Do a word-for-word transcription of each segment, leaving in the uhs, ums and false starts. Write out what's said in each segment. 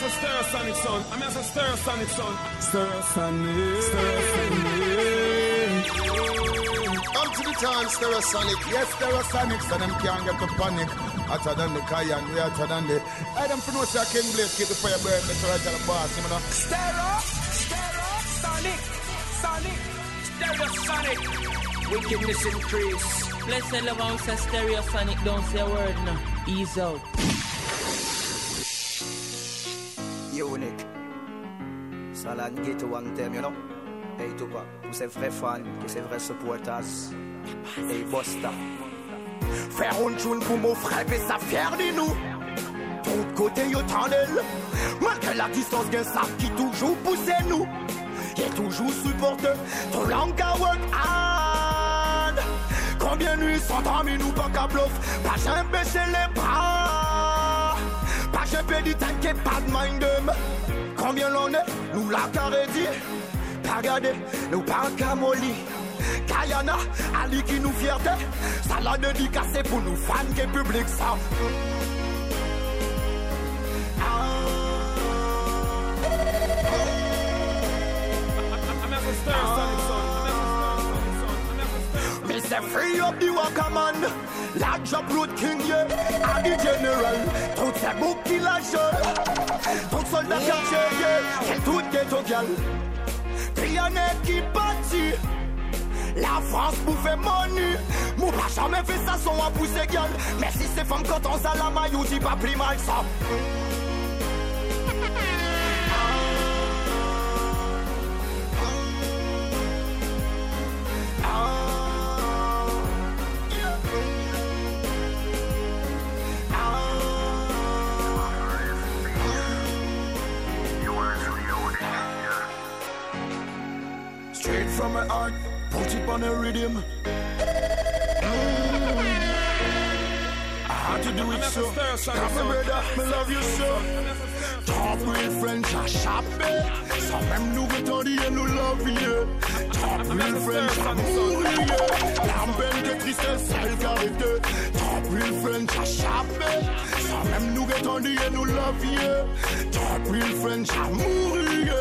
a Stereosonic son. I'm as a Stereosonic son. Stereosonic. Stereosonic. Come to the town, Stereosonic. Yes, Stereosonic. So them can't get to panic. Hotter than the Cayenne, we hotter than the. I don't know if I can blade, keep the fire burn, Mister Roger the boss, you know. Stereo, Stereosonic, Sonic, Stereosonic. Wickedness increase. Let's say love on say Stereosonic, don't say a word now. Ease out. Unique. Salan get to one time, you know. Hey Tupac, tous ces vrais fans, tous ces vrais supporters. Hey Busta. Faire une tune pour mon frère et ça fier de nous. Tout côté yo tandel. Malgré la distance gen ça qui toujours pousse nous. Y'a toujours supporté ton langue à work hard. Combien nuits sont amis nous pas qu'à bluff. Pas jamais baisser les bras. Pas jamais dit t'inquiète pas de mind them. Combien l'on est, nous la carré dit. Pas regardé, nous pas qu'à molly. Kayana, Ali qui nous fierté. Ça l'a dédicacé pour nous fans qui public ça. Me say free up the Waka man. La job road king yeah. A the general. Tout ces boucs qui la jeune. Tout soldat quartier yeah. Quel tout ghetto gal. Trianet qui bâtit. La France bouffe money. Mou pas jamais fait ça son à pousser gueule. Mais si c'est femme quand on s'en la maillot, dis pas plus mal ça. Straight from my heart. Put it on a rhythm. Mm. I had to do it so. Come on, brother, me love you so. Top real French, I shop it. Some même nous retendent et nous love you. Top real French, I mourir. L'ambelle que tristesse, elle carité. Top real French, I shop it. Some même nous retendent et nous love you. Top real French, I mourir.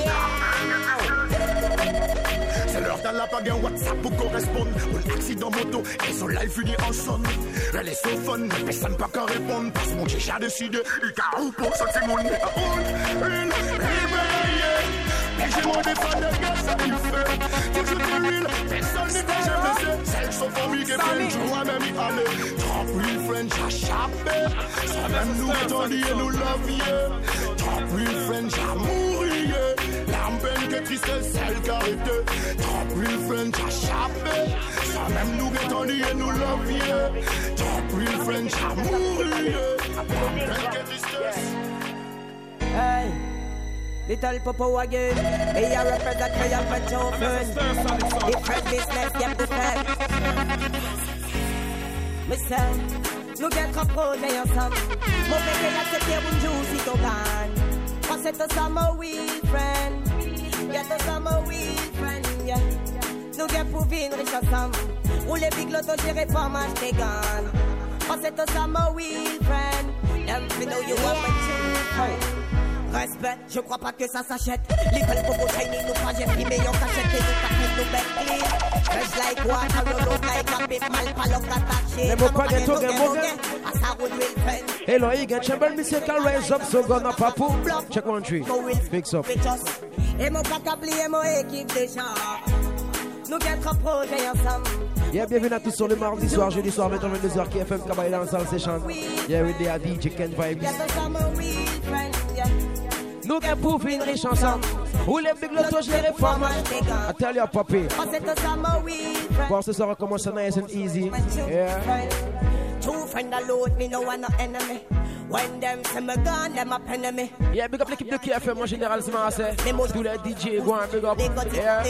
C'est l'heure dans la bague, un WhatsApp pour correspondre. Un accident moto, et son live finit en son. Elle est so fun, mais personne pas qu'à répondre. Parce que mon j'ai déjà décidé, il a un pour ça, c'est mon nez. Une, mais j'ai mon défense de gars, ça il fait. Toujours de real, personne n'est pas jamais fait. Celle qui sont famille, qui fait une joie, même y aller. Top real French, à chapé. Ça même nous étendit et nous love, yeah. Top real French, à mourir. L'ambelle que tristesse, celle qui arrête. Top real French, à chapé. Ça même nous étendit et nous love, yeah. Top real French, à mourir. L'ambelle que tristesse. Hey. Little Popo again, me a represent for your children. Different business, get the fed. Me say, nous get trop projet ensemble. Mon bébé a accepté une joue si t'en gagne. Parce que c'est un summer weed friend. Get a summer weed friend, yeah. Nous get pour vivre riche ensemble. Ou les big lotos gérés pour m'acheter gagne. Parce que c'est un summer weed friend. Them fi know you want my children. Respect, je crois pas que ça s'achète. Little Popo Tiny, nous pas j'ai pris meilleur cachette. Et nous pas fait nous bête clean. Fresh like water, roll out like a big mal, palok attaché. Les mots pas des tours, des mots. Hello, you get Chamber Music can raise up, so gonna papu. Check one tree. Mix up. Et mon caca plié, mon équipe déjà. Nous get trop projet ensemble. Yeah, bienvenue à tous sur le mardi soir, jeudi soir, maintenant vingt-deux heures, K F M, Kabaï dans Salle Session. Yeah, with the D J Ken Vibes. Nous qui pouvons une riche ensemble. Où les big lotos gèrent les femmes. I tell you, papi. Pour ce soir, on commence nice and easy. Yeah. Two friends alone, me no one no enemy. When them say me gone, them a penny me. Yeah, big up l'équipe de K F M en général, c'est moi, c'est. Tous les D J, go on, big up. Yeah.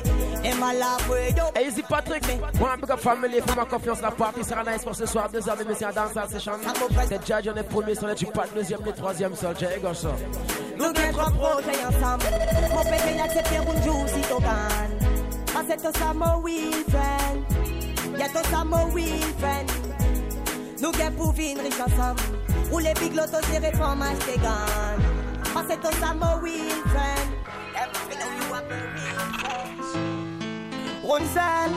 Hey, Easy Patrick, go on, big up family, fais-moi confiance, la partie sera nice pour ce soir. Deux heures de messieurs dans Salle Session. C'est Judge, on est premier, sur le tu pas deuxième, le troisième sol. J'ai égorgé ça. Nous qui trois projets ensemble. Mon bébé a accepté une joue si t'en gagne. Parce que c'est un summer weekend. Y'a ton summer weekend. Nous qui pour vivre riche ensemble. Où les big lotos gérés pour m'acheter gagne. c'est un summer weed friend. Every know you are my real friend. Runsel,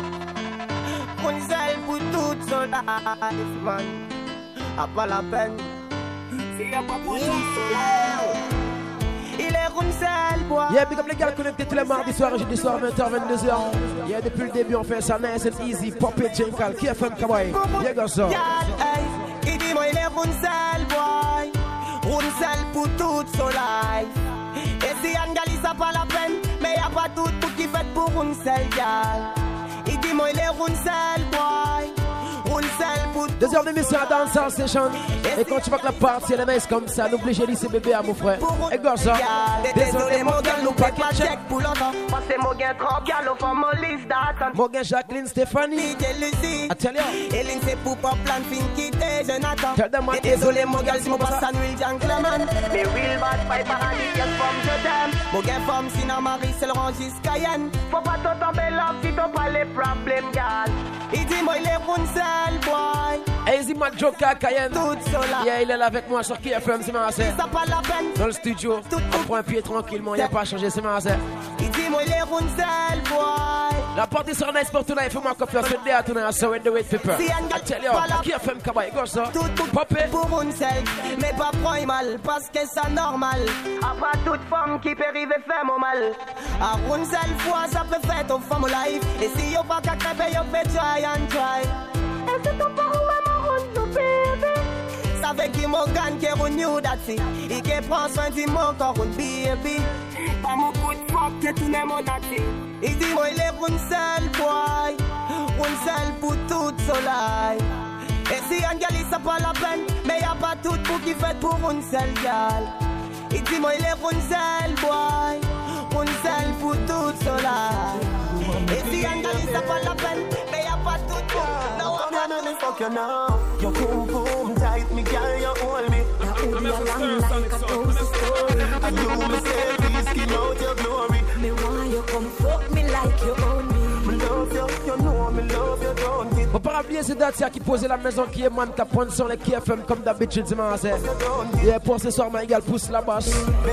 Runsel pour toute son life, man. A pas la peine. C'est pas pour tout son il est Runsel, boy. Yeah, big up les gars connectés tous les mardis soirs et jeudi soir, vingt heures, vingt-deux heures. Yeah, depuis le début, on fait ça nice and easy. Pop it, Jenkal, K F M, Kawaii. Yeah, go ça. Il dit, moi, il est Runsel, boy. Runsel pour toute son life. Et si Angali, ça pas la peine, mais y'a pas tout pour qui fait pour Runsel, gal. Il dit, moi, il est Runsel, boy. Deux heures d'émission à Dancehall Station. Et quand tu vois que la partie elle est nice comme ça, n'oublie j'ai dit c'est bébé à mon frère. Et gars ça. Désolé mon gars, nous pas check pour longtemps. Parce que mon gars trop gars, nous faisons mon liste d'attente. Mon gars Jacqueline Stéphanie. Atelier. Hélène c'est pour pas plan fin quitter Jonathan. Tell them what. Désolé mon gars, si mon passe à Will Gentleman. Mais real bad fight paradis, quelle forme je t'aime. Mon gars femme, sinon Marie, c'est le rangis Cayenne. Faut pas t'en tomber là, si t'as pas les problèmes, gars. Il dit moi il est Runsel, boy. Easy Mac Joker Cayenne. Yeah, il est là avec moi sur K F M, c'est ma sœur. Dans le studio, on prend un pied tranquillement, il n'y a pas à changer, c'est ma sœur. Il dit moi il est Runsel, boy. La partie sera nice pour tout là, il faut moi confiance, c'est déjà tout là, so with the way people. I tell you, K F M Kawaii, go ça. Pop it. Pour Runsel, mais pas prendre mal, parce que c'est normal. A pas toute femme qui peut arriver faire mon mal. A Runsel fois, ça peut faire ton femme life. Et si y'a pas qu'à crêper, y'a fait try and try. Et c'est ton parent, maman, Runsel, baby. Ça fait qu'il m'a gagné, qu'il renew that's it. Et qu'il prend soin du mon corps, un baby. Pas mon coup de fuck, que tout n'est mon that's. Il dit, moi, il est Runsel, boy. Runsel pour toute son life. Et si Angali, ça pas la peine, mais y'a pas tout pour qui fait pour Runsel, gal. Il dit, moi, il est Runsel, boy. Runsel pour toute son life. Et si Angali, ça pas la peine, mais y'a pas tout pour. No, I'm not gonna fuck you now. Your boom boom tight, me girl, you hold me. You hold me along like a toast story. And you me say, please skin out your glory. Me want you come fuck me like you own me. Me love you, you know me love you, don't it? Faut pas oublier c'est Datia qui posait la maison qui est man qui prend sur les K F M comme d'habitude c'est ma sœur. Et pour ce soir ma égale pousse la basse.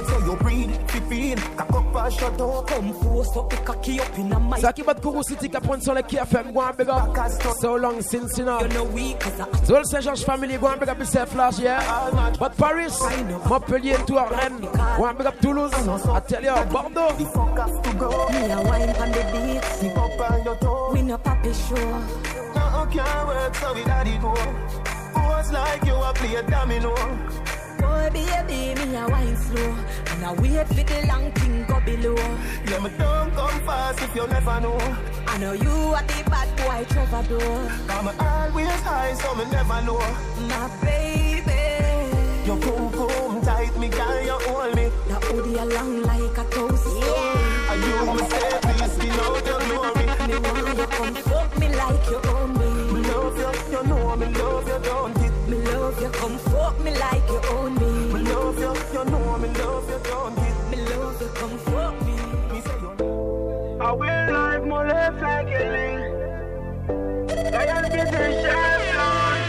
Ça qui bat Kourou City qui prend sur les K F M, go and big up. So long since you know. So le Saint-Georges family, go and big up yourself last year. But Paris, Montpellier, Tours, Rennes, go and big up Toulouse, Atelier, Bordeaux. Me a wine on the beat. We no papi show. No can't work so we daddy go. Force like you a play a domino. Boy baby, me a wine slow. And I wait for the long thing go below. Yeah, me don't come fast if you never know. I know you are the bad boy troubadour. I'm always high so me never know. My baby, your boom boom tight, me girl you hold me. Now hold you along like a toast. Yeah. And you me say please skin out your glory. Me want you come fuck me like you own me. Me love you, you know me love you, don't it? Me love you, come fuck me like you own me. Me love you, you know me love you, don't it? Me love you, come fuck me. Me say you. I will live my life like a link. I am getting champion.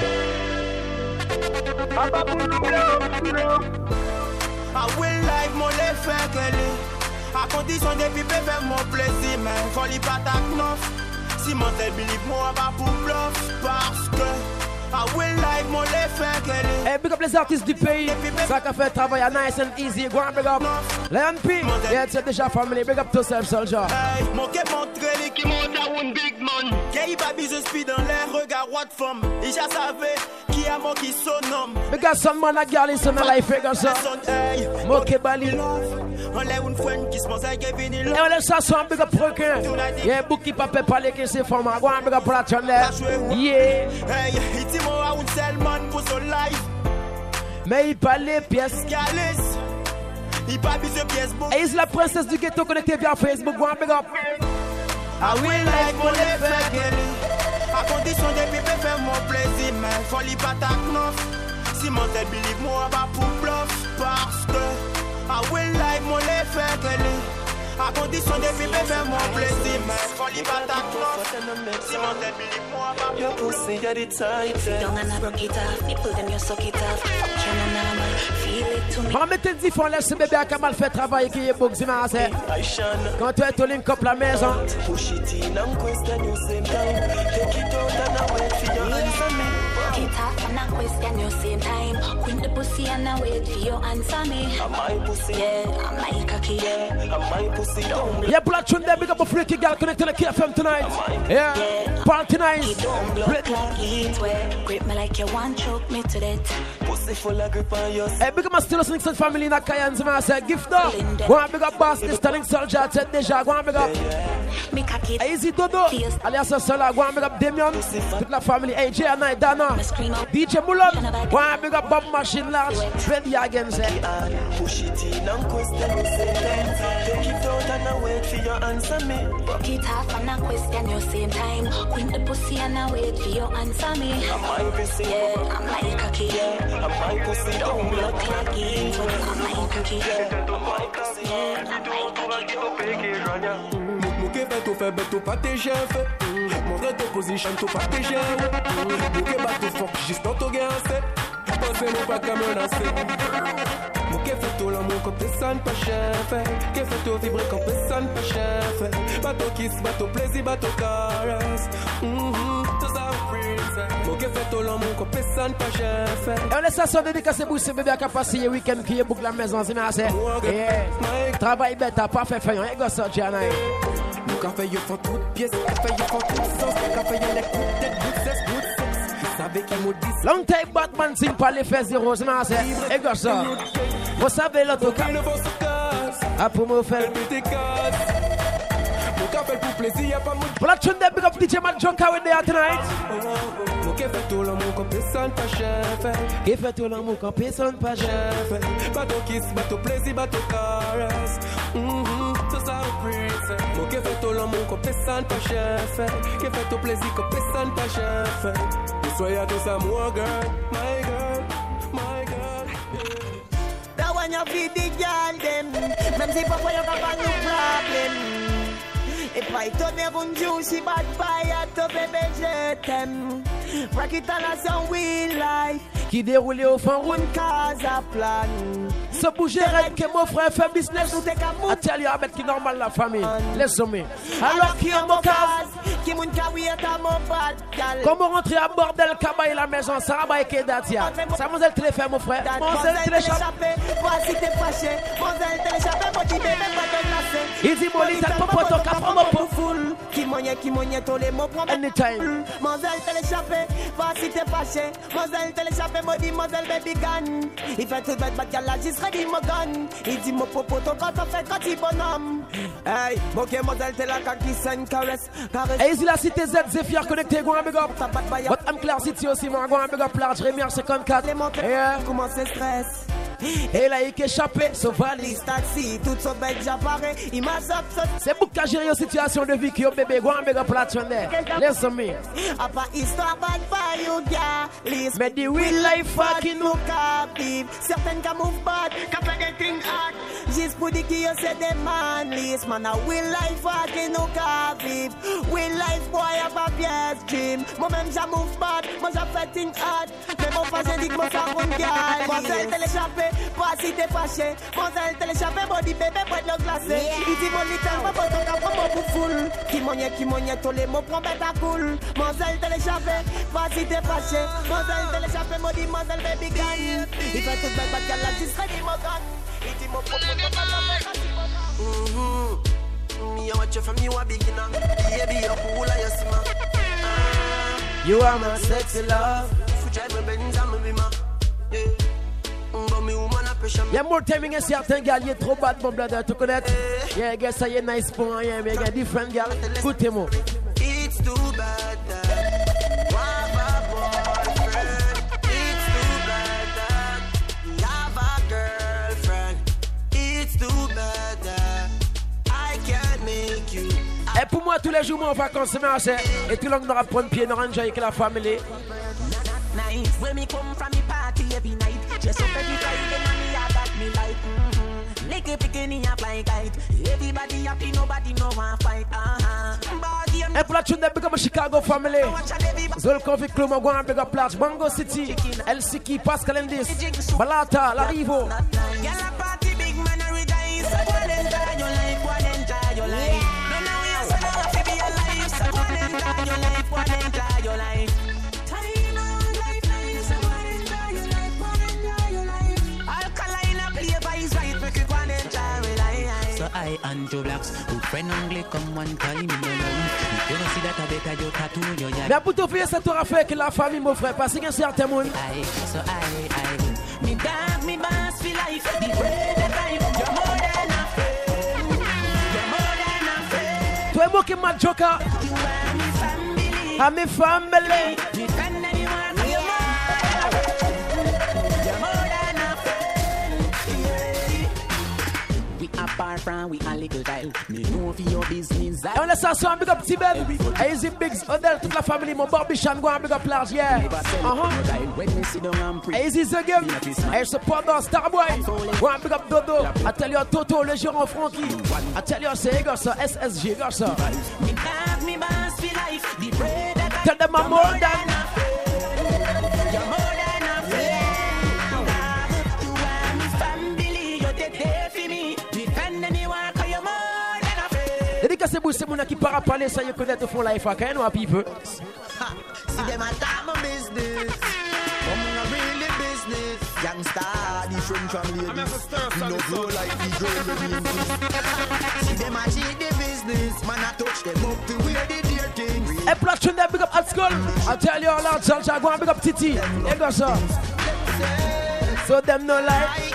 Papa Boulou, I will live my life like a link. A condition de vivre faire mon plaisir, mais faut li pas ta knof. Si mon tel believe moi pas pour bluff, parce que I will like mon les faire qu'elle est. Hey, big up les artistes du pays. Ça qu'a fait travail à nice and easy. Go on, big up. Lion P. Yeah, c'est déjà family. Big up to self, soldier. Hey, mon qu'est montré les qui monte à un big man. Gay baby, je suis dans l'air, regarde what femme. Et j'ai savais qui a mon qui son homme. Big up some man, la girl, is on a life, big up ça. Moke Bali. On l'a une friend qui se pense à Kevin. Et on laisse ça son big up requin. Yeah, book qui peut parler que c'est femme. Go on, big up la channel. Yeah. Hey, it's more à un seul man pour son life. Mais il parle les pièces. Il parle de pièces. Et il est la princesse du ghetto connectée via Facebook. Go on, big up. I will like mon les faire qu'elle est. À condition de vivre faire mon plaisir. Mais faut li pas ta knof. Si mon tel believe moi pas pour bluff. Parce que I will like mon les faire qu'elle est. À condition de vivre faire mon plaisir. Mais faut li pas ta knof. Si mon tel believe moi pas pour bluff. Your pussy, you're the tight. Sit down and I broke it off. Nipple them, you suck it off. Can I normal? Feel On va mettre dix fois, laisse ce bébé à Kamal fait travail qui est beau, c'est ma sœur. Quand tu es au link up la maison. Push it in and question you same time. Take it out and I wait for your answer me. Take it off and I question you same time. Queen the pussy and I wait for your answer me. I'm my pussy. Yeah, I'm my cocky. Yeah, I'm my pussy. Don't Yeah, black tune there, big up a freaky girl connected to the K F M tonight. Yeah, yeah. Party night. Don't block like it. Grip me like you want choke me to death. Pussy full of grip on your. Hey, big up my still Nixon family in Akayan, so I say gift up. Go on, big up boss, this telling soldier, said déjà, go on, big up. Me cocky. Easy Dodo, alias Sola, go on, big up Damien, toute la family, A J and I, Dana, D J Mulan, go on, big up Bob Machine Large, Bendy again, say. Push it in and question you same time. Take it out and I wait for your answer me. Broke it off and I question you same time. Queen the pussy and I wait for your answer me. I'm my pussy. Yeah, I'm my cocky. Yeah, I'm my pussy. Don't look like it. I'm my cocky. Yeah, I'm my pussy. Yeah, I'm my cocky. Mouké fait tout fait, tout pas tes chefs. Montre ton position, tout pas tes chefs. Mouké bat tout fort, juste dans ton gain, c'est. Pensez-moi pas qu'à menacer. Mouké fait tout l'amour comme personne pas chef. Qui fait tout vibrer comme personne pas chef. Bateau kiss, bateau plaisir, bateau caresse. Tout ça au prince. Mouké fait tout l'amour comme personne pas chef. Et on laisse ça son dédicacé pour ce bébé à passer le week-end qui est boucle la maison, c'est ma sœur. Yeah, travail bête, pas fait faire, et go sortir, Jana. Mon café, il faut toute pièce, café, il faut toute sauce, café, il est coup de good sex, good sex. Vous savez qui me dit long time Batman signe pas les faits zéro, c'est ma sœur. Et go ça. Vous savez l'autocar. Ah, pour me faire. Mon café pour plaisir, y'a pas mon. Black tune there, big up D J Mac Junker with there tonight. Mon café tout l'amour comme personne pas chef. Qui fait tout l'amour comme personne pas chef. Bateau kiss, bateau plaisir, bateau caresse. Tout ça au prince. Mon café tout l'amour comme personne pas chef. Qui fait tout plaisir comme personne pas chef. Soyez tous à moi, girl, my girl, my girl. That one you feed the girl them. Même si papa you got a new problem. Et pas étonné pour nous si bad boy à ton bébé je t'aime. Rock it on a son real life. Qui déroule au fond route. Casa plan. Se bouger rêve que mon frère fait business. I tell you avec qui normal la famille. Laisse-moi. Alors qui est mon cas? Qui moun kawi est à mon bad gal. Comment rentrer à bordel Kabaye la maison ça va avec Datia. Ça vous êtes téléphone mon frère. Mon zèle téléchappé. Voici t'es fâché. Mon zèle téléchappé. Mon petit bébé pas de glacé. Il dit mon lit t'as pas pour ton cap mon pour full. Qui moyen qui moyen tous les mots promet. Anytime. Mon zèle téléchappé. Voici t'es fâché. Mon zèle téléchappé. Mon dit mon zèle baby gun. Il fait tout bête bad gal la juste ready mon gun. Il dit mon popo ton quand on fait quand il bonhomme. Hey, ok mon zèle t'es la qui s'en caresse. Caresse. Easy la cité Z, Zephyr connecté, go and big up. But I'm Claire City aussi, moi, go and big up large, Rémière cinquante-quatre. Yeah. Comment c'est stress? Et là, il est échappé, so valise. Taxi, tout son bec j'apparais, il m'a sorti. C'est pour qu'à gérer une situation de vie qui est bébé, go and big up platform there. Listen me. A pas histoire bad by you, yeah. Mais the real life fucking nous captive. Certaines qui move bad, qui fait des things hard. Juste pour dire qu'il y a des man list. Man, a real life fucking nous captive. Real life boy, a pas pièce dream. Moi-même, j'ai move bad, moi j'ai fait things hard. Mais mon frère, j'ai dit que moi, ça roule, yeah. Moi, j'ai téléchappé. Pas si t'es fâché, mon zèle téléchappé, mon dit bébé, près de l'eau glacée. Il dit mon lit, tellement pas ton cap, mon pour full. Qui mogne, qui mogne, tous les mots, prends bête à cool. Mon zèle téléchappé, pas si t'es fâché, mon zèle téléchappé, mon dit mon zèle baby gun. Il fait tout bête, bête, gal, la discret, dit mon gun. Il dit mon propos, ton cap, mon fait, quand il mon gun. Me, I watch you from you a beginner. Baby, you're cool, I see ma. You are my sexy love. If you drive my Benz, I'm a bimmer. Yeah. Y'a more timing et certains gars, y'a trop bad mon brother, tu connais? Yeah, guess ça y est nice pour rien, mais y'a different gars. Écoutez-moi. It's too bad that you have a boyfriend. It's too bad that you have a girlfriend. It's too bad that I can't make you. Et pour moi, tous les jours, moi, en vacances, c'est marché. Et tout le monde aura prendre pied, nous enjoy avec la famille. Nice. When me come from me party every night, just up every Friday and me I got me like mm-hmm. Like a picking a fly kite. Everybody happy, nobody no one fight. Uh-huh. And for that tune, they become a Chicago family. Zol Convict Club, I'm going to big up Platch, Mango City, El Siki, Pascal Endis, Balata, Larivo. I and Joe Blacks, good friend only come one time in your life. You don't see that I better your tattoo your yard. Mais pour tout faire, ça t'aura fait que la famille, mon frère, parce qu'il y a un certain monde. I, so I, I, me dog, me boss for life. The way that I, you're more than a friend. You're more than a friend. Toi et moi qui m'a joker. You are my family. I'm my family. Defend anyone, you're more. You're more than a friend. We apart from we a little child. Me know for your business. Et on laisse ça sur un big up Tibet. Et Easy Bigs, Odell, toute la famille, mon Bobby Chan, go un big up large, yeah. Uh-huh. Et Easy The Game. Et support dans Starboy. Go un big up Dodo. I tell you Toto, le gérant Frankie. I tell you c'est gars ça, S S G, gars ça. Tell them I'm more than. C'est bon, c'est mon qui part parler, ça y connaît au fond life, quand même, un peu. See them attack my business. I'm in a really business. Youngster, different from ladies. No grow like the girl when we see them a cheat the business. Man, I touch them up to where they dear things. Hey, Platch, that big up at school. I tell you all out, Salcha, go and big up Titi. Hey, go, sir. So them no like.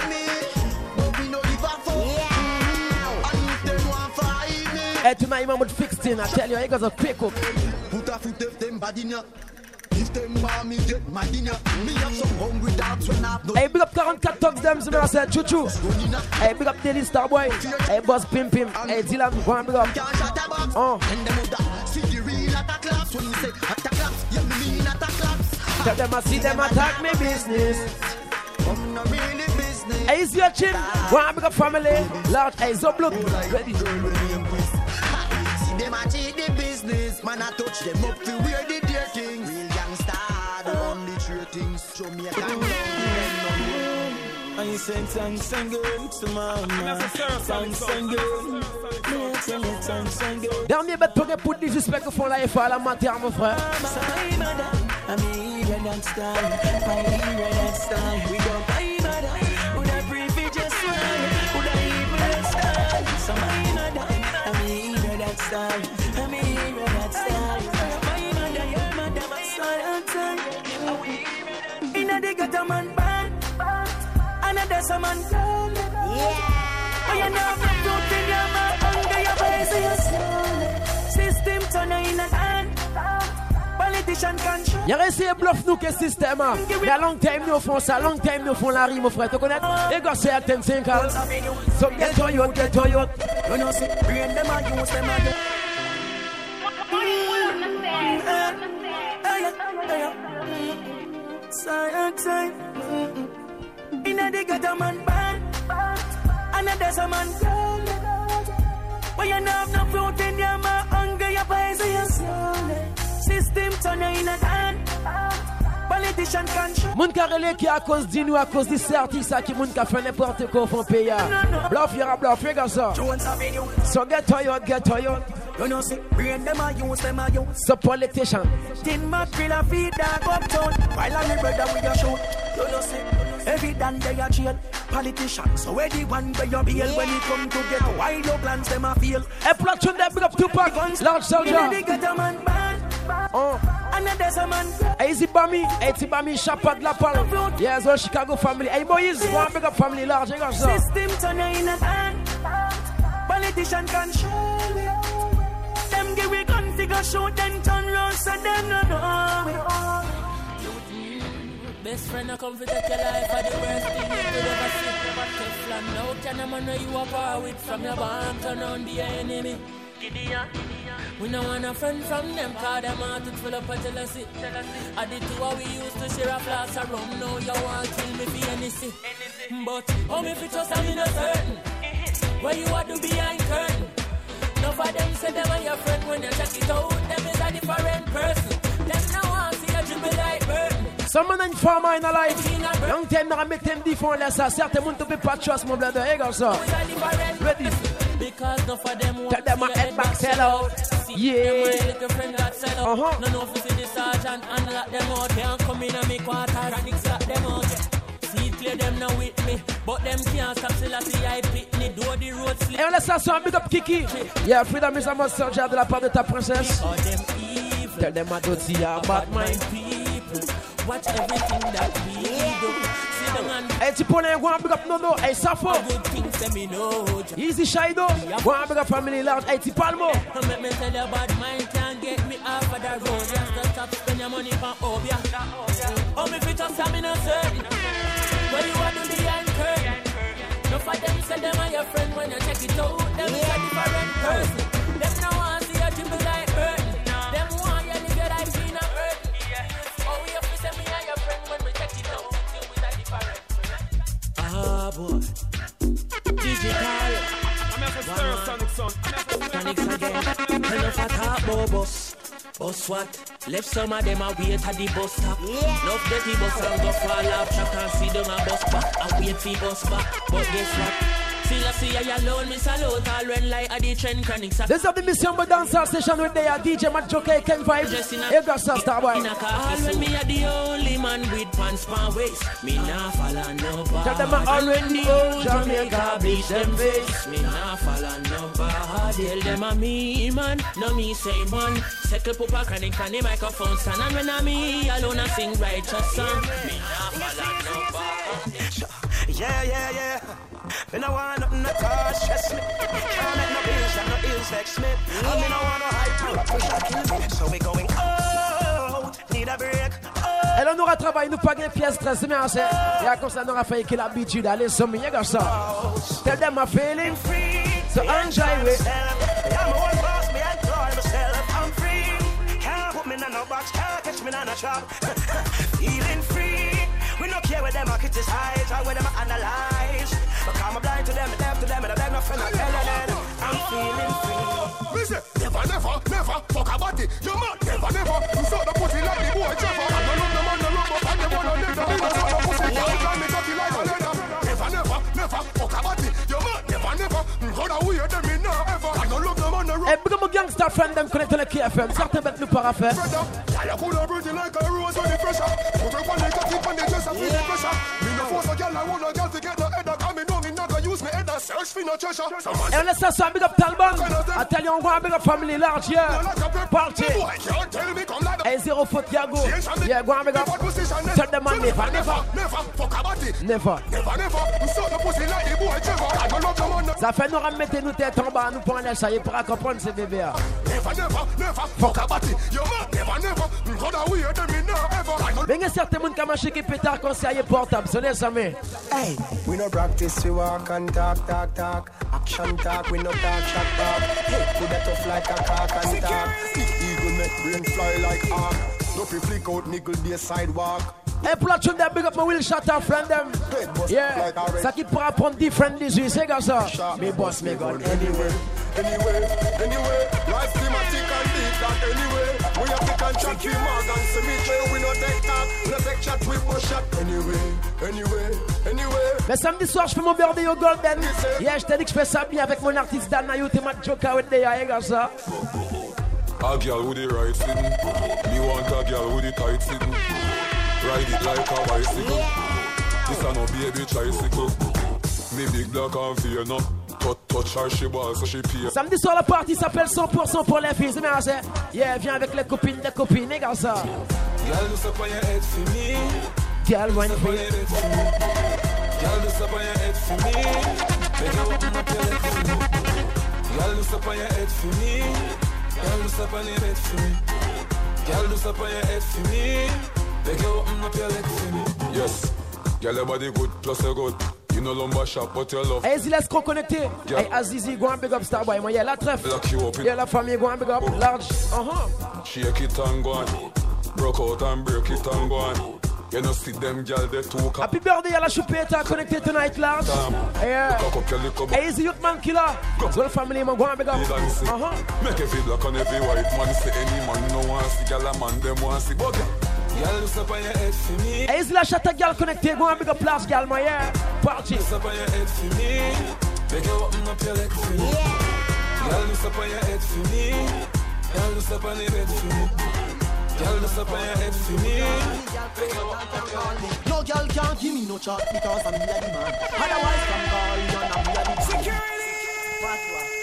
Hey, tonight I'm with fixing. I tell you, I got a quick up. Put a foot of them bad in ya. If them mommy get mad in ya. Me have some hungry dogs when I've no. Hey, big up forty-four talks them. So I said, choo choo. Hey, big up Daily Starboy. Hey, Boss Pim Pim. Hey, Dylan, go and big up. Oh. See the real attack claps when you say attack claps. You mean attack claps. Tell them I see them attack me business. I'm not really business. Hey, is your chin? Go and big up family. Large. Hey, so blood. Ready. Them a cheat the business, man I touch them up to where they dear things. Real gangsta, the only true things. Show me a gang I sing, sing, sing good to mama. Sing, sing good. Sing, sing, sing good. Dernier bête pour pour des suspects qui font la F A à la matière, mon frère. I'm here and style. I'm here and style. We go buy mother. Would I prefer just one? Would I even style? So my mother. I'm here that style. I'm here that style. My mother, your mother, my son and son. Inna the gutter man band, another some man. Yeah. Oh, you know the truth in your mouth, under your face, your soul. System turn in a hand. Politician control. Y'a réussi à bluff nous que système. Mais à long time nous font ça, long time nous font la rime, mon frère. Tu connais? Les gars, c'est à ten cinq ans. So get to you, get to you. You know, see, bring them and use them and Side side, inna the gutter man band, another some man. But you know have no fruit in your mouth, hunger your poison your soul. System turn in a hand. Politician control. Moun karele qui à cause de nous, à cause de certis, ça qui moun ka fait n'importe quoi font payer. Bluff, y'aura bluff, fais ça. So get to you, get to you. You know, see, bring them a use, them a use. So politician. Tin mat grill a feed dog uptown. While on the brother with your shoot. You know, see, every dan they a jail. Politician, so where the one where you bail yeah. When you come to get why your plans them a fail. A platoon that big up Tupac, large soldier. Oh. Another some man. Easy Bami, Easy Bami, Chapa de la Palme. Yes, well, Chicago family. Hey, Moïse, one big up family, large. System turn in a hand. Politician control. Them give we configure shoot then turn round so them no know. Best friend I come to take your life for the worst thing you could ever see. Never Teflon. Now can a man know you are power with from your barn turn on the enemy. Gideon. We don't want a friend from them, cause them heart is full up of jealousy. I did two what we used to share a flask of rum. Now you want to kill me for anything. But how me fit trust I'm in a certain. Where you are to behind curtain. Enough of them say them are your friend when you check it out. Them Some man and farmer in a life. Young time now make them different less. Certain want to be patriots, my brother. Hey, girl, sir. Ready? Because no for them tell them my head back sell out. Yeah. Uh-huh. No, no, for the sergeant and lock them out. They don't come in and make water and it's lock them out. See, clear them now with me. But them can't stop till I see I pick me. Do the road slip. Et on laisse ça sur un big up Kiki. Yeah, freedom is a must soldier de la part de ta princesse. Tell them I don't see about my people. Watch everything that we do. Hey, tu peux aller voir un big up Nono. Hey, Safo. Easy Shido. One big up family lounge. Hey, Tipalmo. Let me tell you bad mind can't get me off of the road. Just stop spend your money for Obia. Oh, me fit just I'm in a certain. Where you want to be anchored. No for them say them are your friend when you check it out. Them is a different person. Them no want to see your dribble like hurting. Them want you live your life in a hurting. Oh, we have to say me and your friend when we check it out. Ah, boy. Digital. I'm at the Stereosonic son. Sonics again. Tell us what talk about bus. Bus what? Left some of them a wait at the bus stop. Yeah. Enough dirty bus and go fall off. Track and see them a bus back. And wait for bus back. But guess what? Feel I see I alone, miss a lot. I'll run like a the trend chronics. This is the Mission But Dancehall station with the D J Matt Joker, Ken Vibe. Hey, got star boy. All when me a the only man with pants pan waist. Me nah follow nobody. Tell them I already old Jamaica bleach them face. Me nah follow nobody. Tell them a me man, no me say man. Settle pupa chronic on the microphone stand. And when I me alone I sing righteous song. Me nah follow nobody. Yeah, yeah, yeah. Me no want nothing to touch, yes me. Can't make no bills and no ills vex me. And me no want no hype, push a kill me. So we going out, need a break. Et là, on aura travaillé, nous pas gagner pièce très c'est bien, c'est. Et à cause ça, on aura fait qu'il a l'habitude d'aller sur mes gars, ça. Tell them I'm feeling free, so enjoy it. I'm a one boss, me enjoy myself. I'm free, can't put me in no box, can't catch me in a trap. Feeling free, we don't care where them are criticize or where them are analyze. Because I'm blind to them, I'm deaf to them, and I beg no friend, I'm telling them I'm feeling free. Listen, never, never, never fuck about it. You man, never, never. You saw the pussy like the boy Trevor. I don't love the man, the love, but I don't want to live. You saw the pussy, you can't make up like a leather. Never, never, never fuck about it. You man, never, never. How the weird them in now ever. I don't love the man, the love. Et puis mon gangster friend them connecté le K F M. Certains bêtes nous para faire. I could have breathed like a rose on the pressure. Put her on the cut, tip on the dress, I feel the pressure. Me no force a girl, I want a girl to get the head up. I mean, no, me not gonna use me head and search for no treasure. Et on laisse ça sur un big up Talbot. I tell you, on va un big up family large, yeah. Party. Hey, zero foot, Yago. Yeah, go on, big up. Tell them man, never, never. Never, fuck about it. Never. Never, never. You saw the pussy like the boy Trevor. I don't love the man. Ça fait nous remettre nos têtes en bas, nous pour un ça y est pour comprendre ces bébés. Never, never, never. Fuck about it. Yo man, never, never. How the weird them in now ever. Mais il y a certains monde qui a marché qui pétard quand c'est portable, c'est les amis. Hey, we no practice, we walk and talk, talk, talk. Action talk, we no talk, shot talk. Hey, put that tough like a cock and talk. Eagle make brain fly like arc. No fi flick out niggle the sidewalk. Hey, pour la tune them, big up my Will Shatter friend them. Yeah, ça qui pourra prendre different dix-huit, c'est comme ça. Me boss, me gun anyway. Anyway, anyway, life thematic and deep that anyway. We have to contract with Morgan Cemetery. We no take talk, no take chat with no shot. Anyway, anyway, anyway. Mais samedi soir, je fais mon birthday au Golden. Yeah, je t'ai dit que je fais ça bien avec mon artiste Dan Nayout et Matt Joker with the yeah, comme ça. A girl with the right sitting. Me want a girl with the tight sitting. Ride it like a bicycle. This a no baby tricycle. Me big black and fear no. Touch her, she ball, so she pay. Samedi soir, la partie s'appelle cent pour cent pour les filles. C'est bien, c'est. Yeah, viens avec les copines, les copines, les gars, ça. Girl, do stop on your head for me. Girl, wine for me. Girl, do stop on your head for me. Make you open up your leg for me. Girl, do stop on your head for me. Girl, do stop on your head for me. Girl, do stop on your head for me. Make you open up your leg for me. Yes, girl, your body good, plus you good. You know lumber shop, but you love. Hey, laisse qu'on connecté. Hey, Azizi, go and big up Starboy. Moi, y'a la trèfle. Y'a la famille, go and big up. Large. Uh-huh. Shake it and go on. Broke out and break it and go on. You know, see them girl, they too. Happy birthday, y'a la choupette connecté tonight, Large. Yeah. Hey, easy youth man killer. So the family, man, go and big up. Uh-huh. Make every black and every white man say any man no want see. Girl, a man, them want see. But Girl, look up on your head for me. Hey, is la chatte gal connecté? Go and big up place gal, my yeah. Party. Look up on your head for me. Beg you open up your leg for me. Girl, look up on your head for me. Girl, look up on your head for me. Girl, look up on your head for me. Beg you open up your leg. No girl can't give me no chat because I'm the man. Otherwise, I'm calling on I'm the security. What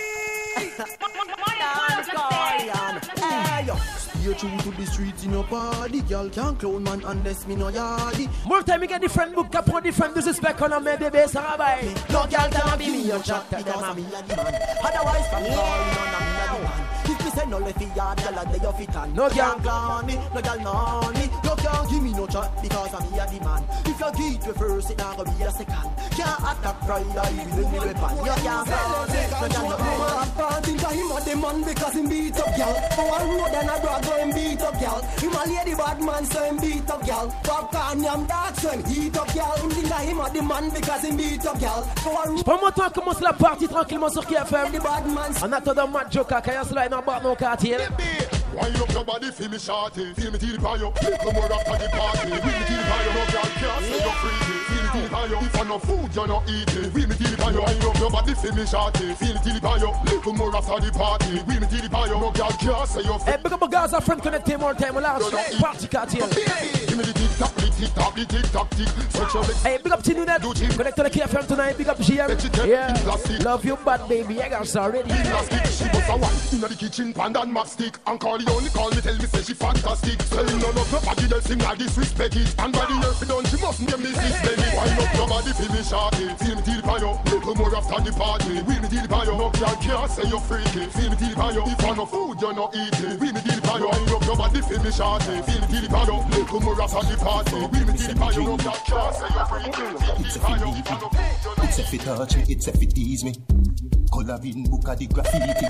what? You're true to the streets in your body. Girl can't clown man unless me no yardy. More time you get different book up on different disrespect on a me baby Sarabai. No girl can't give me your chat because I'm the man. Otherwise, I'm calling on I'm the man. If me say no left yard, girl a day of it and no girl clown me, no girl know me. No can't give me no chat because I'm the man. If you get me first, it not gonna be a second. Can't attack pride, I will be weapon. You can't clown me, no girl know me. I think him a the man because him beat up girl. For one road and a brag so him beat up girl. Him a lady bad man so him beat up girl. Popcorn yam dark so him heat up girl. Him think him a the man because him beat up girl. For one road. Pas mon temps commence la partie tranquillement sur K F M. En attendant Matt Joker, quand y'a cela, il n'a pas non quartier. Wind up your body, feel me shorty. Feel me till the fire. Little more after the party. Feel me till the fire. No girl can't say you're free. Feel me till the fire. If I no food, you're not eating. Feel me till the fire. Wind up your body, feel me shorty. Feel me till the fire. Little more after the party. Feel me till the fire. No girl can't say you're free. Hey, big up my guys, our friend connected more time. We'll have party quartier. Give me the tick tock, the tick tock, the tick tock, tick. Hey, big up Tinu Net. Connect to the K F M tonight. Big up G M. Yeah. Love you, bad baby. I got already. She was a one in the kitchen, pan and map stick. And call the only call me, tell me say she fantastic. Selling none of nobody else sing like disrespect it. And by the year she done, she must get me this baby. Wind up your body, feel me shorty. Feel me till the fire. Little more after the party. Feel me till the fire. No girl can't say you're freaky. Feel me till the fire. If I no food, you're not eating. Feel me till the fire. Wind up your body, feel me shorty. Feel me till the fire. Little more after the party. Feel me till the fire. No girl can't say you're freaky. It's a fit leave me. It's a fit touch me. It's a fit tease me. Coloring book at the graffiti.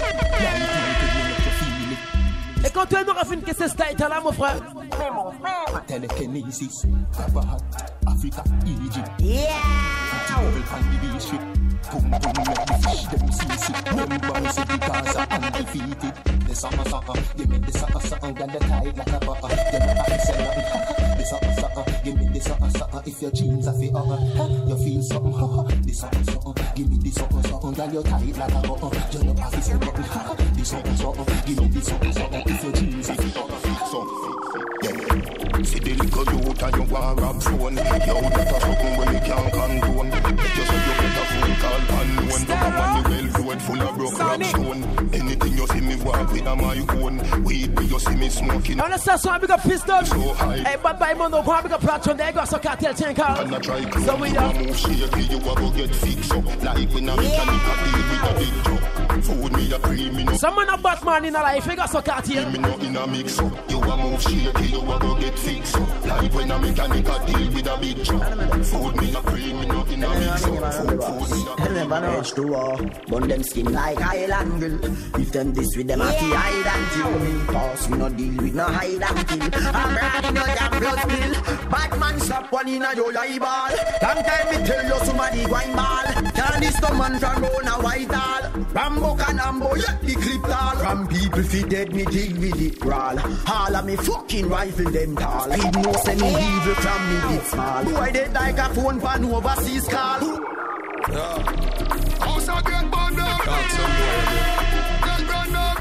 Et quand tu aimeras faire une question style là mon frère. Telekinesis, Kabahat, Africa, Egypt. Yeah. Travel can be beach ship. Boom boom make the fish them see sick. Them bounce it because I'm undefeated. The summer summer, give me the summer summer, got the tide like a butter. Them a say nothing. The summer summer, give me the summer summer. If your jeans are fit, uh, you feel something. The summer summer, give me the summer summer, got your tide like a butter. You know I feel something. The summer summer, give me the summer summer. If your jeans are fit, uh, so yeah. See the little youth and you want rap phone. Yo, that's something when you can't condone. Just so you get a phone call unknown. But I'm on the well road full of broke rap stone. Anything you see me walk with on my own. Weed me you see me smoking. On the station I big up pistol. Hey, bad boy mono, go big up platform. There you go, so cartel chain car. And I try to so we are move shaky, you a go get fixed up. Like when I'm mechanic, I deal with a big truck. Food me a cream, me no. Some man a Batman in a life, you got so cartel. Me no in a mix up. You a move shaky, you a go get fixed up. Like when I'm mechanic, I deal with a big truck. Food me a cream, me no in a mix up. Food, food me a cream. Never know to war, burn them skin like Highland Grill. If them this with them at the hide and kill me. Cause we no deal with no hide and kill. I'm riding no damn blood spill. Bad man slap one in a your eyeball. Long time me tell you somebody wine ball. Turn this to man from round a white hall. Rambo can ambo, yeah, the clip tall. From people feet dead, me deal with it raw. All of me fucking rifle them tall. Feed no send me evil from me bit small. Boy dead like a phone pan overseas call. Yeah. House a get burned up. Talk some boy. Get burned up.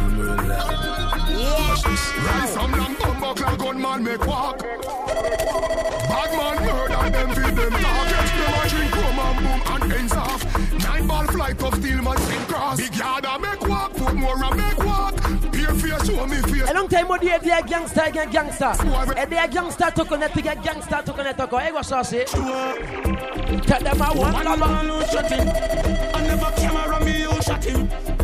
Yeah. Rise from lamp bumbo clock gunman make walk. Bad man murder them feed them talk. Catch them a drink rum and boom and ends off. Nine ball flight of steel man sin cross. Big yard a make walk. Put more a make walk. Peer face show me face. A long time ago, il y a gangster, il y a gangster. Et des gangsters te connaissent, il y a gangsters te connaissent encore. Et quoi ça c'est? Tell them I want love. I never came around me, you shot him.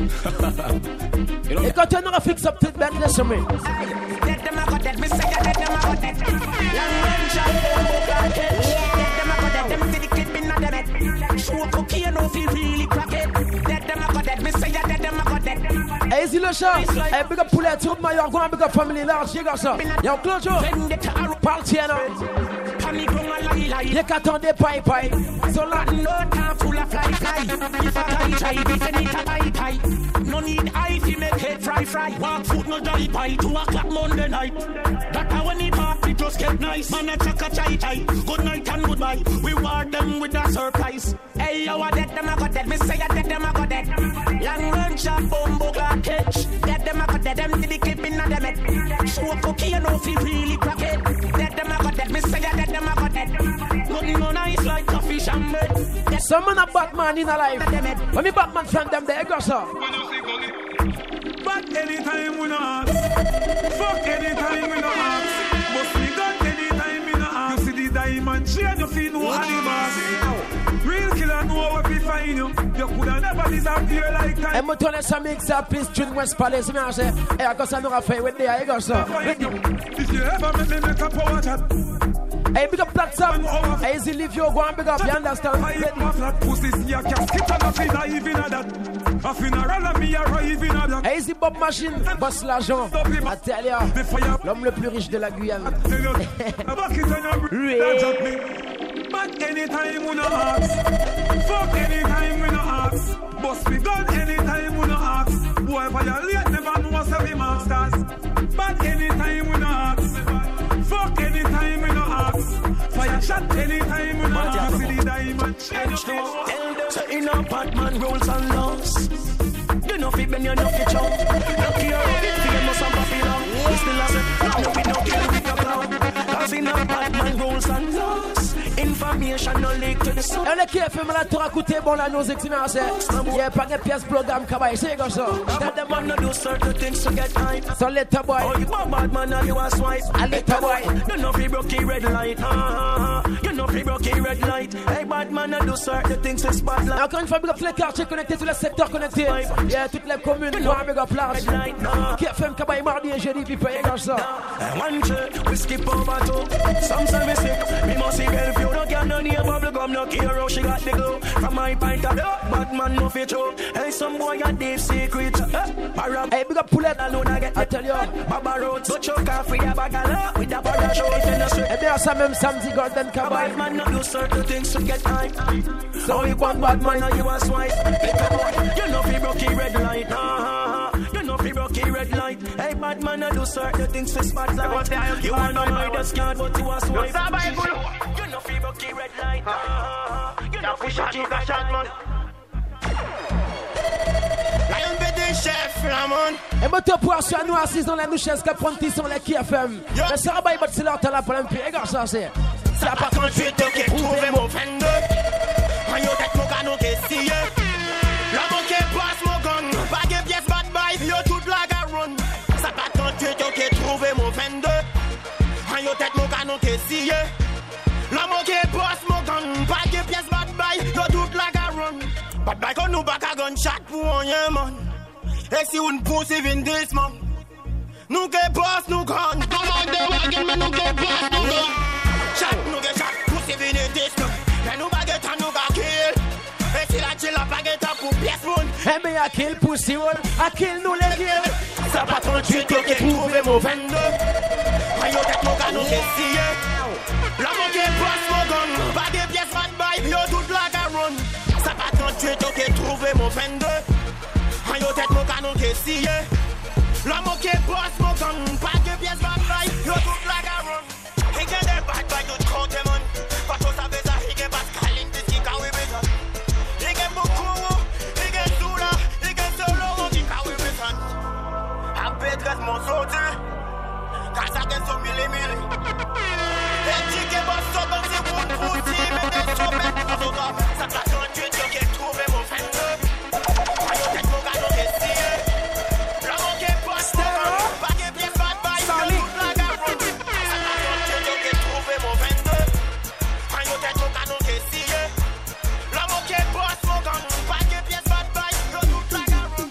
Et quand tu as fix up toute belle de chemin. Let them a go dead, me say let them a go dead. Long range shot, them go black it. Let them a go dead, them see the clip in the net. Show cocaine, no feel really crack it. Let them a go dead, me say let them a go dead. Hey, Easy le chat. Hey, big up poulet, tout le monde, go and big up family large, you got ça. Y'a clôture. Parti alors. Y'a qu'attendez paille paille. So lot no time full of fly fly. If I try try, if I need a pie pie. No need eye to make head fry fry. Walk foot no die pie. Two o'clock Monday night. That I when it pop. just get nice. Man, a chaka chai chai. Good night and goodbye. We reward them with a surprise. Hey, you are dead, them a got dead. Me say you dead, them a got dead. Long run shot, bombo clock catch. Dead, them a got dead. Them did the clip in a demet. Smoke cookie, you know, feel really crack it. Dead, them a got dead. Me say you dead, them a got dead. Nothing no nice like coffee and bread. Some man a Batman in a life. When me Batman from them, they go so. But anytime we no ask, fuck anytime we no ask. But we got anytime we no ask. You see the diamond chain, you feel no animals. Real killer know what we find you. You coulda never disappear like time. I'm gonna some mix up this tune West Palace. Me say, hey, I got some affair with the I go so. If you ever make me make a power chat. Hey, big up Black Sam. Hey, easy leave you go and big up, you understand? I flat pussies, you can't skip and I feel even at that. A funeral of me arrive in a Hey, easy Bob Machine, boss l'argent. I tell ya, l'homme le plus riche de la Guyane. But anytime we no ask, fuck anytime we no ask. Bust we gun anytime we no ask. Boy, violate never know us every masters. But anytime we no ask, fuck anytime we no ask. Fire shot anytime we no ask. See the diamond change. So in a Batman rules and laws. You know fit when you know fit chop. Look here, famous and popular. We still have it. No we no care with your clown. Cause in a Batman rules and laws. Information no leak to the sun. On est qui fait mal à te raconter bon la nos examens c'est. Il y a pas de pièce programme cabaye c'est comme ça. That the man no do certain things to get hype. So let the boy. Oh you a bad man and you a swipe. I let the boy. You know free broke red light. Uh, you know free broke red light. Hey bad man no do certain things to spotlight. Encore une fois big up les quartiers connectés tous les secteurs connectés. Il y a toutes les communes. Big up large. Qui fait cabaye mardi et jeudi puis paye comme ça. One check we skip over two. Some say me sick. Me must see girl. You don't get no near bubble gum, no hero, she got the glow. From my pint of bad man no fit show. Hey, some boy got deep secret. Hey, big up Poulet, alone I get. I tell you, Baba Road, so choke off with a bagala with a parachute in the street. Hey, there's some même samedi golden cabaye. Bad man no do certain things to get hype. So you want bad man, now you a swipe. You know fi broke red light. You know fi broke red light. Hey, bad man no do certain things to spotlight. You want to buy the scan, but you a swipe. You know fi broke red light. You know fi shot you got shot man. Lion Bédé chef Ramon. Et moto pour assurer nous assis dans la nouchaise qui prend tis sur les K F M. Mais ça va y battre là t'as la pleine pied gars ça c'est. Ça pas quand tu te qui trouver mon friend. Quand yo tête mon canon qui scie. La moquée passe mon gang. Pas de pièce bad boy. Yo toute la garonne. Ça pas quand tu te qui trouver mon friend. Quand yo tête mon canon qui scie. La moquée passe mon gang. Pas de pièce bad boy. Yo toute la garonne. Bad boy quand nous back a gunshot pour rien man. Et si on pousse even this man. Nous que boss nous gun. Commande de wagon mais nous que boss nous gun. Chat nous que chat pousse even this man. Mais nous baguette à nous ga kill. Et si la chill la baguette à pour pièce one. Eh mais à kill pussy one. À kill nous les kill. Ça pas trente-huit qui trouvé mon vingt-deux. Ayo tête mon canon qui scie. La moquée boss mon gun. Pas de pièces bad boy. Yo toute la garonne. Ça pas trente-huit qui trouvé mon vingt-deux. Ayo tête mon canon qui scie. La moquée boss mon gun. Pas de pièces bad boy. Yo toute la garonne. He get the bad boy you count them on. Pas tout ça beza. He get Pascal in the stick away beza. He get Mokoro. He get Zula. He get Solo. He get away beza. A Petres mon sauté. Car ça get so mille mille. Et tu get boss so comme c'est bon pussy. Mais t'es so bête. Ça passe en tuer. Tu get trouvé mon friend. Ayo tête mon canon qui scie. La moquée boss mon gun. Pas de pièce bad boy. Yo toute la garonne. Ça passe en tuer. Tu get trouvé mon friend. Ayo tête mon canon qui scie. La moquée boss mon gun. Pas de pièce bad boy. Yo toute la garonne.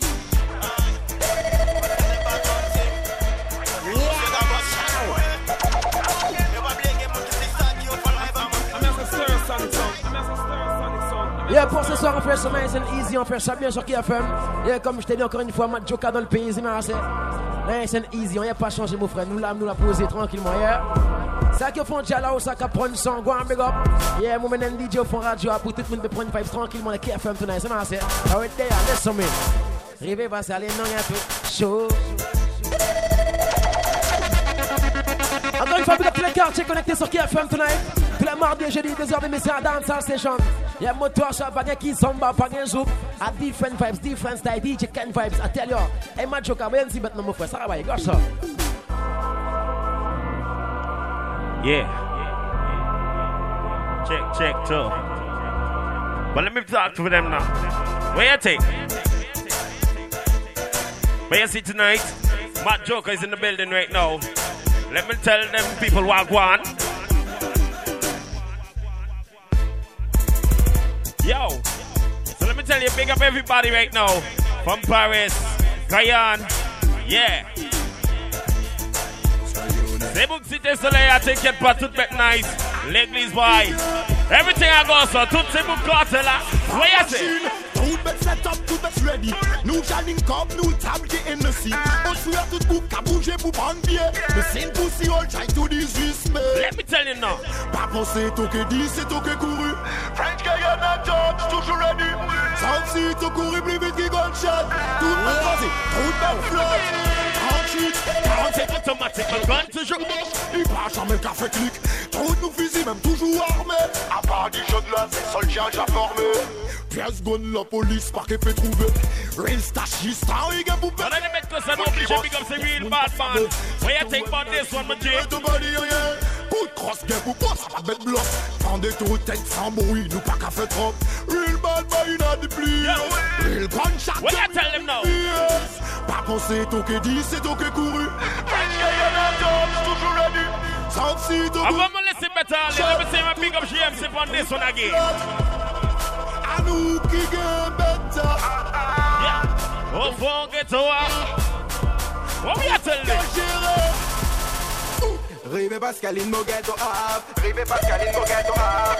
Yeah, pour ce soir on fait ça nice and easy, on fait ça bien sur K F M. Yeah, comme je t'ai dit encore une fois, Matt Joka dans le pays, c'est nice and easy, on n'y a pas changé mon frère, nous l'âme nous l'a posé tranquillement, yeah. Ça qui font déjà là où ça qui prend son, go and big up. Yeah, moi maintenant D J au fond radio pour tout le monde peut prendre une vibe tranquillement, le K F M tonight, c'est nice, yeah. Right there, listen me. Rêver va s'aller, non, y'a tout chaud. Encore une fois, vous êtes tous les quartiers connectés sur K F M tonight. Tous les mardis et jeudis, deux heures de mission à Dancehall Station. Y'a moteur, chat, pas de qui, zomba, pas de zouk. A different vibes, different style, D J Ken vibes. I tell you, hey, ma joke, I'm going to see bet no more for ça va, gosh, ça. Yeah. Check, check, too. But let me talk to them now. Where you take? Where you see tonight? Matt Joker is in the building right now. Let me tell them people what I want. Yo, so let me tell you, big up everybody right now. From Paris, Guyane, yeah. C'est bon que c'était soleil à t'inquiète pas, tout bête nice. L'église boy. Everything I go so, tout c'est bon côté là. Voyez tout bête set up, tout bête ready. Nous j'allume comme nous table qui est ici. On suit à tout bout, qu'à bouger pour prendre pied. Mais c'est une pussy, all try to dismiss me. Let me tell you now. Pas penser, tout que dit, c'est tout que couru. French Guyana George, toujours ready. Sans si, tout couru plus vite qu'il gunshot. Tout bête croisé, tout bête flotte. trente-huit, quarante-sept automatique, le gun toujours. Il part jamais le café clic. Trop de nous fusils, même toujours armés. À part du jeu de là, c'est seul chien déjà formé. Pièce gonne, la police, par qu'elle fait trouver. Real stash, il star, il gagne pour perdre. On a les mecs que ça n'oblige, big up, c'est real bad man. What you think about this one, my G? Coup de cross, gain pour quoi, ça va bête bloc. Prends des tours, tête sans bruit, nous pas qu'à faire trop. Real bad man, il a des plis. Real gunshot. What you tell them now? Pas penser, tout que dit, c'est tout que couru. French Guyana George, toujours ready. Sans si, tout que... Avant de me laisser mettre, let me say my big up G M C on this one again. À nous qui gagne better. Yeah. Oh, forget to walk. What we are telling them? Rive Pascaline, no get to up. Rive Pascaline, no get to up.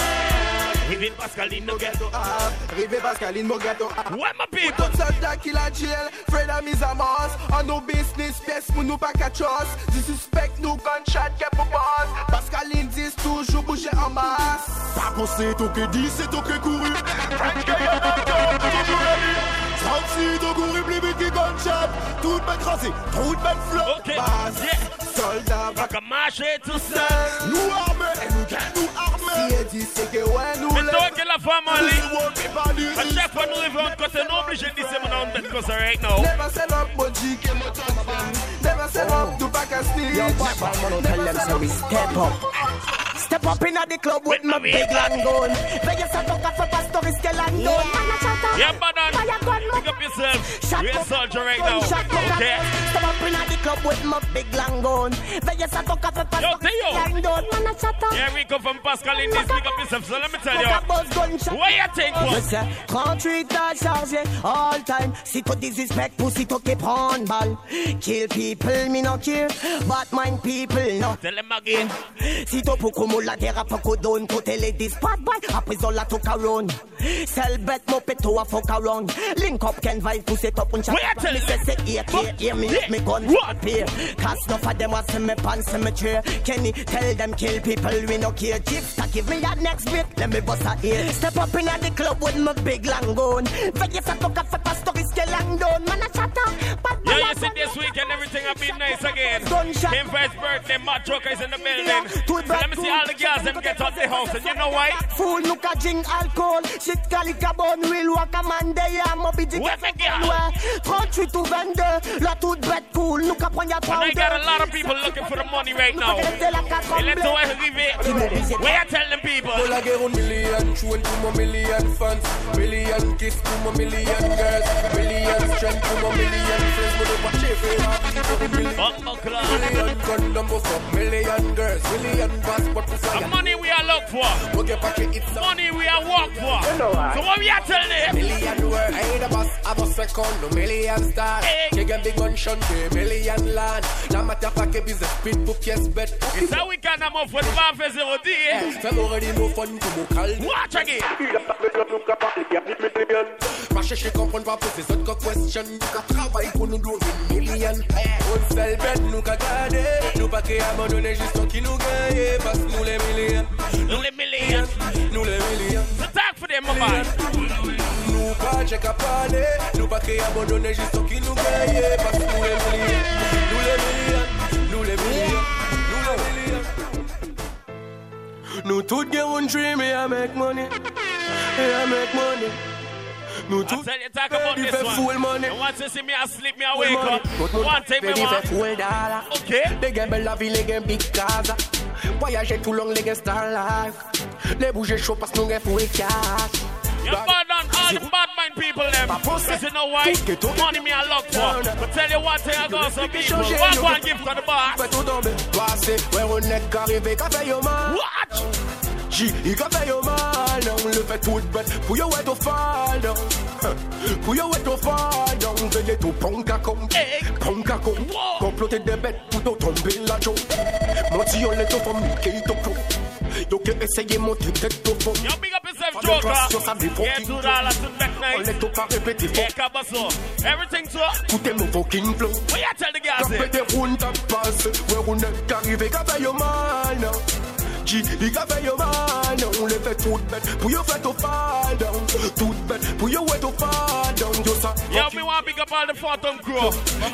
Rive Pascaline, no get to up. Rive Pascaline, no get to up. Where my people? Put soldat kill a jail. Fred a mise a masse. On no business, pièce pour nous pas catch us. Disrespect nous gunshot get pour boss. Pascaline dit toujours bouger en masse. Pas penser, tout que dit, c'est tout que couru. French Guyana George, toujours ready. trente-six, tout couru plus vite qu'il gunshot. Tout bête rasé, tout bête flot. Ok, yeah. Soldat, pas qu'à marcher tout seul. Nous armés, et nous gagnons nous armés. Si elle dit c'est que ouais nous mais toi que la femme en ligne. À chaque fois nous arrivons en côté, nous obligés de dire c'est mon nom de cause right now. Never sell up, Moji, que mon top. Never sell up, do back a sneak. Yo, Papa, man, tell them so we step up. Step up in the club with my big land gun. Veillez ça ton café pastor risque landon. Yeah, madam. Pick up yourself. Real soldier right now. Okay. Step up in the club with my big land gun. Veillez ça ton café pastor risque landon. Yeah, we come from Pascal in this. Pick up yourself. So let me tell you. What you think was? trente-huit à charger all time. Si tu disrespect, pussy to keep on ball. Kill people, me no care. But mind people, no. Tell them again. Si tu pour comme la terre pas qu'on donne côté les dispat boy après on la took around sell bet mo peto a fuck around link up can vibe push it up and chat me say say here here me me gun appear cause no for them was me pants me chair Kenny tell them kill people we no care chief give me that next bit let me bust a ear step up in the club with my big long gun veillez ça ton café pastor risque long down man a chat up yeah you see this weekend everything have been nice again Kim Vice birthday Matt Joker is in the building so let me see all the girls them get out the house and you know why? Fool look a drink alcohol shit calica bon real walk a man day I'm a busy trente-huit ou vingt-deux la toute bête cool nous ka prendre ya powder and I got a lot of people looking for the money right now et let's go arriver where you tell them people all I get one million tune to my million fans million kiss to my million girls million strength to my million friends but if I chase it million condom for million girls million passport the money we are look for. Money we are work for. So what we are telling them? Million word, I ain't a boss, I'm a second, no million star. You get big one shun, million land. La matter pas que business, speed pour pièce bête. It's how we can am off with one for zero D. Fais already no fun to mon calme. Watch again. Ma chercher comprendre pas pour ces autres questions. Nous travaille pour nous donner million. On seul bête, nous qu'a gardé. Nous pas créer à mon donner juste qui nous gagne. Parce que nous les millions. Nous les millions. Nous les millions. C'est talk for them, my man. Nous pas check à parler. Nous pas créer abandonner juste qui nous gagne. Parce que nous les millions. Nous les millions. Nous les millions. Nous Nous tous get one dream et I make money. Et I make money. Nous tous ready for full money. Once you see me asleep, me I wake up. One time me ready want. for full dollar. Okay. Les gars belle la vie, les gars big casa. Voyager tout long, les gars star life. Les bouger chaud parce que nous gars full cash. You're bad on all the bad mind people them. Because you know why? Money me I look for. But tell you one thing I got some people. One one give to the boss. Fais tout tomber. Passé, ouais on est qu'arrivé, qu'a fait yo man. What? G, il qu'a fait yo man. On le fait tout bête. Pour yo être au fall down. Pour yo être au fall down. Veillez tout punk à con. Punk à con. Comploter des bêtes pour tout tomber la joue. Mon tillon les tout pour Mickey tout con. Yo que essayer monter tête au fond. Yo big up yourself Joker. Yeah, two dollars to back night. On est tout pas répéter. Yeah, Cabasso. Everything to. Écoutez mon fucking flow. What you tell the guys here? Répétez round ta passe. Ouais on est arrivé qu'a fait yo man. G, il qu'a fait yo man. On les fait toutes bêtes. Pour yo fait au fall down. Toutes bêtes. Pour yo être au fall down. Yo ça. Yo me want big up all the Phantom crew.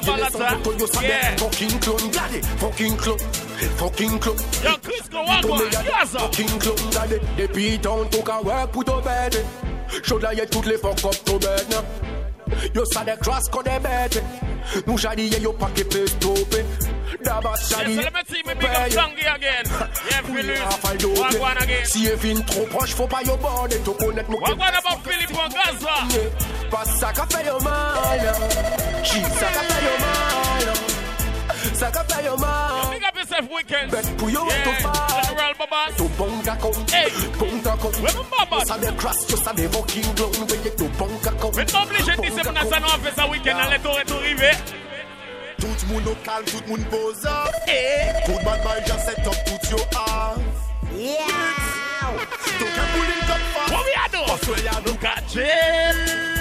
Yeah. Fucking clone. Daddy. Fucking clone. Fucking clone. Yo Crisco walk on. Yes sir. Fucking clone. Daddy. Depuis ton tout qu'à work pour ton bête. Chaud là y'a toutes les fuck up ton bête. Yo ça des grâces qu'on est bêtes. Nous j'allais yo pas qui peut stopper. D'abord j'allais. Let me see me big up Tanguy again. Yeah, Philippe. Walk one again. Si elle vient trop proche, faut pas yo border. Tout connaître mon. Walk one about Philippe en Gaza. Pas ça qu'a fait yo mal. Chi ça qu'a fait yo mal. Ça qu'a fait yo mal. Big up yourself weekend. Bet pour yo être au fall. General Babas. Tout bon d'accord. Hey. Bon d'accord. Where my Babas? Ça des crash, ça des fucking clown. Veillez tout bon d'accord. Mais pas obligé de dire c'est mon assanon en fait ça week-end. Allez tout retour arrivé. Tout le monde au calme, tout le monde pose up. Tout le bad boy just set up, tout your ass. Yeah. Don't get pulling up fast. What we are doing? Australia, look at jail.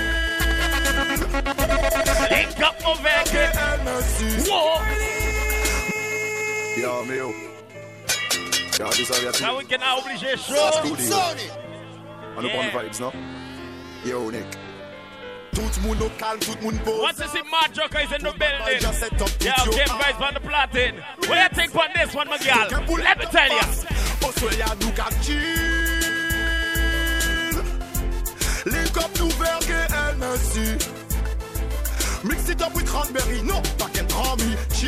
Link up over here. Whoa. Yo, meu. Yo, this is our Now we can oblige show. On the bomb vibes, no? Yo, Nick. Tout le monde au calme, tout le monde pose. Once you see Mad Joker is in the building. Yeah, okay, guys, on the platin. What do you think on this one, my girl? Let me tell you. Australia, look at chill. Link up to Verge N S C. Mix it up with cranberry. No, back and Rami. Chill.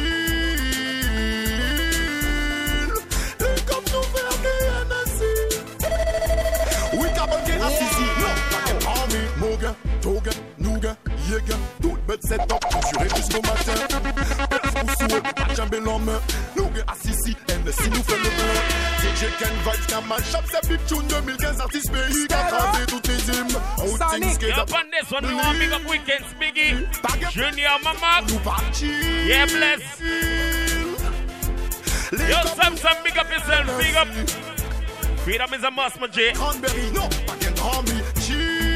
Link up to Verge N S C. We carbon get a C C. No, back and Rami. Moga, Toga. Nougat, Yega, tout bête set up, assuré jusqu'au matin. Place ou souhait, pas jambé l'en main. Nougat, assisi, N S C nous fait le plein. D J Ken Vibes, Kamal, Shop, c'est Big Tune deux mille quinze, artiste pays, qu'a cravé toutes les hymnes. Sonic, up on this one, we want big up weekends, Biggie. Junior, Mama. Yeah, bless. Yo, Sam, Sam, big up yourself, big up. Freedom is a must, my J. Cranberry, no, back and army, chill.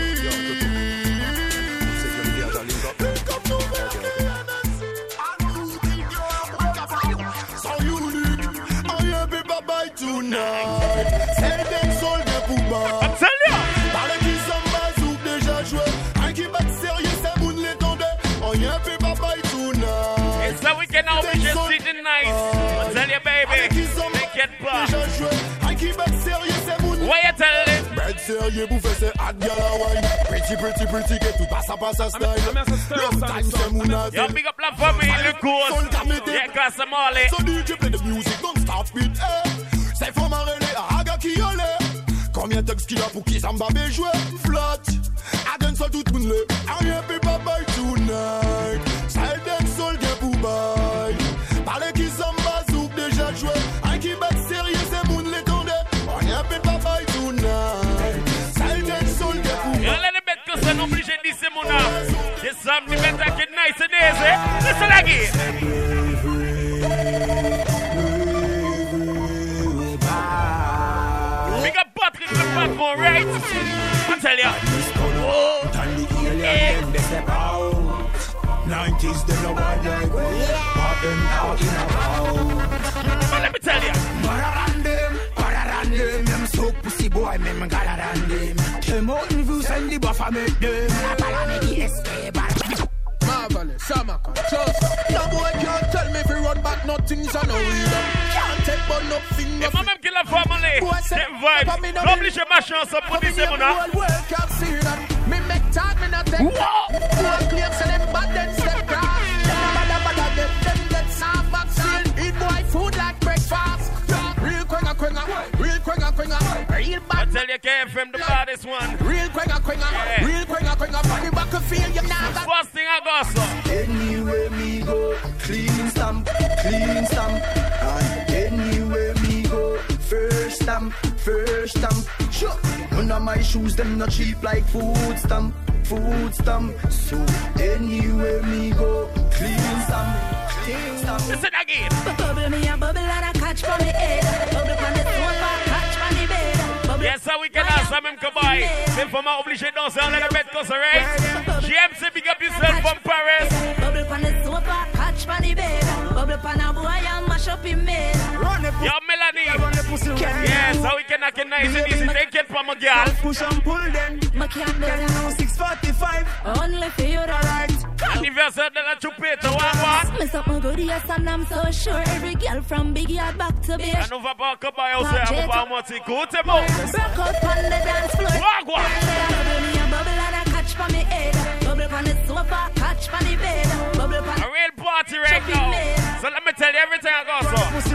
Tonight, c'est des soldats pour moi. I'm telling you. Par les qui sont bazouk déjà joué. Un qui bat sérieux, c'est moun l'étendait. On y a fait bye tonight. It's the weekend now, we just sitting nice. I'm telling you, baby. Make it pop. Déjà joué. Un qui bat sérieux, c'est moun. What you telling? Bête sérieux, bouffé, c'est hot gal Hawaii. Pretty, pretty, pretty, que tout passe à passe à style. Long time, c'est moun à yo, big up la famille, le course. Yeah, class them all, eh. So D J play the music, don't stop it, eh. C'est faut m'arrêter à Haga qui yole. Combien de qu'il y a pour qui ça m'a joué? Flat. A dancehall tout le monde. Rien peut pas bye tonight. Ça est dancehall bien pour bye. Parler qui ça m'a zouk déjà joué. Un qui bat sérieux c'est moun l'étendait. Rien peut pas bye tonight. Ça est dancehall bien pour bye. Yo, let me bet que ça n'oblige de dire c'est mon âme. C'est ça, me bet à que nice it is, eh? Listen again. Big up Patrick, the platform, right? I tell ya. Oh, yeah. nineties, they know what they go. But them out in a row. But let me tell ya. Gotta run them, gotta run them. Them so pussy boy, me gotta run them. Them out in views and the buffer make them. I follow me the escape. Marvelous, Samaka, Chosa. No boy can't tell me if you run back, nothing's a no reason. Can't take one up finger. Yeah, mama kill a family. Them vibes. Publish a machine so put this in now. World can't see that. Me make talk, me not take talk. One claim say them bad, then step cross. Them bad, bad, them them get soft back seal. Eat boy food like breakfast. Real quenga quenga, real quenga quenga, real bad. I tell you, K F M the baddest one. Real quenga quenga, real quenga quenga. Funny back a feel you now. First thing I got so. Anywhere me go, clean stamp, clean stamp. And anywhere me go, first stamp, first stamp. Sure, none of my shoes them not cheap like food stamp, food stamp. So anywhere me go, clean stamp, clean stamp. Listen again. Bubble me a bubble and I catch from the head. Bubble from the sofa, catch from the bed. Yes, sir, we can ask them to buy. Then for my obligation, don't sound like a bed cause, right? G M C, big up yourself from Paris. Bubble from the sofa, catch from the bed. Bubble from a boy and mash up in bed. Yo, Melanie. Yes, so we can knock it nice and easy. Take it from a girl. Push and pull then. My can't do six forty-five. Only for you, alright. Anniversary de la chupeta, one one. Miss up my good, yes, and I'm so sure every girl from Big Yard back to Bay. I know about Kabay, I'll say, I'm about Monty. Go to Mo. Broke out on the dance floor. Wagwa. Bubble me a bubble and I catch from the head. Bubble on the sofa, catch from the bed. Bubble on a real party right now. So let me tell you everything I got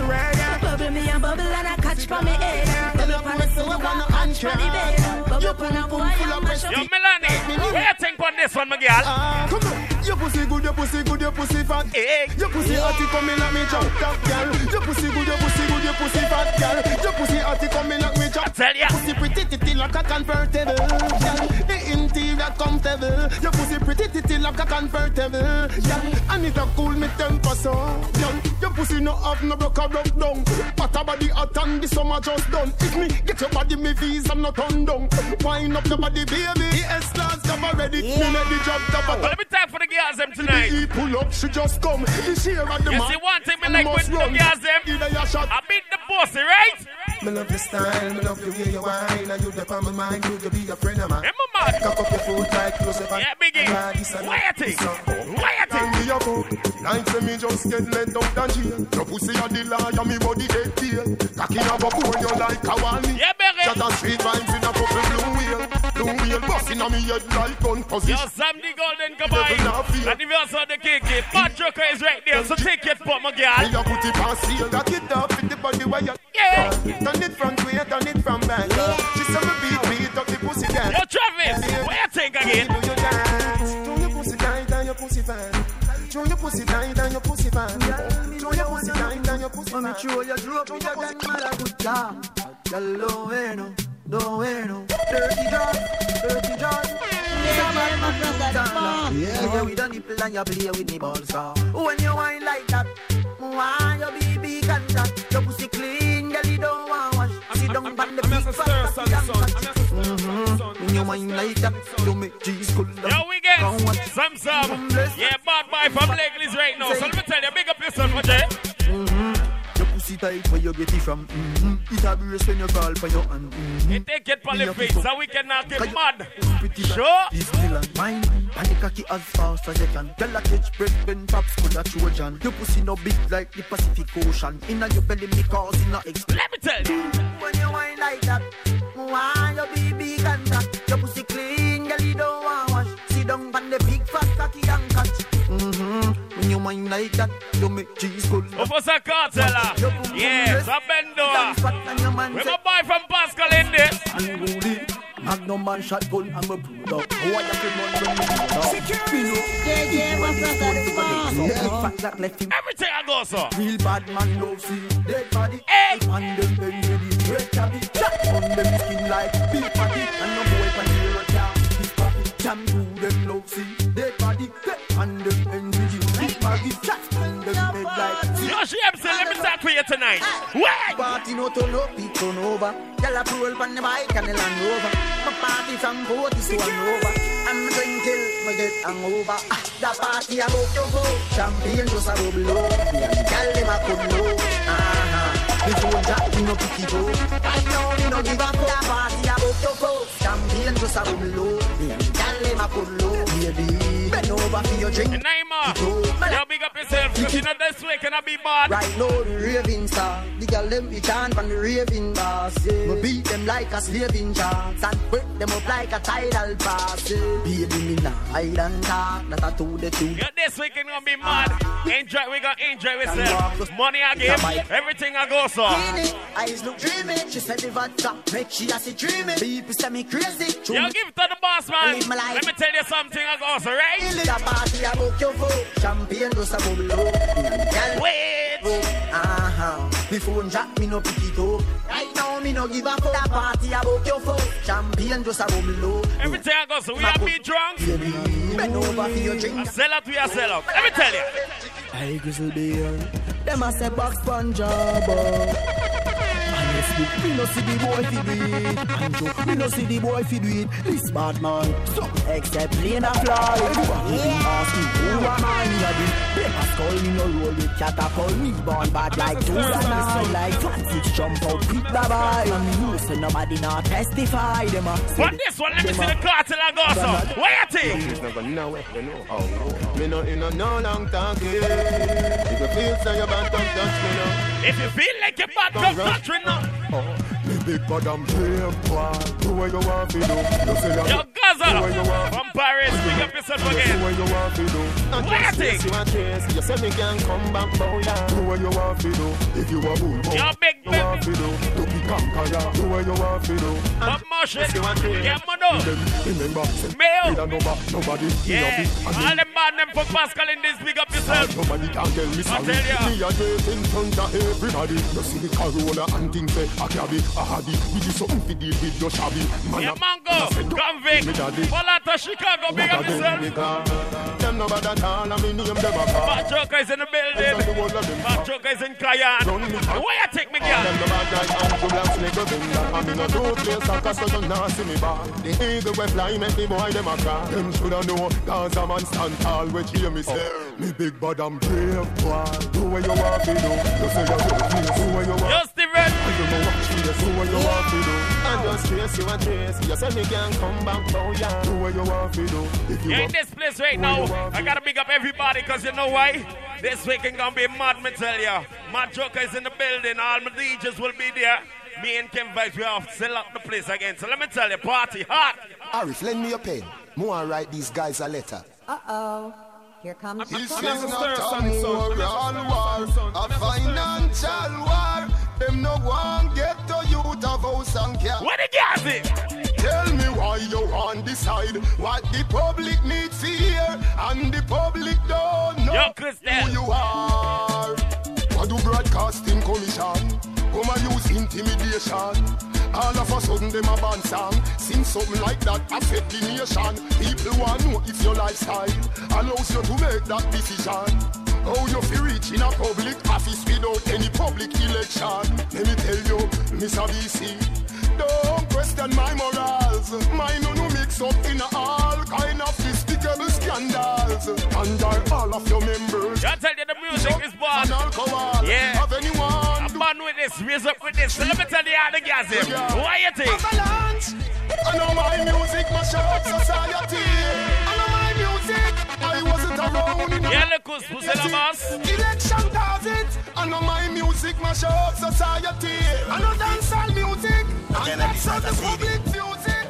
so. Bubble me a bubble and I catch from the head. Bubble on the sofa, catch from the bed. Bubble on a boy and mash up. Yo, Melanie, what you think on this one, my girl? Uh, come on. Your pussy good, your pussy good, your pussy fat. Hey. Your pussy hotty coming like me jump top girl. Your pussy good, your pussy good, your pussy fat girl. Your pussy hotty coming like me jump. Tell ya. Pussy pretty titty like a convertible girl. The interior comfortable. Your pussy pretty titty like a convertible girl. And it a cool me temper so girl. Your pussy no have no broke a broke down. But a body hot and the summer just done. If me get your body me visa I'm not turn down. Wind up your body baby. The S-class cover ready. Me let the job cover. Let me talk for the girls them tonight. He pull up, she just come. The share of the you man. see one thing me like with the girls them. I beat the bossy, right? Me love your style, me love the way you whine. And you the on my mind, you be a friend of mine. I'm a man. Cock up your foot like closer. Yeah, biggie. Why you think? Why you think? Like say me just get let out and jail. Your pussy a the liar, me body get tail. Cocky a bubble when you like a one. Yeah, baby. Shut a street vibes in a couple blue wheel. Blue wheel busting on me head like gun position. Yo, Sam the Golden Kabay. And if you also the K K, Bad Joker is right there, so take it for my girl. You put it on seal, lock it up in the body where you. Yeah. Turn it front way, turn it from back. She said me beat, beat up the pussy down. Yo, Travis, what you think again? Do your dance. Do your pussy tight and your pussy fan. Show your pussy tight and your pussy fan. Show your pussy tight and your pussy fan. Mami, show your drop in your gun, man, a good job. Girl, don't wear no, don't wear no. Dirty job, dirty job. Yeah, with a nipple and you play with the balls. When you whine like that, why your baby can that? Your pussy clean, girl, you don't want wash. Sit down on the big fat. When you whine like that, you make G's cool. Yo, we get some some. Yeah, bad boy from Lakelis right now. So let me tell you, big up yourself, okay? Your pussy tight where you get it from. Mm-hmm. It a brace when you crawl for your hand. Mm-hmm. It take it for the face so we can not get mad. Sure. This Dylan, mine, and the cocky as fast as you can. Tell a catch break when pops could a Trojan. Your pussy no big like the Pacific Ocean. Inna your belly me causing a explosion. Let me tell you. When you whine like that, why your baby can that? Your pussy clean, girl you don't want wash. Sit down on the big fat cocky and catch. Mm-hmm. When you whine like that, you make cheese cool. Officer Cartella. Yes, a bendo. We my boy from Pascal in this. Unruly. Magnum man shotgun, I'm a brutal. Why you feel one when you Yeah, yeah, what's that? Everything I go, sir. Real bad man love see dead body. Hey. And them very ready red tabby. On them skin like big patty. And no boy can hear a car. Big patty. Jam to them love see dead body. And them energy big baggy. And them head like. Yo, she M C, let me talk for you tonight. Wait. Party no turn up, it turn over. Tell a roll on the bike and the Land Rover. My party from forty to one over. I'm going till me get hangover. The party I'm out to go. Champagne just a bubble low. Tell them I could know. Uh-huh. Before Jack, you know pick it up. I know you know give up. The party I'm out to go. Champagne just a bubble low. Tell them I could know. Baby. Bend over for your drink. Neymar, you big up yourself, because you know this way can I be bad. Right now, the raving star. The girl them be chant from the raving boss. Yeah. We beat them like a slaving chance and break them up like a tidal pass. Yeah. Baby, me nah hide and talk. That I to the two. Yeah, this weekend gonna be mad. Enjoy, we gonna enjoy ourselves. Money I give, everything I go so. Eyes look dreamy. She said the vodka make she a see dreamy. People say me crazy. Yo, give it to the boss man. Let me tell you something I go so, right? The party about your vote. Champagne goes a bubble. Wait. Uh-huh. Me phone jack, me no pick it up. Right now, me no give a fuck. The party about your phone. Champagne just a bubble. Everything I go, so we are be drunk. Bend over for your drink. I sell out, we are sell out. Let me tell you. I grizzle beer. Them a say box Punjab. Me no see the boy fi do it. Anjo, me no see the boy fi do it. This bad man. So, except plane a fly. Everybody ask me who am I? Me a the paper skull. Me no roll with catapult. Me born bad like two and nine. Like fancy jump out quick the buy. And me know say nobody not testify. Them a say but this one, let me see the cartel and go so. What you think? It's not going nowhere, you know. Oh, me no in a no long talking. If you feel so you bad, come touch me now. If you feel like you're bad, come touch me now. Me big bad and brave boy. Do what you want to do. You say you Yo, Gaza from Paris. Pick up yourself again. Do what you want to do. What you think? You want to You say me can come back, boy. Do what you want to do. If you want to do. Yo, big you want to do. To be conqueror. Do what you want to do. But motion. Get money. Remember. Mail. Nobody. Yeah. All them bad them for Pascal in this. Big up yourself. Nobody can tell me sorry. I tell you. Me a great in front of everybody. You see the Corolla and things say I carry. I had it. We do something to deal with your shabby. Yeah, Mango, Convict, Volata, Chicago, big up yourself. Them no bad at all, I mean name them a car. Bad Joker is in the building. Bad Joker is in Cayenne. Where you take me, girl? Them no bad like Andrew Black's nigga thing. I'm in a two place, I cast so you not see me back. The eagle we fly, make me boy them a cry. Them shoulda know, cause a man stand tall, which hear me say. Me big bad and brave boy. Do what you want to do. You say you do this, do what you want. Just the red. I don't know what you do, what you want to do. I just chase you and chase. You say me can come back, oh yeah. Do what you want to do. If you You're in this place right now. I gotta big up everybody, cause you know why? This weekend gonna be mad, me tell ya. Mad Joker is in the building. All my D Js will be there. Me and Ken Vibes, we have to sell up the place again. So let me tell you, party hot. Arif, lend me your pen. More write these guys a letter. Uh-oh. Here comes This is not a moral war, a financial war. Them no one get to youth of house and care. What the gas it? Tell me why you want decide what the public needs to hear and the public don't know Yo, who you are. What do broadcasting commission? Come and use intimidation. All of a sudden them a band song. Sing something like that affect the nation. People want to know if your lifestyle allows you to make that decision. How you feel reach in a public office without any public election. Let me tell you, Mister B C, don't question my morals. Mine no mix up in all kind of despicable scandals. Under all of your members, I tell you the music is bad. Alcohol, yeah. Have anyone I'm born with this, raise up with this. So let me tell you how the gas is. Yeah. Why you think? Avalanche. I know my music mash up society. I know my music. I wasn't around in yeah, look who's who's in the boss. Election does it. I know my music mash up society. I know dancehall music. And that's how the public views it.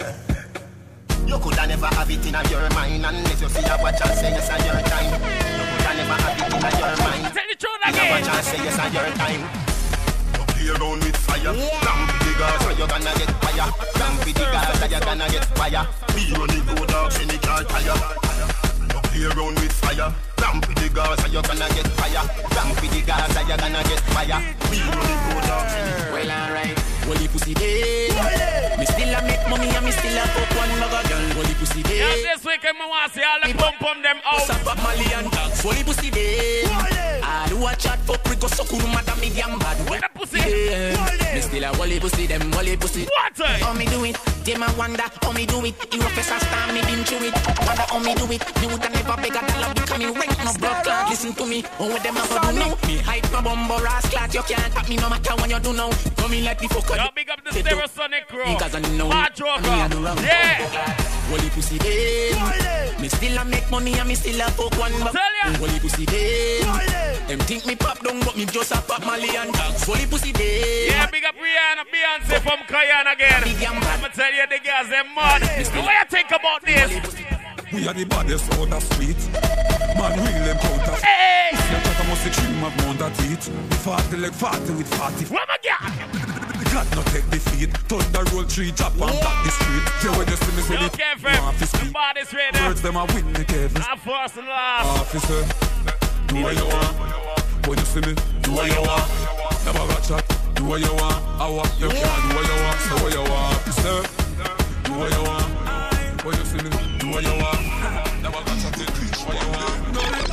You coulda never have it in your mind unless you see a watch and say yes on your time. You coulda never have it in your mind. Tell the truth again. Watch and say yes on your time. You play around with fire. Ramp with the gas, so you gonna get fire. Ramp with the gas, so you gonna get fire. Me run the road dogs in the car tire. You play around with fire. Ramp with the gas, so you gonna get fire. Ramp with the gas, so you gonna get fire. Me run the road dogs in the car tire. Well, alright. Holy pussy day. Me still a make money and me still a fuck one mother girl. Holy pussy day. Yeah, this weekend me want to see all the pump pump them out. Sap up Mali and dogs. Holy pussy day. All who a chat fuck we go so cool madam me damn bad. What the pussy? Me still a holy pussy them holy pussy. What? How me do it? Them a wonder how me do it. You a face a star me been through it. Wonder how me do it. Me woulda never beg a dollar because me rank no blood clot. Listen to me. Oh what them a do now? Me hype my bumbo ass clot. You can't tap me no matter what you do now. Come in like the fucker. Yo, big up the Stereosonic crew. Because I know Mad Joker. Yeah. Holy pussy day. Me still a make money and me still a fuck one back. Holy pussy day. Them think me pop down, but me just a pop Mali and dogs. Holy pussy day. Yeah, big up Rihanna, Beyonce from Cayenne again. I'ma tell you the girls them mad. What you think about this? We are the baddest on the street. Man, real them counter. Hey! You talk about the dream of Mount that heat. We forty like forty with forty. What my God? God not take defeat. Thunder roll tree, drop and back the street. Yeah, when you see me say Yo, it, Kevin, the body's ready. Birds them a win the Kevin. I'm first and last. Officer, do what you want. When you see me, do what you want. Never got shot, do what you want. I want you can do what you want. Say what you want. Sir, do what you want. When you see me, do what you want. Never got shot, do what you want.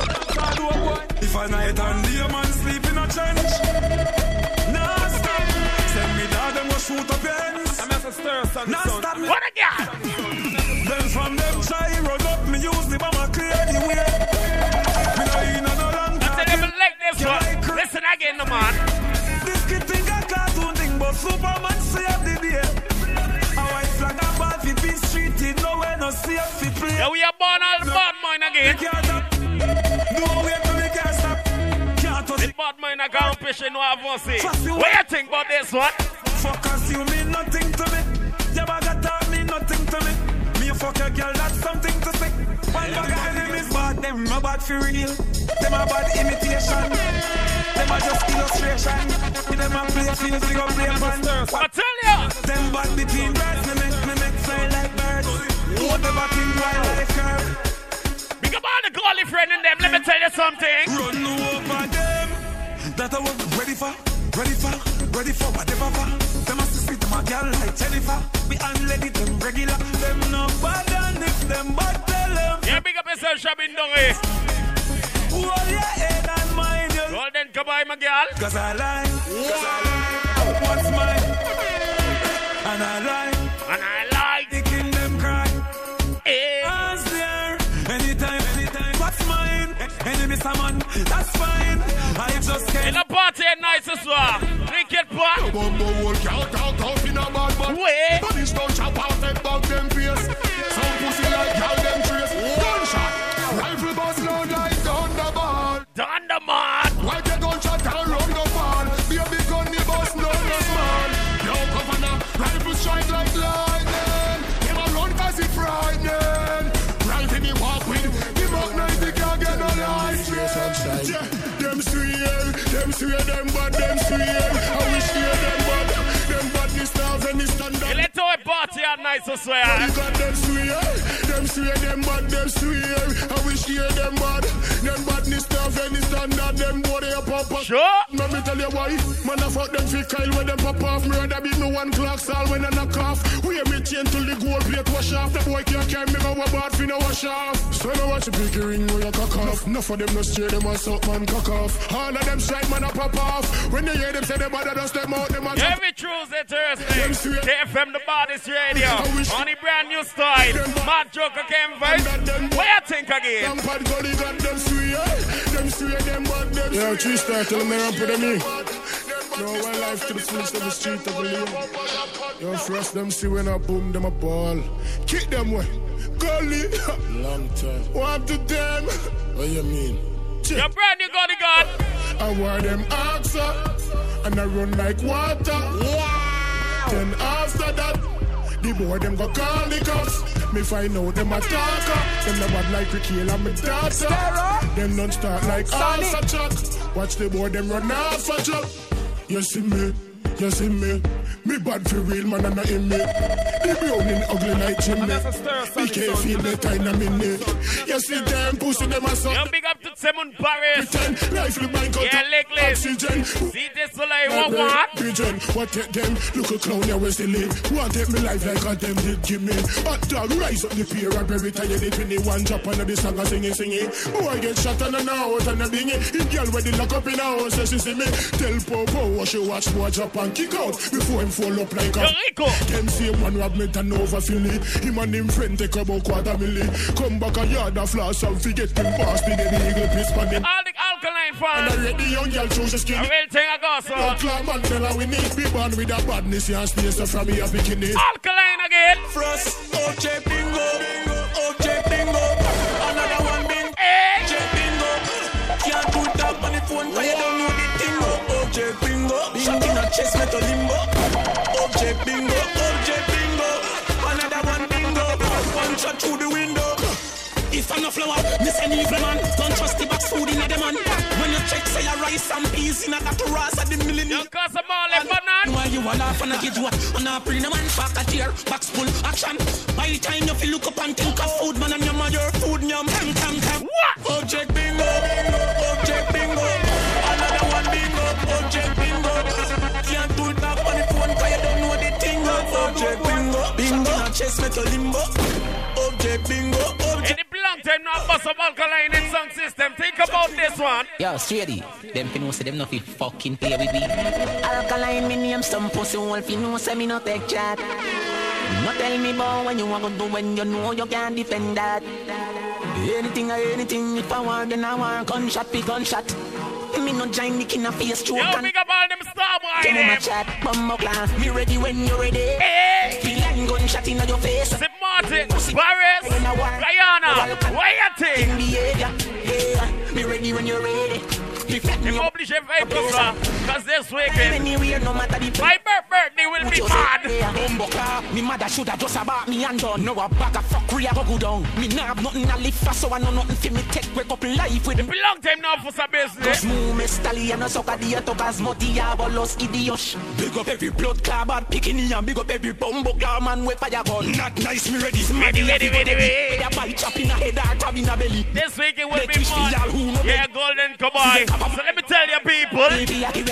If I night and day a man sleep in a trench, nah stop. Send me down, them go shoot up your ends. I'm a stir, son. Nah stop me. What a guy! Then from them try run up, me use the bomber clear the way. Me no in no long time. I tell them like this one. Listen again, no man. This kid think a cartoon thing, but Superman save the day. A white flag a ball fi be streeted, nowhere no safe fi play. Yeah, we are born all the bad mind again. No way to make us stop. The bad mind a competition no have one say. What you think about this one? Focus, you mean nothing to me. Your bag mean nothing to me. Me a fuck your girl, that's something to say. One bag of enemies bad, them no bad for real. Them a bad imitation. Them a just illustration. Them a play field, we go play band. I tell ya. Them bad between birds, me make me make fly like birds. Whatever thing wildlife curve. Big up all the girly friend in them. Let me tell you something. Run over them. That I was ready for, ready for, ready for whatever for. Them must speak to my girl like Jennifer. We unlady them regular. Them no bad and if them bad tell them. Yeah, big up yourself, Shabin Dongy. Hold your head and mind you. Golden Kabay, my girl. Cause I lie. Cause I lie. What's mine? And I lie. And I lie. Thinking them cry. Hey. As there. Anytime, anytime. What's mine? Enemy someone. That's fine. I just can't. In a party at night as well. Cricket park. Bumbo walk out, out, out in a bad man. Wait. Police don't chop out, take back them face. Some pussy like y'all them trace. Gunshot. Rifle bust loud like Thunderball. Thunderman. Why they gunshot and run the ball? Baby gun the bus, no no small. Yo, governor, rifle strike like lightning. Them a run cause it frightening. Right in the walk with, the Mach ninety can't get no license. Yeah, them swear, them swear, them bad, them swear. I wish they them bad, them badness now and this standard. You let our party at night as well. You got them swear, them swear, them bad, them swear. I wish they them bad, them badness now and this standard. Them boy they a pop up. Sure. Let me tell you why. Man I fuck them fit Kyle when them pop off. Me rather beat me one clock stall when I knock off. We me chain till the gold plate wash off. The boy can't carry me go a bad fi no wash off. So now watch the big ring when you cock off. Enough of them no stray them and suck man cock off. All of them strike man a pop off. When they hear them say them bad, just them out them a every Tuesday, Thursday, K F M the Baddest Radio. On the brand new style. Mad Joker came by. What you think again? Them bad gully got them swear. Them swear them bad them swear. Yo, three star, tell them they ramp with them in. No one life to the fullest of the street of the league. Yo, first them see when I boom them a ball. Kick them way. Gully. Long time. What to them? What you mean? Your brand new Gully God. I wear them axe up. And I run like water. Yeah. Then after that, the boy them go call the cops. Me find out them a talker. Them the bad like Ricky and me daughter. Them don't start like Alpha Chuck. Watch the boy them run off a truck. You see me, you see me. Me bad for real man and not in me. The browning ugly like chimney. Me can't feel the kind of minute. You see them pussy them a suck. Yo, big up to Simon Paris. Pretend life look bank out yeah, oxygen. See this like what what? Pigeon, what take them? Look a clown here, where's the lid? Want take me life like a them did give me. Hot dog, rise up the pier and bury tired it when the one drop under the song and singing, singing. Boy get shot and an out and a bingy. If girl where they lock up in a house, says she see me. Tell Popo what she watch, boy drop and kick out before him fall up like a Rico. Them same one rob me and over Philly. Him and him friend take about quarter million. Come back a yard of floss and forget him past the eagle piss pan him. All the alkaline fans. And I read the young girl choose a skin. I will take a go so. Young club man tell her we need be born with a badness. You stay so from me a bikini. Alkaline again. Frost, O J Bingo, O J Bingo. And I rice and no flour. Miss an evil man, don't trust the box food in a man. When you check say your rice and peas in a that ras at the millennium. You cause some more like banana. Why you all off and I get you on a bring a man back a tear, box full action. By the time you feel look up and think of food, man, and your mother food, yum, tam, tam, tam. What? Object bingo, object bingo. Another one bingo, object bingo. Can't do it back on the phone, cause you don't know the thing. Object bingo, bingo. Chest metal limbo. Object bingo, object. Any long time now, bust of alkaline in sound system. Think about this one. Yo, straighty. Them fi know say them no fi fucking play with me. Alkaline me name some pussy wolf fi know say me no take chat. No tell me about when you want to do when you know you can't defend that. Anything or anything, if I want then I want gunshot be gunshot. Me no join Nick in a face stroke. Yo, big up all them star boy them. them. My chat, bumbo class, me ready when you ready. Hey. Feel like gunshot in your face. Sip Martin, Paris, Guyana, why you think? Yeah, me ready when you're ready. If oblige vehicles are, cause this weekend my birthday will be mad. Me mother shoulda just about me and done. No a bag of fuckery I go go down. Me nah have nothing to live for, so I know nothing for me take wake up life with. It be long time now for some business. Cause move me stallion and suck a diatogas moti abolos idios. Big up every blood club and picking and big up every bumbo club man with fire gun. Not nice me ready. Ready, ready, ready, ready. A bite chop in a head or tab in a belly. This week it will be mad. Yeah, Golden Cowboy. So let me tell you people.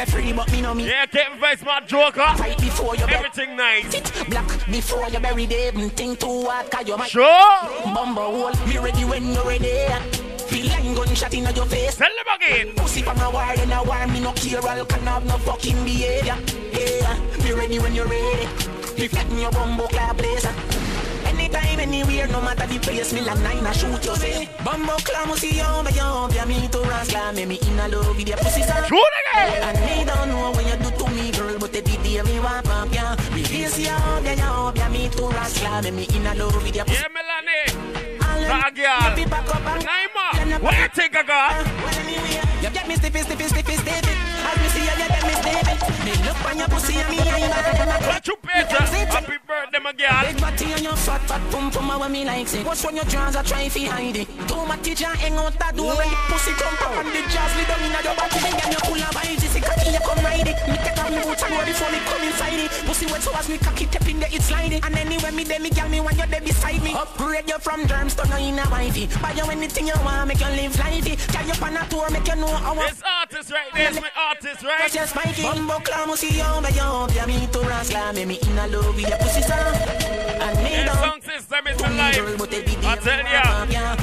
Yeah, Kevin Vice, my Joker. Right before you everything nice. Sit black before you bury them. Think too hard, cause you might. Sure. Bumble hole, me ready when you're ready. Feel like gunshot in your face. Tell them again. Pussy from a war and a war, me no care. All can have no fucking behavior. Yeah, be ready when you're ready. Be flatten your bumbo club blazer. Anytime, anywhere, no matter the place, me like nine, I shoot you, say. Bumbo clam, see you, but you, be me to rascal, me me in a love with your pussy, son. Shoot again! And me don't know when you do to me, girl, but every day me want pump, yeah. Me face you, be you, be me to rascal, me me in a love with your pussy. Yeah, Melanie. That girl. Naima, what you think I got? You get me stiffy, stiffy, stiffy, stiffy. As me see you, you get me stiffy. Me look on your pussy and me I'm mad. What you better? Happy birthday, my girl. Big body on your fat, fat pum pum, how me like it. What's when your jaws are trying to hide it? Too much teacher hang out that door when the pussy come up and the jaws lay down in your body. Then get your pull up by this, cocky you come ride it. Me take off me boots and go before me come inside it. Pussy wet so as me cocky tap in there, it's sliding. And anywhere me there, me girl me when you're there beside me. Upgrade you from germs to no in a wifey. Buy you anything you want, make you live lively. Carry you on a tour, make you know how. This artist right there is my artist, right? Just spike it. Bumbo clam, see you, but you, be me to rascal, me me in a love with your pussy, son. And me this song system is my life. I tell ya.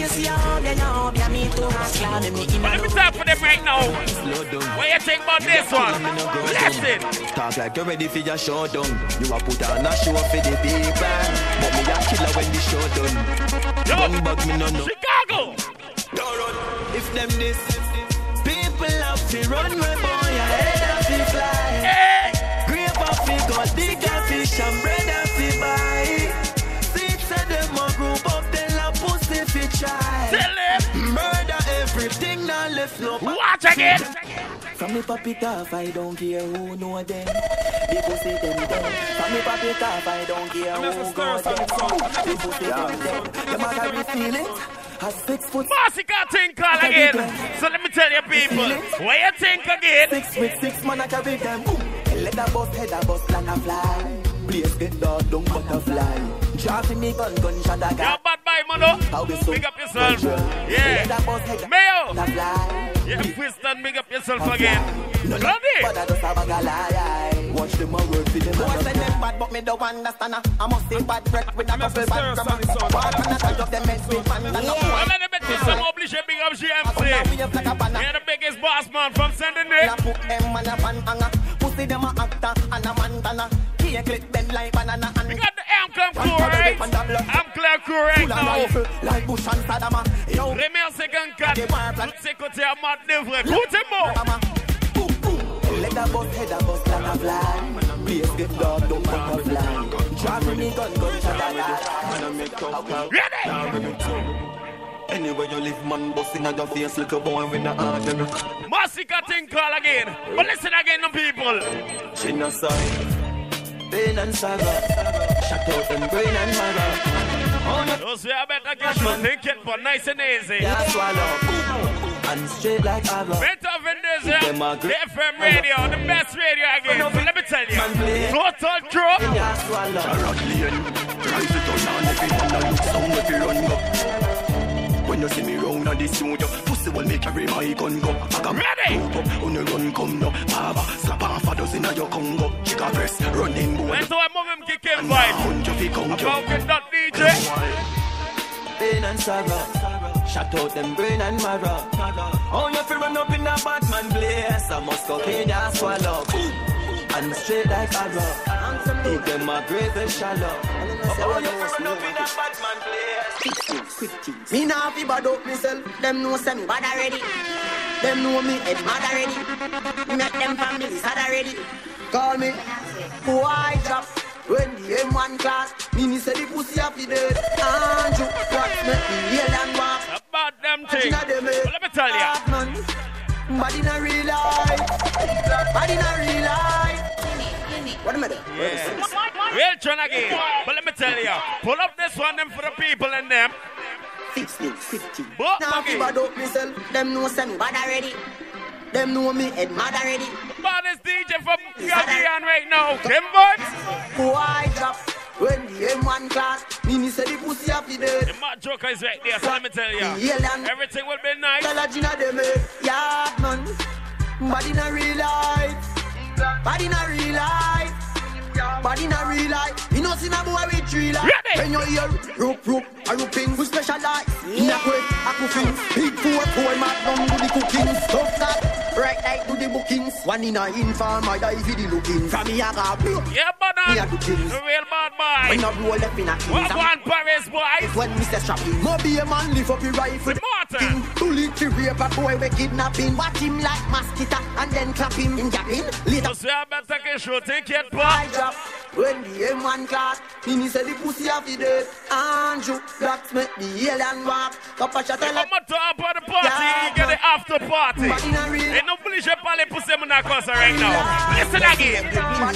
Let me talk for them right now. What you think about this one? Listen. Talk like you're ready for your showdown. You a put on a show for the people, but me a killer when the show done. Yo, bug me no no. Chicago. Don't run. If them this people have to run, my boy, ahead of the fly. Hey. Grape of the god, bigger fish and bread of the buy. Six of them a group up, tell a pussy fi try. Tell them. Murder everything, now left no. Watch again. From me pop it off, I don't care who know them. The pussy them them. From me pop it off, I don't care who go them. The pussy them them. The matter we feel it. Has six foot. Massacre think call again. So let me tell you people, what you think again? Six with six man I carry them. Let the boss head a bust like a fly. Please get dog, don't butterfly. Driving me gun, gun shot a guy. You're bad boy, mano. Big up yourself. Yeah. Mayo. Yeah, Twiston, big up yourself again. Bloody. Watch them a work for them. I say them bad, but me don't understand. I must say bad breath with a couple bad grammar. What can I tell you them men speak man? Well, let me tell you some oblige big up G M C. You're the biggest boss man from Sunday night. Pussy them a actor and a mantana. He a clip them like banana and we got the M Clam crew, right? I'm Clam crew right now. Like Bush and Saddam. Remercie Gankat. Tout ce côté à mat de vrai. Écoutez-moi. Let the boss head a bust like a fly. Please get dog, don't butterfly. Driving me gun, gun shot a guy. Ready? Anywhere you live, man, busting at your face like a boy with a heart. Massacre thing call again. But listen again, the people. Genocide, pain and saga. Shut out them brain and maga. Those we are better get you think it, but nice and easy. Yeah, swallow. And straight like arrow. Better than this, the F M radio, the best radio again. So let me tell you, total drop. Yeah, swallow. Rise it on and everyone that looks down if you run up. When you see me round on this studio, pussy will make carry my gun go. Ready? On the run come no. Baba, slap off a dozen of your Congo. Chica press, running boy. When do I move him kick him vibe? About it, not D J. Pain and sorrow. Shut out them brain and marrow. Oh, you feel run up in a Batman blaze. I must go in and swallow. And straight like arrow. Take them a grave and shallow. Oh, you feel run up in a Batman blaze. Me nah fi bad up myself. Them know say me bad already. Them know me head mad already. Me make them families sad already. Call me white drop. When the M one class, me say the pussy have the dead. Andrew, what make me yell and walk? About them things. Well, let me tell you. But in a real life, but in a real life. What am I doing? Yeah. Real trying again. But let me tell you, pull up this one them for the people and them. fifteen, fifteen. But now if I don't myself, them know say me bad already. Them know me head mad already. The baddest D J from Gaggian right now. Them boys. Why drop when the M one class? Me say the pussy have the dead. The mad joker is right there, so let me tell you. Everything will be nice. Tell a Gina them yard man. But in a real life. But in a real life. But in a real life. You know see na boy with three life. When you hear rope rope a rooping we specialize. In a way a cooking. Big four four mad down do the cooking. Stuff that. Right like do the bookings. One in a inform I die for the looking. From me a got yeah, but uh, the real bad boy. When I roll up in a what one Paris boy? When Mister Strapping. Moby a man lift up your rifle. The mortar. Bullet to rape a boy we kidnapping. Watch him like mosquito and then clap him in gapping. Later. So I better get shooting kid boy. I drop when the M one class. Me say the pussy have the dead. Andrew blacks make the alien walk. Papa shot a lot. Come on top of the party. Yeah, you get the after party. Ain't no bullish up all the pussy in that course right now. Listen again.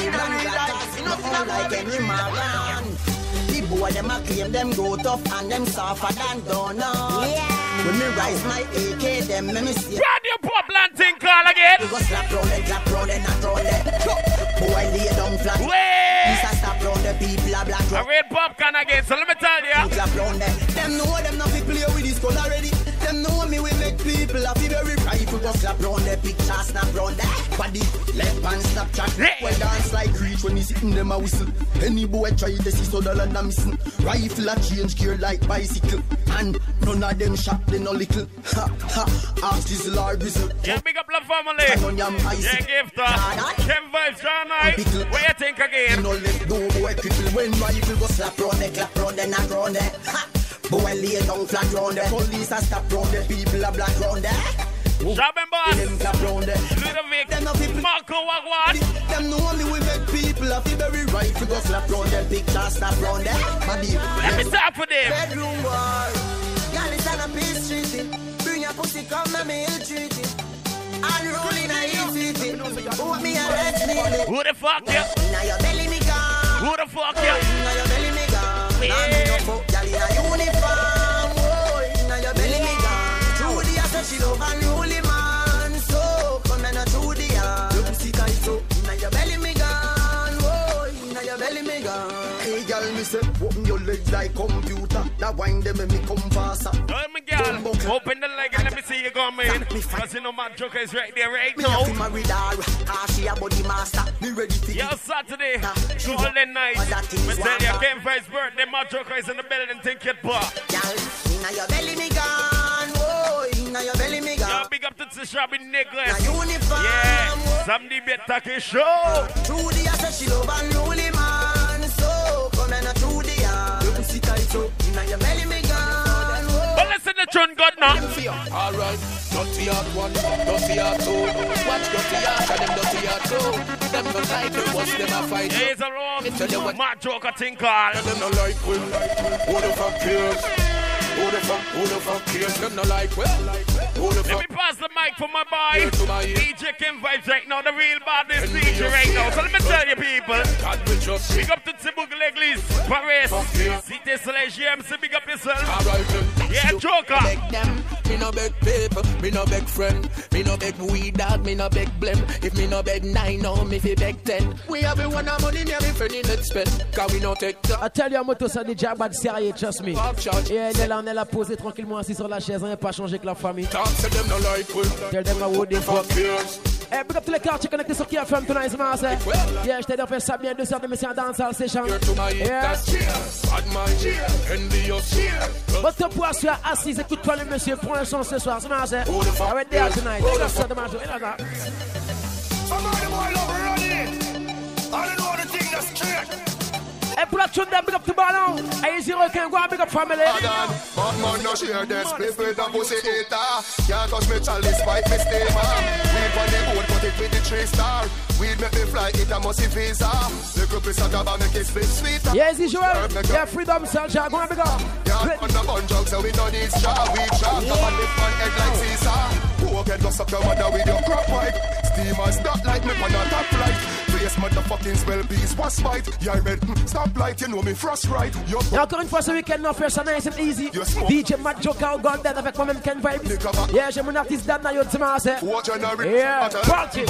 The boy them a claim them go tough and them softer than donuts. Yeah. When me rise my A K, them me me see. Radio Pop Planting call again. We go slap round and clap round and not round it. Boy lay down flat. Wait. Stop round the people a black. I read popcorn again, so let me tell you. Clap round them. Them know them not fi play with this gun already. Them know me we make people a fi very rifle. Go slap round the picture, snap round that body. Left hand Snapchat. Well dance like reach when he sitting them a whistle. Any boy try this is so dull and I'm missing. Rifle a change gear like bicycle. And none of them shot they no little. Ha ha. Ask this Lord Bizzle. Yeah, big up the family. Yeah, give that. Ken Vibes, John I. What you think again? No let no boy cripple when rifle go slap round the clap round the not round the. Ha. Boy lay down flat round the. Police a stop round the. People a black round the. Jobbing boss. Them clap round the. Ludovic. Marco Wagwan. Them know me we make people a fi very rifle go slap round the. Picture snap round the. Let me start for them. Bedroom war. Y'all is on a peace treaty. Bring your pussy come and me ill treat it. Unruly na easy. Who me a let's me. Who the fuck you? Now your belly me gone. Who the fuck you? Now your belly me gone. Now me no fuck y'all in a uniform. Oh, now your belly me gone. Trudy I said she love unruly man. So come and through the yard. Your pussy tight so. Now your belly me gone. Oh, now your belly me gone. Hey girl me say open your legs like computer. That wine them make me come faster. Oh my girl, open the leg and let me see you go man. Cause you know my joker is right there right now. Me married her, cause she a body master. Me ready to yeah, Saturday, golden night. Me tell you, Ken Vibes birthday, my joker is in the building, think it bar. Girl, inna your belly me gone, oh, inna your belly me gone. Yeah, big up to the shop in Nicholas. Na uniform, yeah, somebody better take show. Trudy I said she love unruly man, so come and through the yard. Your pussy tight so, inna your belly me gone. But listen to John God now. Alright, dirty hard one, dirty hard two. Watch dirty hard and them dirty hard two. Them no like them, what's them a fight? He's a wrong, my joker thing called. Them no like we, who the fuck cares? Who the fuck, who the fuck cares? Them no like well. Who the fuck? Let me pass the mic for my boy D J Kim Vibes right now, the real baddest D J right now. So let me tell you people, big up to Tibouk L'Eglise, Paris, Cité Soleil, G M C, big up yourself. Yeah, Joker. Me no beg paper, me no beg friend, me no beg weed dog, me no beg blem. If me no beg nine, no me fi beg ten. We have one of money, me have a friend in that spend. Cause we no take that. I tell you, moto ça déjà bad sérieux, trust me. Et elle est là, on est là posée tranquillement assis sur la chaise, on n'est pas changé que la famille. Tell them how they fuck. Eh, big up tous les quartiers connectés sur K F M tonight, man. Yeah, je t'ai dit, on fait ça bien, deux heures de mission dans la session. Yeah. Votre poisson assise, écoute-toi le monsieur, prends un chance ce soir, c'est man. I went there tonight. That's the man. Somebody boy love running. I don't know the thing that's straight. Hey, pull up to them, big up to Ballon. Hey, easy reckon, go and big up family. But man, no share this split with a pussy eater. Can't touch me, Charlie, spite me, stay man. Weed on the boat, put it with the three star. Weed make me fly, it a musty visa. The group is a gaba, make it split sweeter. Yeah, easy Joel. Yeah, freedom, Selja, go and big up. Yeah, on the bun drugs, so we don't need straw. We trap, up on lift man, head like Caesar. Who can go suck your mother with your crop pipe? Steamers, not like me, on a top flight. Face motherfucking spell bees, was fight. Yeah, I read, stop light, you know me frost right. Et encore une fois ce week-end, non, first and nice and easy. D J Matt Joker, God Dead avec moi-même Ken Vibes. Yeah, j'ai mon artiste Dan na yo dimanche. Yeah, party.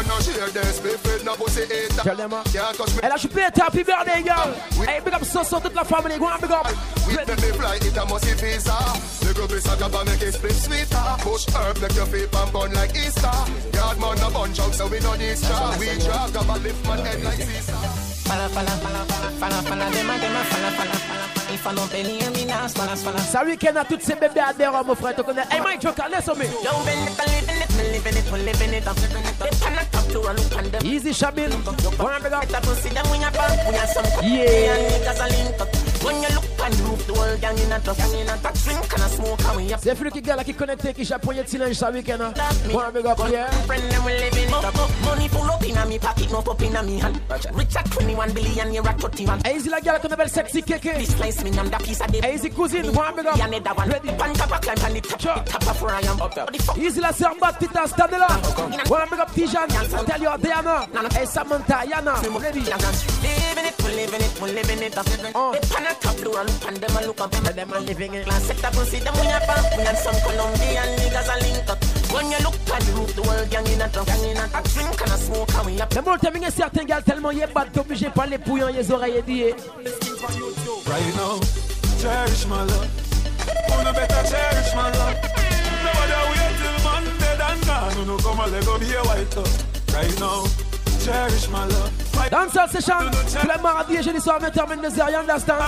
Tell them, elle a chopé un happy birthday, girl. Hey, big up Soso, toute la famille, go and big up. We make me fly, it a musty visa. The group is a gaba, make it split sweeter. Push herb, make your feet and burn like Easter. Yard man a bun junk, so we don't need straw. We drag gaba, lift man head like Caesar. Fala, fala, fala, fala, fala, fala, dema, dema, fala, fala, fala. Il faut non payer, minas, fala, fala. Ça week-end à toutes ces bébés à des mon frère, tu connais. Hey, Mike Joker, laisse-moi. Don't bend it, living it, living it, living it, living it. They cannot talk to a look on them. Easy, Shabil. Go and big up. Better pussy them when you're back, when you're some yeah. And niggas are linked up. When you look on the roof, the whole gang in a duff, gang in a duff, drink and a smoke, and we up. C'est celui qui gars qui connecté, qui japonais de silence ça week-end. Go and big up, yeah. Friend them we living it up. Money full up in a me pocket, no pop in a me hand. Rich at twenty-one billion, you're at thirty-one. Easy la gars qu'on appelle sexy keke. This slice me on the piece of the easy cousine, go and big up. Ready. Pan tapa climb on the top, top of where I am. Easy la sœur bat tita stand là. Go and big up Tijan. Tell you Diana. Hey Samantha, Yana. Ready. Living it, we living it, we living it up. They pan a top blue and pan them a look up. Them a living it. Class set up and see them when you're back. We have some Colombian niggas a link up. When you look at the roof, the whole gang in a truck, gang in a truck, drink and a smoke and we up. Mais bon, terminer certains gars tellement yé bad, t'es obligé par les pouillons, les oreilles édiées. Right now, cherish my love. Wanna better cherish my love. Nobody wait till Monday and gone. No come and let go be a white love. Right now, cherish my love. Dans cette session, tous les mardis et jeudi soir, vingt heures vingt-deux heures, you understand?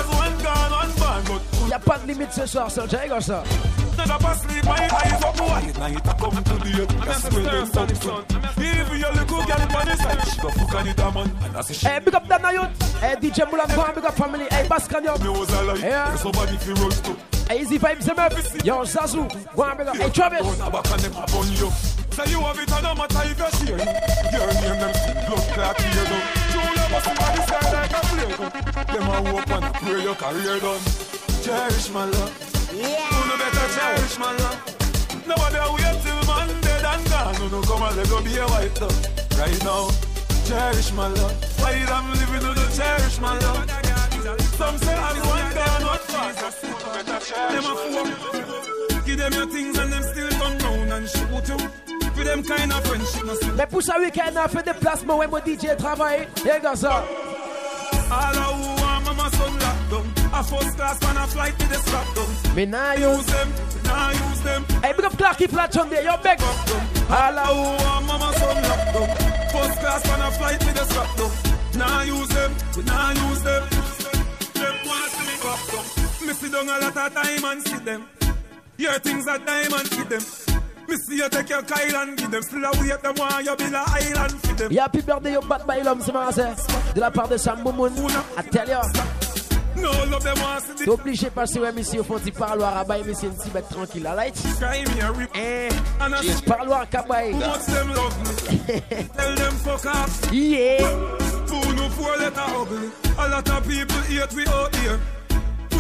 Y'a pas de limite ce soir, ça, j'ai comme ça. Never pass sleep, my eyes up wide. Now it a come to the end. That's where them stop from. If you look good, girl, on the side, she go fuck on it, man. And that's a shit. Hey, big up Dana Youth. Hey, D J Mulan, go and big up family. Hey, Baskan, yo. Me was alive. Yeah. Somebody fi roll to. Hey, Easy Vibes, them up. Yo, Zazu, go and big up. Hey, Travis. Back on them upon you. Say you have it, and no matter if you share. Your name, them still blood clot here, though. True love must be this guy like a play. Them a hope and pray your career done. Cherish my love. Yeah. You no better cherish my love. Nobody wait till Monday and gone. No, no, come and let go be a white love. Right now, cherish my love. While I'm living, no, no, cherish my love. Some say I'm one gone, one fast. Them a fool. Give them your things and them still come down and shoot you. For them kind of friendship, no see. Mais pour ça week-end, on fait des placements où mon D J travaille. Et gars ça. All who want mama son locked down. A first class man a flight with the strap down. Me nah use them, nah use them. Hey, big up Clarky Flat on there, yo beg. All who want mama son locked down. First class man a flight with the strap down. Nah use them, nah use them. Them wanna see me back down. Me sit down a lot of time and see them. Your things are diamond with them. Me see you take your Kyle and give them. Still a wait them while you build a island for them. Yeah, happy birthday yo bat by l'homme, c'est marrant. De la part de Sam Boumoun. I tell you. No love them want to see. T'es obligé de passer ouais, monsieur, au fond du parloir à bail, monsieur, une petite bête tranquille, la light. Eh, parloir cabaye. Watch them love me. Tell them fuck off. Yeah. Fool no four letter ugly. A lot of people hate we out here. Push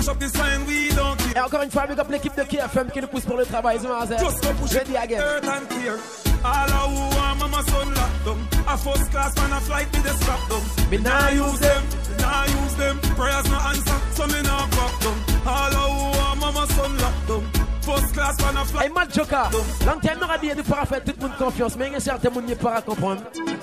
push up the sign, we don't care. Et encore une fois, big up l'équipe de K F M qui nous pousse pour le travail. Just go push it, earth and clear. All of who want mama son lock them. A first class man a flight with the strap them. Me nah use them, me nah use them. Prayers no answer, so me nah fuck them. All of who want mama son lock them. First class man a flight. Hey, Mad Joker, long time n'aura dit de faire faire tout le monde confiance, mais il y a certains monde qui ne peut pas comprendre.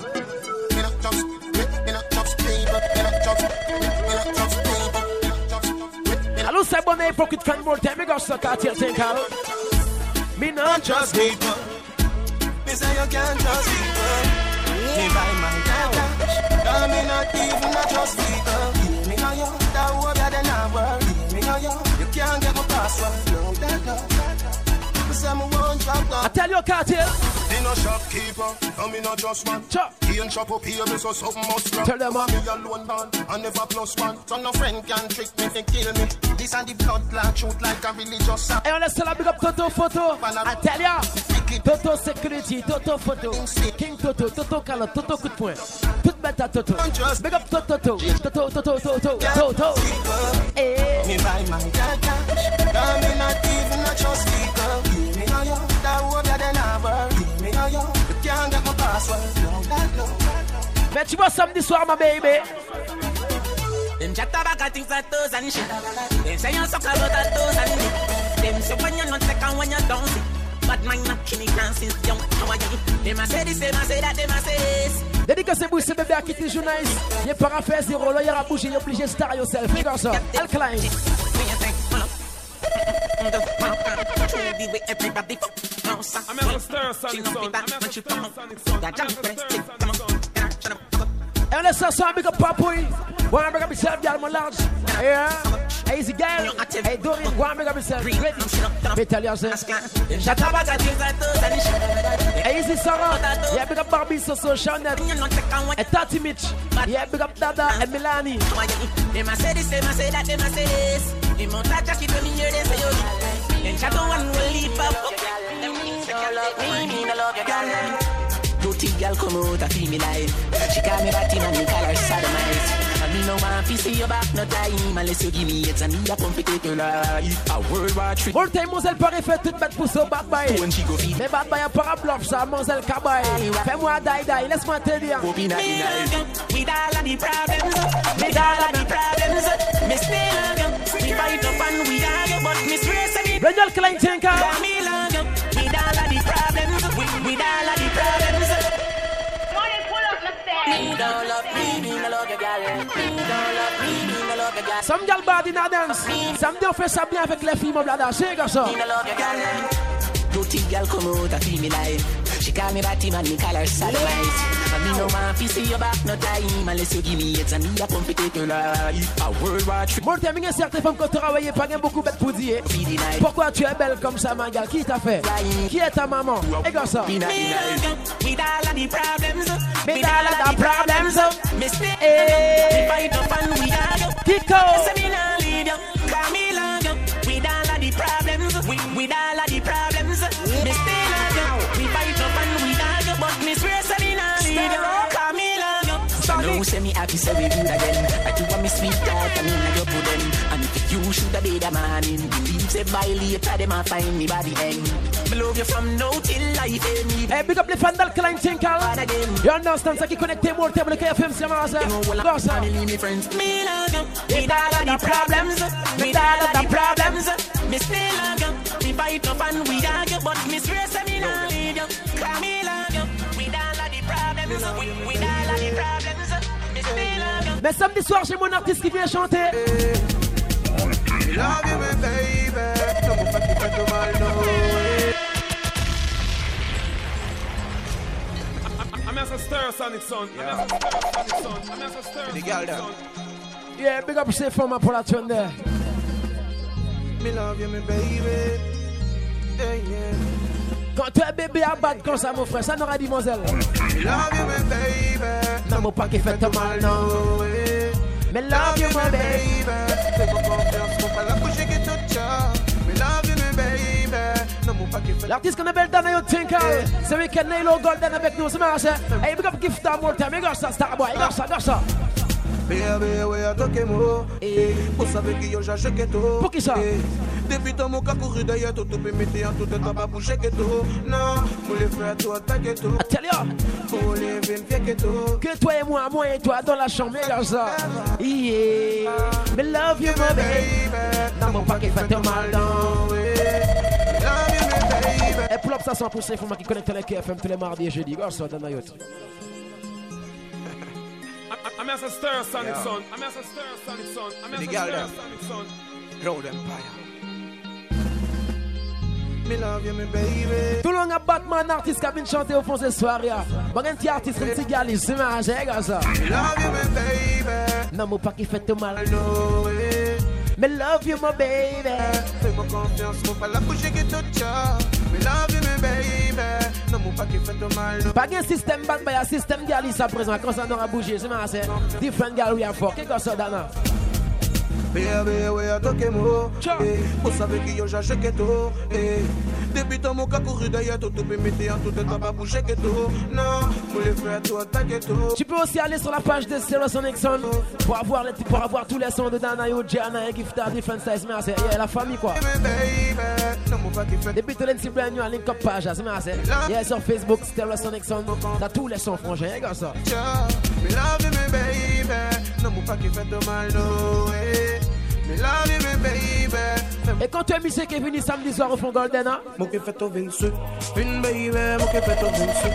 Hello, say bon hypocrite fan more time. Me go suck out here, think how. Me not trust people. Me say you can't trust people. Me buy my cash. Cause me not even not trust people. Me know you, that hope that they not work. Me know you, you can't get my password. No, that no. Me say me won't drop down. I tell you, Cartel. Me no shopkeeper, and me no just one. Chop. He ain't shop up here, me so something must wrong. Tell them, man. Me alone man, and never plus one. So no friend can trick me to kill me. This and the blood clot shoot like a religious song. Et on laisse la big up Toto Photo. I tell ya. Toto Security, Toto Photo. King Toto, Toto Calotte, Toto coup de poing. Tout bête à Toto. Big up Toto, Toto, Toto, Toto, Toto, Toto. Eh. Me buy my cash. Cause me not even not trust people. Me know you, that hope that they not work. Me know you, you can't get my password. No, that no. Mais tu vois samedi soir, ma baby. Them chat about a things like those and shit. Them say you suck about a those and shit. Them say when you're not second, when you don't see. But mine not killing since young. How are you? Them a say this, them a say that, them a say this. Dédicacé pour ce bébé à quitter le journaliste. Il est pas à faire zéro, là il y a bouger, il est obligé de star yourself. Regarde ça, Alkaline. I'm gonna stir Sonic Son. I'm gonna stir Sonic Son. Et on laisse ça sur un big up papouille. One big up yourself, y'all mon large. Yeah. Easy girl. Hey Dorian, one big up yourself. Ready. Betal say. Easy Sarah. Yeah, big up Barbie, so so Chanel. And Tati Mitch. Yeah, big up Dada and Milani. Them a say this, them a say that, them a say this. Them on touch us, keep me here, they say yo. Them shadow one will leap up. Them means they love me, me no love your girl. Dirty girl come out and feel me life. She call me batty man, me call her sodomite. And me no want to see you back no time unless you give me it and me a pump it to life. A World War three. All time Moselle Paris fait toute bête pour ce bad boy. Mais bad boy a pas à bluff ça, Moselle Cabaye. Fais-moi die die, laisse-moi te dire. With all of the problems, with all of the problems, me still love you. We fight up and we argue, but me swear to me. Daniel Klein Tinker. Me love you. With all of the problems, with all of the problems. Me don't love me, me no love your girl. Me don't love me, me no love your girl. Some girl bad in a dance. Some don't fait ça bien avec les filles, mon blada. C'est comme ça. Me no love your girl. Dirty girl come out and feel me life. She call me batty man, me call her sodomite. And me no want to see you back no time unless you give me it and me a pump it to life. A World War three. Bon, terminé certaines femmes quand tu travailles, pas beaucoup bête pour dire. Pourquoi tu es belle comme ça, ma gueule? Qui t'a fait? Qui est ta maman? Et comme ça. With all of the problems, with all of the problems, me stay. We fight up and we argue. Kiko. Say me nah leave you, cause me love you. With all of the problems, with all of the problems, me stay love you. We fight up and we argue, but me swear say me nah leave you, cause me love you. No say me happy, say we good again. I do want me sweet talk, I mean I go put them. And if you should have been a man in believe say by later them a find me by the end. Me love you from now till life end. Hey, big up les fans d'Alkaline Tinker. You understand ça qui connecte moi au thème de K F M, c'est moi ça. Go ça. Me love you with all of the problems, with all of the problems. Me still love you. We fight up and we argue, but me swear say me nah leave you. Cause me love you with all of the problems, with all of the problems. Me still love you. Mais samedi soir, j'ai mon artiste qui vient chanter. Love you, my baby. No more fucking fuck to my no way. I'm gonna stir Sonic Son. I'm gonna stir Sonic Son. I'm gonna stir Sonic Son. Yeah, big up ces femmes pour la tune there. Me love you, my baby. Yeah, yeah. Quand tu es bébé à battre comme ça, mon frère, ça n'aura dit Moselle. Me love you, my baby. Non, mon pas qui fait mal, non. Me love you, my baby. Fais pas confiance, faut pas la coucher qui te tient. Me love you, my baby. Non, mon pas qui fait. L'artiste qu'on appelle Dana Tinker, ce week-end, Nailo Golden avec nous, c'est marrant. Hey, big up gift à mon time, regarde ça, Starboy, regarde ça, regarde ça. Baby, ouais, à toi que moi. Vous savez que yo j'ai que tout. Pour qui ça? Depuis ton mon cas couru d'ailleurs, tout tout peut mettre en tout temps pas bouger que tout. Non, pour les faire tout attaquer tout. Atelier. Pour les vérifier que tout. Que toi et moi, moi et toi dans la chambre, regarde ça. Yeah. Me love you, my baby. Dans mon paquet, fait ton mal dans. Et pull up ça cent pour cent, il faut moi qui connecte avec K F M tous les mardis et jeudis. Regarde ça dans la yacht. I'm as a stir sonic son. I'm as a stir sonic son. I'm as a stir sonic son. Road Empire. Me love you, me baby. Tout le monde a Batman artiste qui a bien chanté au fond ce soir. Bon, un petit artiste, un petit galis, c'est ma regarde ça. Me love you, me baby. Non, mon pas qui fait tout mal. Me love you, my baby. Fais-moi confiance, mon pas la bouche qui te tient. Me love you, me baby. Non, mon pas qui fait tout mal. Pas de système bad, mais il y a système galis à présent. Quand ça n'aura bougé, c'est ma c'est different gal we are for. Qu'est-ce que ça, Dana? Baby, ouais, à toi que moi. Vous savez que yo j'ai que tout. Depuis ton mon cas couru d'ailleurs, tout peut mettre en tout temps pas bouger que tout. Non, pour les faire tout attaquer tout. Tu peux aussi aller sur la page de Stereo Sonic Sound pour avoir, les, pour avoir tous les sons de Dana Yo, Jana et Gifta, Different Size. Mais c'est la famille quoi. Depuis tout le petit brand new à link up page, c'est ma c'est. Yeah, sur Facebook, Stereo Sonic Sound. T'as tous les sons frangins, regarde ça. Me love you, me baby. Non, mon pas qui fait de mal, no way. Me love you, me baby. Et quand tu es monsieur qui est venu samedi soir au fond Golden, hein? Mon qui fait au vingt-cinq. Une baby, mon qui fait au vingt-cinq.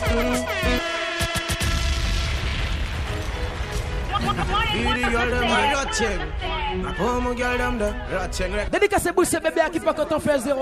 Dédicacé bouche bébé qui pas quand on fait zéro.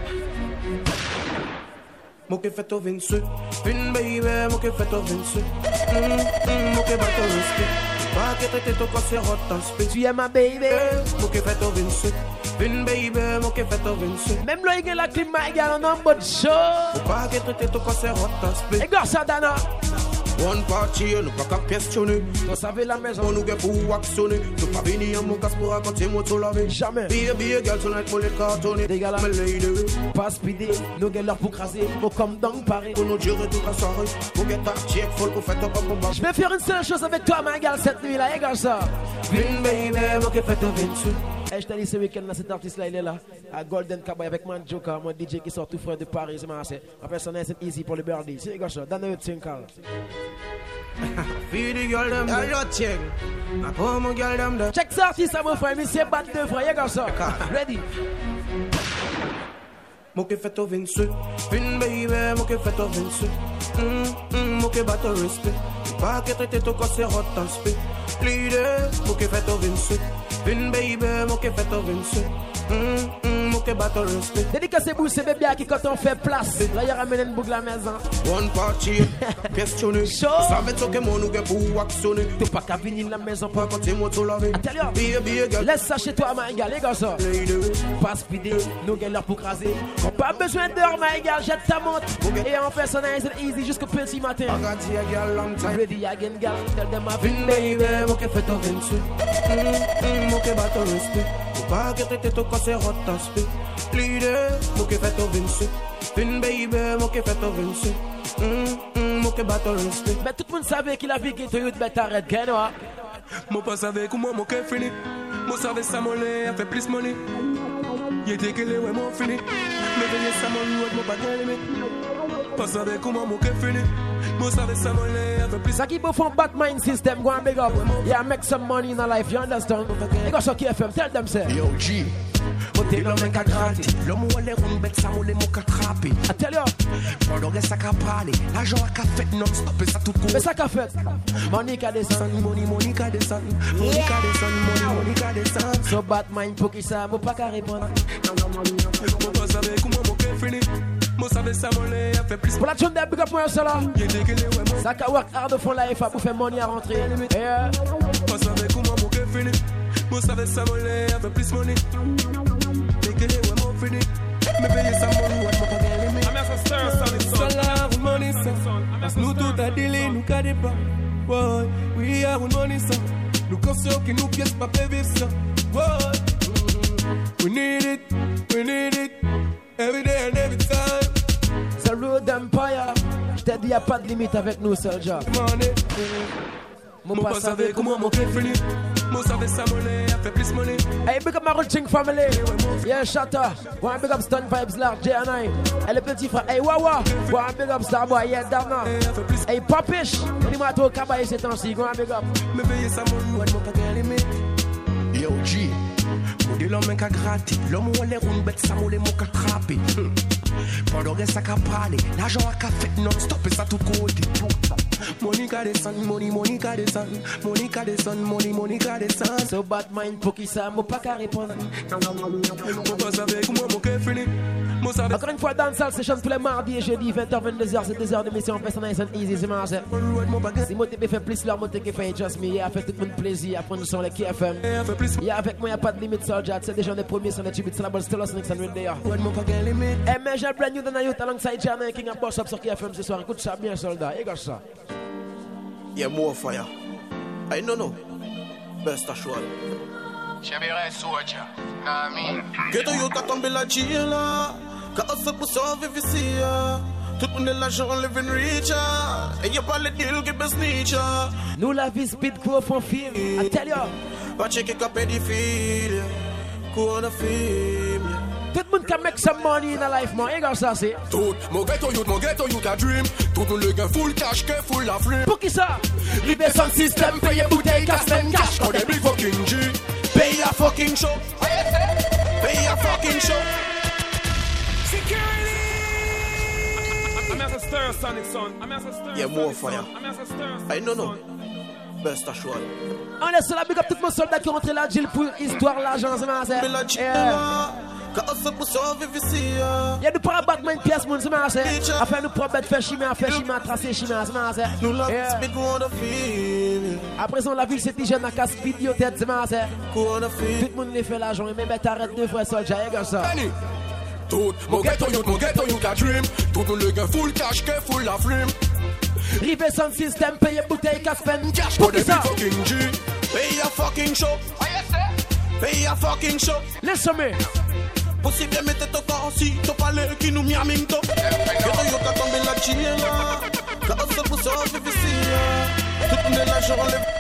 Mon qui fait au vingt-cinq. Une baby, mon qui fait au vingt-cinq. Mon qui bat au respect. Pas que t'étais ton corps c'est hot en speed. Tu es ma baby. Mon qui fait au vingt-cinq. Une baby, mon qui fait au vingt-cinq. Même là il y a la clim, il y a un homme de show. Pas que t'étais ton corps c'est hot en speed. Et gars ça Dana. One party, nous pas qu'à questionner. Vous savez la maison. On nous get pour actionner. Nous pas venir à mon casse pour raconter mon tout laver. Jamais. Baby, girl, tonight, mon les cartonner. Des gars là. Me lady. Pas speeder. Nous get leur pour craser. Faut comme dans Paris. Pour nous gérer toute la soirée. Pour get ta check, faut qu'on fait un peu pour je vais faire une seule chose avec toi, ma gars, cette nuit là. Et gars ça. Vin baby, mon qui fait au vingt-cinq. Et je t'ai dit ce week-end là, cet artiste là, il est là. À Golden Cowboy avec mon Joker, mon D J qui sort tout frais de Paris. C'est ma c'est. Après ça, c'est easy pour le birdie. C'est gars ça. Dans le Tinkal. Feed the girl them there. Check. I pour mon girl them there. Check ça artiste ça mon frère, monsieur bat deux frères, gars ça. Ready. Mon qui fait au vingt-cinq. Une baby, mon qui fait au vingt-cinq. Hum, mon qui bat au respect. Pas que t'étais ton corps c'est hot en speed. Leader, mon qui fait au vingt-cinq. Une baby, mon qui fait au vingt-cinq. Hum, mon qui bat au respect. Dédicacé bouche c'est bébé qui quand on fait place. Là il ramène une boucle la maison. One party, questionner. Show. Ça va être que mon nous get pour actionner. T'es pas qu'à venir la maison pour quand t'es moi tout laver. Atelier. Baby, girl. Laisse ça chez toi ma gars, les gars ça. Pas speeder, nous get leur pour craser. On pas besoin d'heure ma gars, jette ta montre. Et on fait ça nice and easy jusqu'au petit matin. I got you a girl long time. Ready again girl, tell them I've been baby, mon qui fait au vingt-cinq. Mon qui bat au respect. Pas que t'étais ton corps c'est hot en speed. Leader, mon qui fait au vingt-cinq. Une baby, mon qui fait au vingt-cinq. Mon qui bat au respect. Mais tout le monde savait qu'il a vu qu'il te youth bête arrête, gagne ouais. Mon pas savait comment mon cœur fini. Mon savait ça mon lait a fait plus money. Il était que les ouais mon fini. Mais venez ça mon road mon pas gagné. Pas savait comment mon cœur fini. Mon savait ça mon lait a fait plus. Ça qui peut faire Batman system go and big up. Yeah, make some money in a life, you understand? You got some K F M, tell them say. Yo G. Côté l'homme est qu'à gratter. L'homme où les ronds bêtes, ça moule les mots qu'à trapper. I tell you. Pendant que ça qu'à parler. L'argent à qu'à fait non-stop et ça tout court. Mais ça qu'à fait. Money qu'à descend. Money, money qu'à descend. Money qu'à descend. Money, money qu'à descend. So Batman pour qui ça, moi pas qu'à répondre. Mon pas savait comment mon cœur fini. Mon savait ça mon lait a fait plus. Pour la tune de big up moi ça là. Ça qu'à work hard de fond life pour faire money à rentrer. Yeah. Pas savait comment mon cœur fini. Mon savait ça mon lait a fait plus money. Me paye sa money, what mon pas gagné. I'm as a stir sonic son. So love money son. Nous tout a délai, nous cadé pas. Boy, we are with money son. Nous conscients que nous pièces pas vivre ça. Boy, we need it, we need it. Every day and every time. The Road Empire. Je t'ai dit y'a pas de limite avec nous, Soldier. Mon pas savait comment mon cœur fini. Mon savait ça monnaie, a fait plus money. Hey, big up my routine family. Yeah, Shatta. One big up Stun Vibes Large, J and I. Et le petit frère, hey, Wawa. One big up Starboy, yeah, Dana. Hey, Papish. On m'a tout cabaye ces temps-ci. Go big up. Me paye ça mon ouais, mon pas de limite. Yo, G. Pour de l'homme qui a gratté. L'homme où les roues bêtes, ça m'a les mots qui a trappé. Pendant que ça a parlé. L'argent a fait non-stop et ça tout côté. Monica descend, money, Monica descend, Monica descend, money, Monica descend. So bad mind pour qui ça, moi pas qu'à répondre. Mon pas avec moi, mon cœur fini. Encore une fois, dans salle session tous les mardis et jeudi, vingt heures, vingt-deux heures, c'est deux heures d'émission Personalize and Easy, c'est marrant. Si moi t'es fait plus leur moté qui fait Just Me, il a fait tout le monde plaisir, après nous sommes les K F M. Il y a avec moi, il n'y a pas de limite sur le jet, c'est déjà les premiers sur les tubes, c'est la bonne Stellar Snakes and Red. Et mais j'ai brand new dans la youth alongside Jana King and Boss Up sur K F M ce soir, écoute ça bien soldat, écoute ça. Yeah, more fire. I don't know. Best assured. Chabira soldier. Nah, me. Que tu y'a tombé la chilla. Que on se pousse en vivre ici. Tout le monde est l'argent, living richer. Et y'a pas le deal qui baisse niche. Nous la vie speed crew font film. I tell you. Pas checker qu'à pédophile. Qu'on a film. Tout le monde can make some money in a life, man. Et ça, c'est. Tout mon ghetto youth, mon ghetto youth a dream. Tout le monde le gars full cash, que full la flemme. Pour qui ça? Libé son système, paye bouteille, cash, spend cash. Quand des big fucking G. Pay a fucking show. Pay a fucking show. Security. I'm as a stir, Sonic son. I'm as a stir. Yeah, more fire. I don't know. Best assured. On est sur la big up tout mon soldat qui rentre là, Jill pour histoire l'argent, c'est marrant. Il y a du para Batman pièce, mon c'est marrant. Afin nous propre faire chimie, faire chimie, tracer chimie, c'est marrant. Nous la speed on the field. Après ça, la ville c'est déjà dans casse vidéo tête, c'est marrant. Tout le monde les fait l'argent, mais ben t'arrêtes deux fois soldat, et comme ça. Tout mon ghetto youth, mon ghetto youth a dream. Tout le monde le gars full cash, que full la flemme. Rive son système, paye bouteille, casse peine. Cash pour des big fucking G. Pay a fucking show. Pay a fucking show. Laisse-moi. Possible mettre ton corps si tu parles qui nous miaming to. Que tu y'a tombé la chilla. Que on se pousse en vivre ici. Tout le monde est l'argent,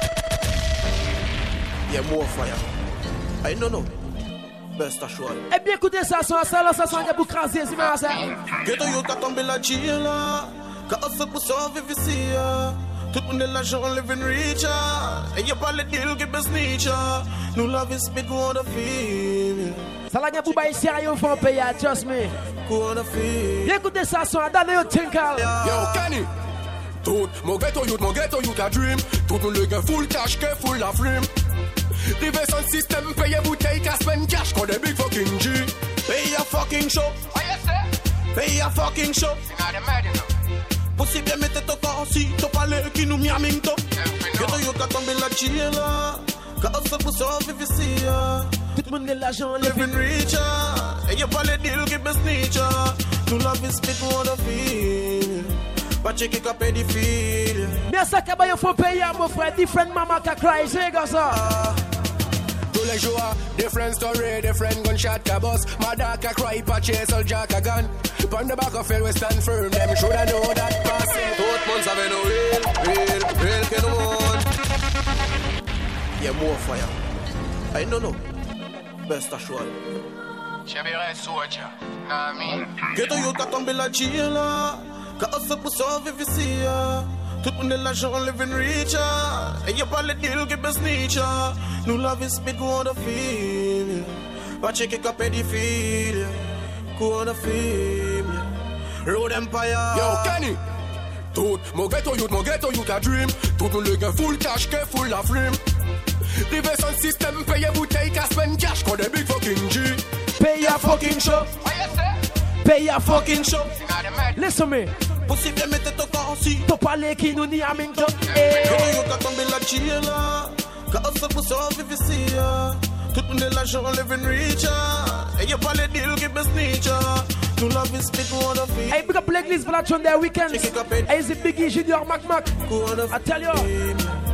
yeah, more fire. I don't know. Best assured. Eh bien, écoutez ça, ça, ça, ça, ça, pour craser, c'est marrant. Que tu y'a tombé la chilla. Que on se pousse en vivre ici. Tout le monde est l'argent, living richer. Et y'a pas le deal qui baisse niche. Nous la vie speed on the field. Ça la gagne pour bailler sérieux, faut payer, just me. Écoutez ça, son adane yo tinkal. Yo, Kenny. Tout mon ghetto youth, mon ghetto youth a dream. Tout le gars full cash, que full la flemme. Rive son système, paye bouteille, cash, spend cash. Quand des big fucking G. Pay a fucking show. Pay a fucking show. Possible mettre ton corps si tu parles qui nous miaming to. Que tu y'a tombé la chilla. Que on se pousse en vivre ici. Tout le monde est l'argent, living richer. Et y'a pas le deal qui baisse niche. Nous la vie speed on the field. Pas checker qu'à pédophile. Mais ça qu'il faut payer, mon frère. Different mama qui cry, c'est comme ça. Tous les jours, different story, different gunshot ka boss. Mother ka cry, pa chase all jack a gun. Pon the back of it, we stand firm. Them shoulda know that passing. Tout le monde savait nous real, real, real que nous monde. Yeah, more fire. I don't know. Best assured. Chabira soldier. Nah, me. Que tu y'a tombé la chilla. Que on se pousse en vivre ici. Tout le monde est l'argent, living richer. Et y'a pas le deal qui baisse niche. Nous la vie speed on the field. Pas checker qu'à pédophile. Qu'on a film. Road Empire. Yo, Kenny. Tout mon ghetto youth, mon ghetto youth a dream. Tout le gars full cash, que full la flemme. Rive son système, paye bouteille, cash, spend cash. Quand des big fucking G. Pay a fucking show. Pay a fucking show. Laisse-moi. Possible mettre ton corps si tu parles qui nous n'y a même pas. Que tu y'a tombé la chilla. Que on se pousse en vivre ici. Tout le monde est l'argent, living richer. Et y'a pas le deal qui baisse niche. Nous la vie speed on the field. Hey, big up l'église pour la Sunday weekend. Hey, c'est Biggie Junior Mac Mac. I tell you.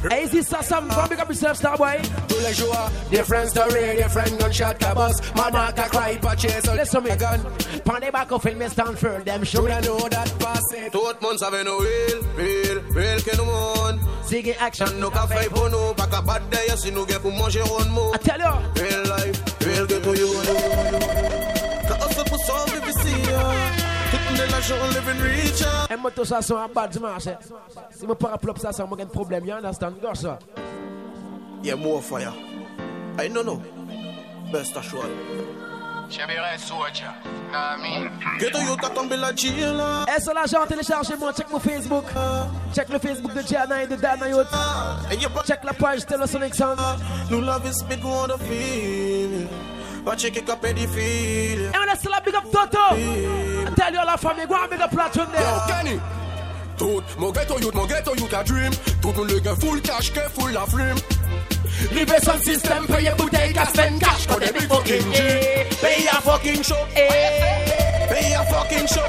Hey, is this some from big up yourself, Starboy? Tous les jours, different story, different gunshot cabos. Mama can cry, but chase a listen me. Gun. Pan the back of film, me stand for them. Should I know that pass it? Tout monde savait no real, real, real que nous monde. Sigue action. No café pour nous, pas qu'à battre d'ailleurs si nous gagnons pour manger un mot. I tell you. Real life, real que to you. Quand on se pousse en V V C, tout le monde est l'argent, on live in richer. Et moi, tout ça, c'est un bad dimanche. Si je parle de ça, c'est un problème. You understand? Go, sir. Yeah, more fire. I don't know. Best assured. Chabira Soja. Nah, me. Get you got on Bella Gila. Et sur l'argent, téléchargez-moi. Check mon Facebook. Check le Facebook de Jana et de Dana Youth. Check la page Taylor Sonic Sound. Nous love is big on the feel. But check it up at the feel. And let's still big up Toto. I tell you all la famille, go and big up Platon there. Yo, Kenny. Tout mon ghetto youth, mon ghetto youth a dream. Tout le gars full cash, que full la frame. Live son system, pay your bouteille, cash, spend cash for the big fucking G. Pay a fucking show. Pay a fucking show.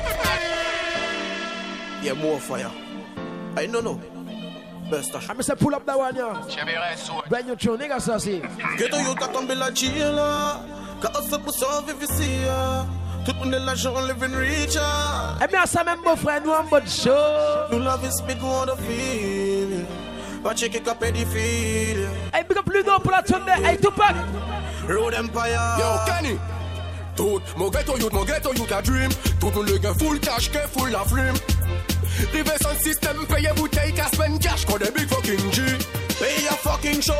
Yeah, more fire. I don't know. Best assured. I'm say pull up that one, yeah. Chabira Soja. Brand new tune, nigga, so see. Ghetto youth a tomber la Gila. Quand on se pousse en V V C. Tout le monde est l'argent, on live in richer. Et bien, ça même beau frère, nous en mode show. Nous love is big on the feel. But check it up at the feel. Hey, big up Ludo Platon there. Hey, Tupac. Road Empire. Yo, Kenny. Tout mon ghetto youth, mon ghetto youth a dream. Tout le gars full cash, que full la frame. Live son system, pay your bouteille, cash, spend cash, cause the big fucking G. Pay a fucking show.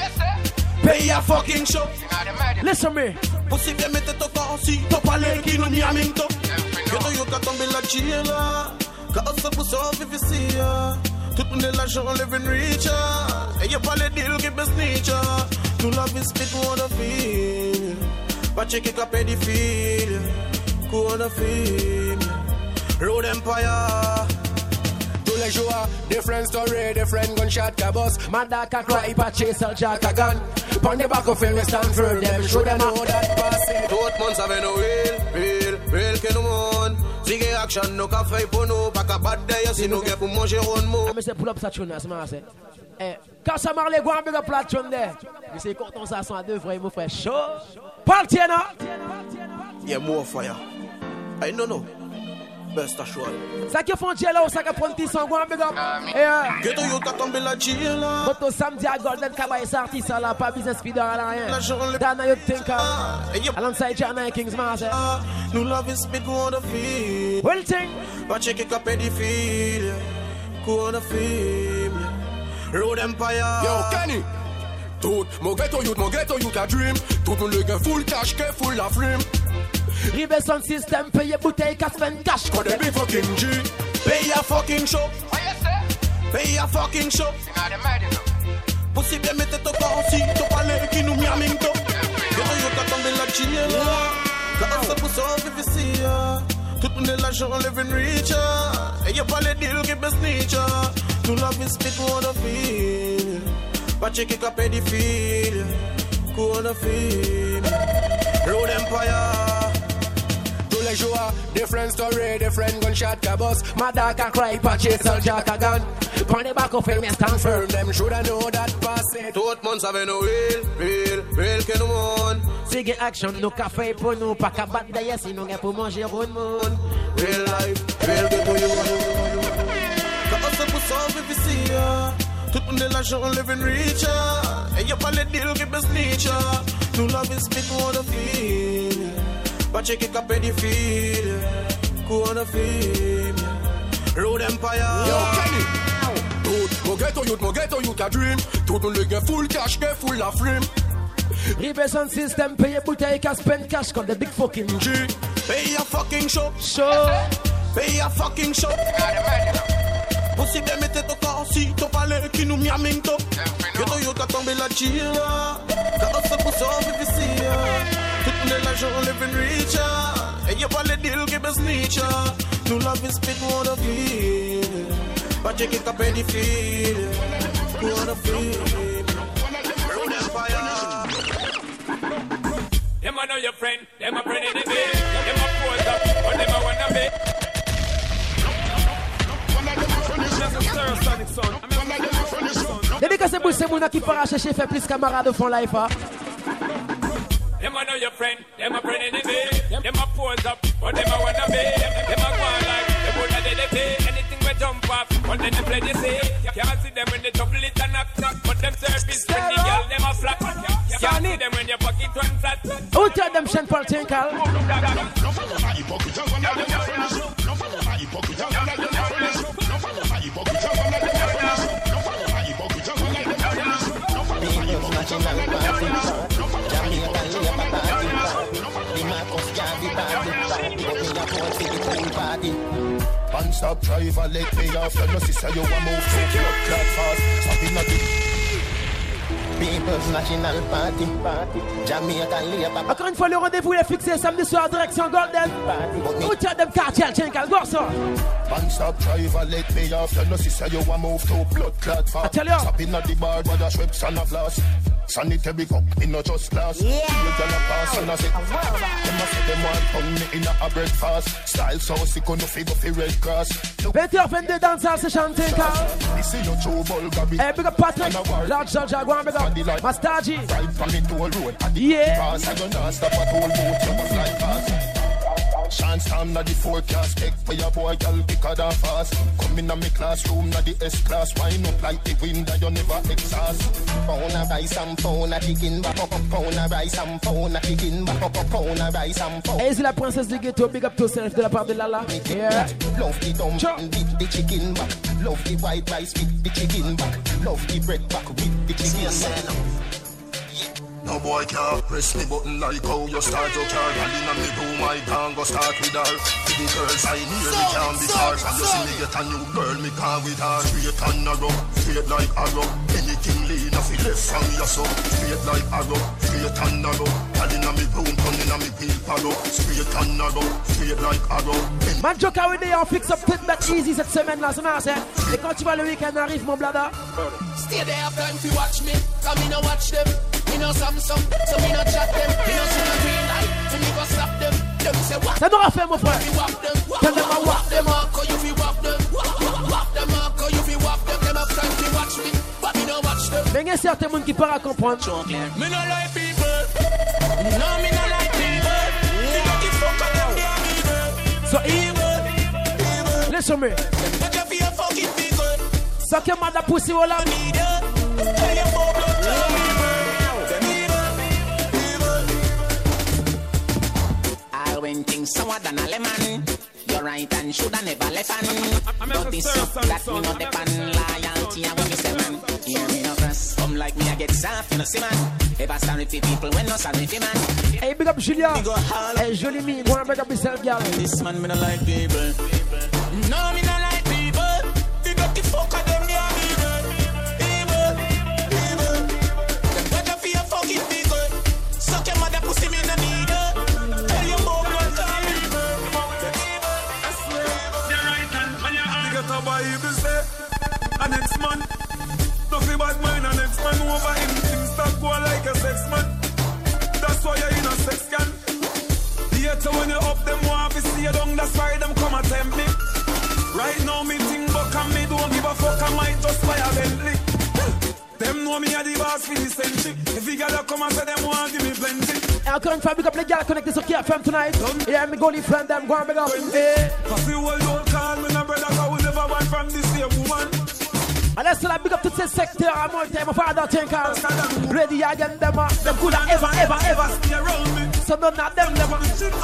Pay a fucking show. Listen me. Pussy bien mette ton corps si t'as parlé qui nous n'y a même temps. Ghetto youth a tombé la Gila. Quand on se pousse en V V C. Tout le monde est l'argent, on live in richer. Et y'a pas les deals qui baissent nature. Nous love is big on the feel. But check it up at the feel. Go on the feel. Road Empire. Tous les jours, different story, different gunshot cabos. Manda can cry, but chase a jack a gun. Pon the back of film, we stand for them. Show them know that pass it. Tout le monde savait no real, real, real que nous monde. Sigue action, no café pour nous. Pas qu'à battre d'ailleurs si nous gagnons pour manger un mot. Je me pull up ça tune, c'est marrant. Eh, quand ça marre les gars, on big up la tune there. Je sais quand on s'assoit à deux frères, mon frère chaud. Party, non? Yeah, more fire. I don't know. Best assured. Ça qui font jello, ça qui prend petit son, go and big up. Yeah. Ghetto youth a tombé la Gila. But samedi à Golden Cabaret, ça artiste là, pas business speeder à rien. Dana Youth Thinker. Alongside Jana Kings Master. Nous love is big on the feel. Well thing. But check it up at the feel. Go on the feel. Road Empire. Yo, Kenny. Tout mon ghetto youth, mon ghetto youth a dream. Tout le gars full cash, que full la frame. Rive son system, pay your bouteille, cash, spend cash. Cause the big fucking G. Pay a fucking show. Pay a fucking show. Pussy bien mette ton corps si t'as parlé qui nous m'y a même temps. Ghetto youth a tombé la Gila. Quand on se pousse en V V C. Tout le monde est l'argent, on live in richer. Et y'a pas les deals qui baissent nature. Nous love is big on the feel. But check it up at the feel. Go on the feel. Road Empire. Tous les jours, different story, different gunshot cabos. Mother can cry, but chase a jack a gun. Pon the back of film, stand firm. Them shoulda know that pass it. Tout le monde savait no real, real, real que nous monde. Sigue action, no café pour nous, pas qu'à battre d'ailleurs si nous gagnons pour manger un monde. Real life, real que to you. Quand on se pousse en V V C. Tout le monde est l'argent, on live in richer. Et y'a pas les deals qui baissent nature. Nous love is big on the feel. But check it up at the feel. Go on the feel. Road Empire. Yo, Kenny. Tout mon ghetto youth, mon ghetto youth a dream. Tout le gars full cash, que full la frame. Rive son system, pay your bouteille, cash, spend cash, cause the big fucking G. Pay a fucking show. Show. Pay a fucking show. Pussy bien mette ton corps si t'as parlé qui nous m'y a même temps. Ghetto youth a tombé la Gila. Quand on se pousse en V V C. Tout le monde est l'argent, on live in richer. Et y'a pas les deals qui baissent nature. Nous love is big on the feel. But check it up at the feel. Go on the feel. Road Empire. Them a know your friend, them a friend in the day. Them a pose up, but them a wanna be. Dédicace moun qui para chercher fait plus camarades au fond life. Hein. Them a know your friend, them a friend in the day. Them a pose up, but them a wanna be. Them a go on like, them woulda did the pay. Anything we jump off, but then they play the say. Can't see them when they double it and knock knock. But them service when the girl them a flat. Can't see them when your pocket one flat. Who tell them Saint Paul Tinkle? And stop driver, let me off. You know, sister, you want move to blood clot fast. Stop in the People's National Party, party. Jamaica Labour. Encore une fois, le rendez-vous est fixé samedi soir, direction Golden. Who tell them Cartel Tinkle? Go so. And stop driver, let me off. You know, sister, you want move to blood clot fast. I tell you. Stop in the bar, but a Schweppes and a glass. Sanitary cup, me not just glass. Yeah. You gonna pass and I say, them a say them want pound me in a breakfast. Style so sick on the figure for red cross. vingt heures vingt-deux dans sa session Tinkle. This is your true Bulgari. Hey, big up Patrick. Large Georgia, go on, big up. Mastaji. Right from the toll road. Yeah. Pass, I gonna stop at toll road. You must like pass. Chance time na the forecast. Take for your boy, girl, quicker than fast. Come in a me classroom, na the S-class. Wind up like the wind that you never exhaust. Pound a rice and pound a chicken back up. Pound a rice and pound a chicken back up. Pound a rice and pound. Et c'est la princesse du ghetto, big up yourself de la part de Lala. Yeah. Love the dumpling with the chicken back. Love the white rice with the chicken back. Love the bread back with the chicken back. No boy can't press me button like how you start your car. Girl inna me room, I can't go start with her. To the girls I near me can't be far. And you see me get a new girl, me can't with her. Straight and narrow, straight like arrow. Anything lean off it left from your soul. Straight like arrow, straight and narrow. Girl inna me room, turn inna me wheel parrow. Straight and narrow, straight like arrow. Man, Joker, oui, on fixe up tête bête easy cette semaine là, c'est marrant. Et quand tu vois le week-end arrive, mon blada. Stay there, have time to watch me. Come in and watch them. Me no Samsung, so me no chat them. Me no see no green light, so me go stop them. Them say what? Ça n'aura fait mon frère. Tell them I walk them up, cause you fi walk them. Walk them up, cause you fi walk them. Them have time to watch me, but me no watch them. Mais il y a certains monde qui parlent à comprendre. Me no like people. No, me no like people. Me no give fuck of them, they are evil. So evil. Listen me. But you fi a fucking people. Suck your mother pussy all on. Tell your fuck of them. When things sour than a lemon, you're right and shoulda never left an. But this up that me not depend loyalty and when me say man, hear me no cross. Come like me I get soft, you know see man. Ever sorry for people when no sorry for man. Hey, big up Julia. Hey, Jolie me, go and big up yourself, girl. This man me no like people. No, me no like people. They got the fuck of them, they are evil, evil, evil. Them better for your fucking people. Suck your mother pussy me no need her. Bible say, a next man, nothing bad mind, a next man over him, things start go like a sex man. That's why you're in a sex can. Later when you up them want to see you down, that's why them come and tempt me. Right now me think buck and me don't give a fuck, I might just buy a Bentley. Them know me a the boss for the century. If you gotta come and say them want give me plenty. Et encore une fois, big up les gars connectés sur K F M tonight. Yeah, me go les friends them, go and big up. Hey. Cause the world don't call me no brother, cause we never want from this same woman. Allez, c'est la big up tous ces secteurs à mon thème, father Tinkle. Ready again, them uh, them could have ever, ever, ever stay around me. So none of them never.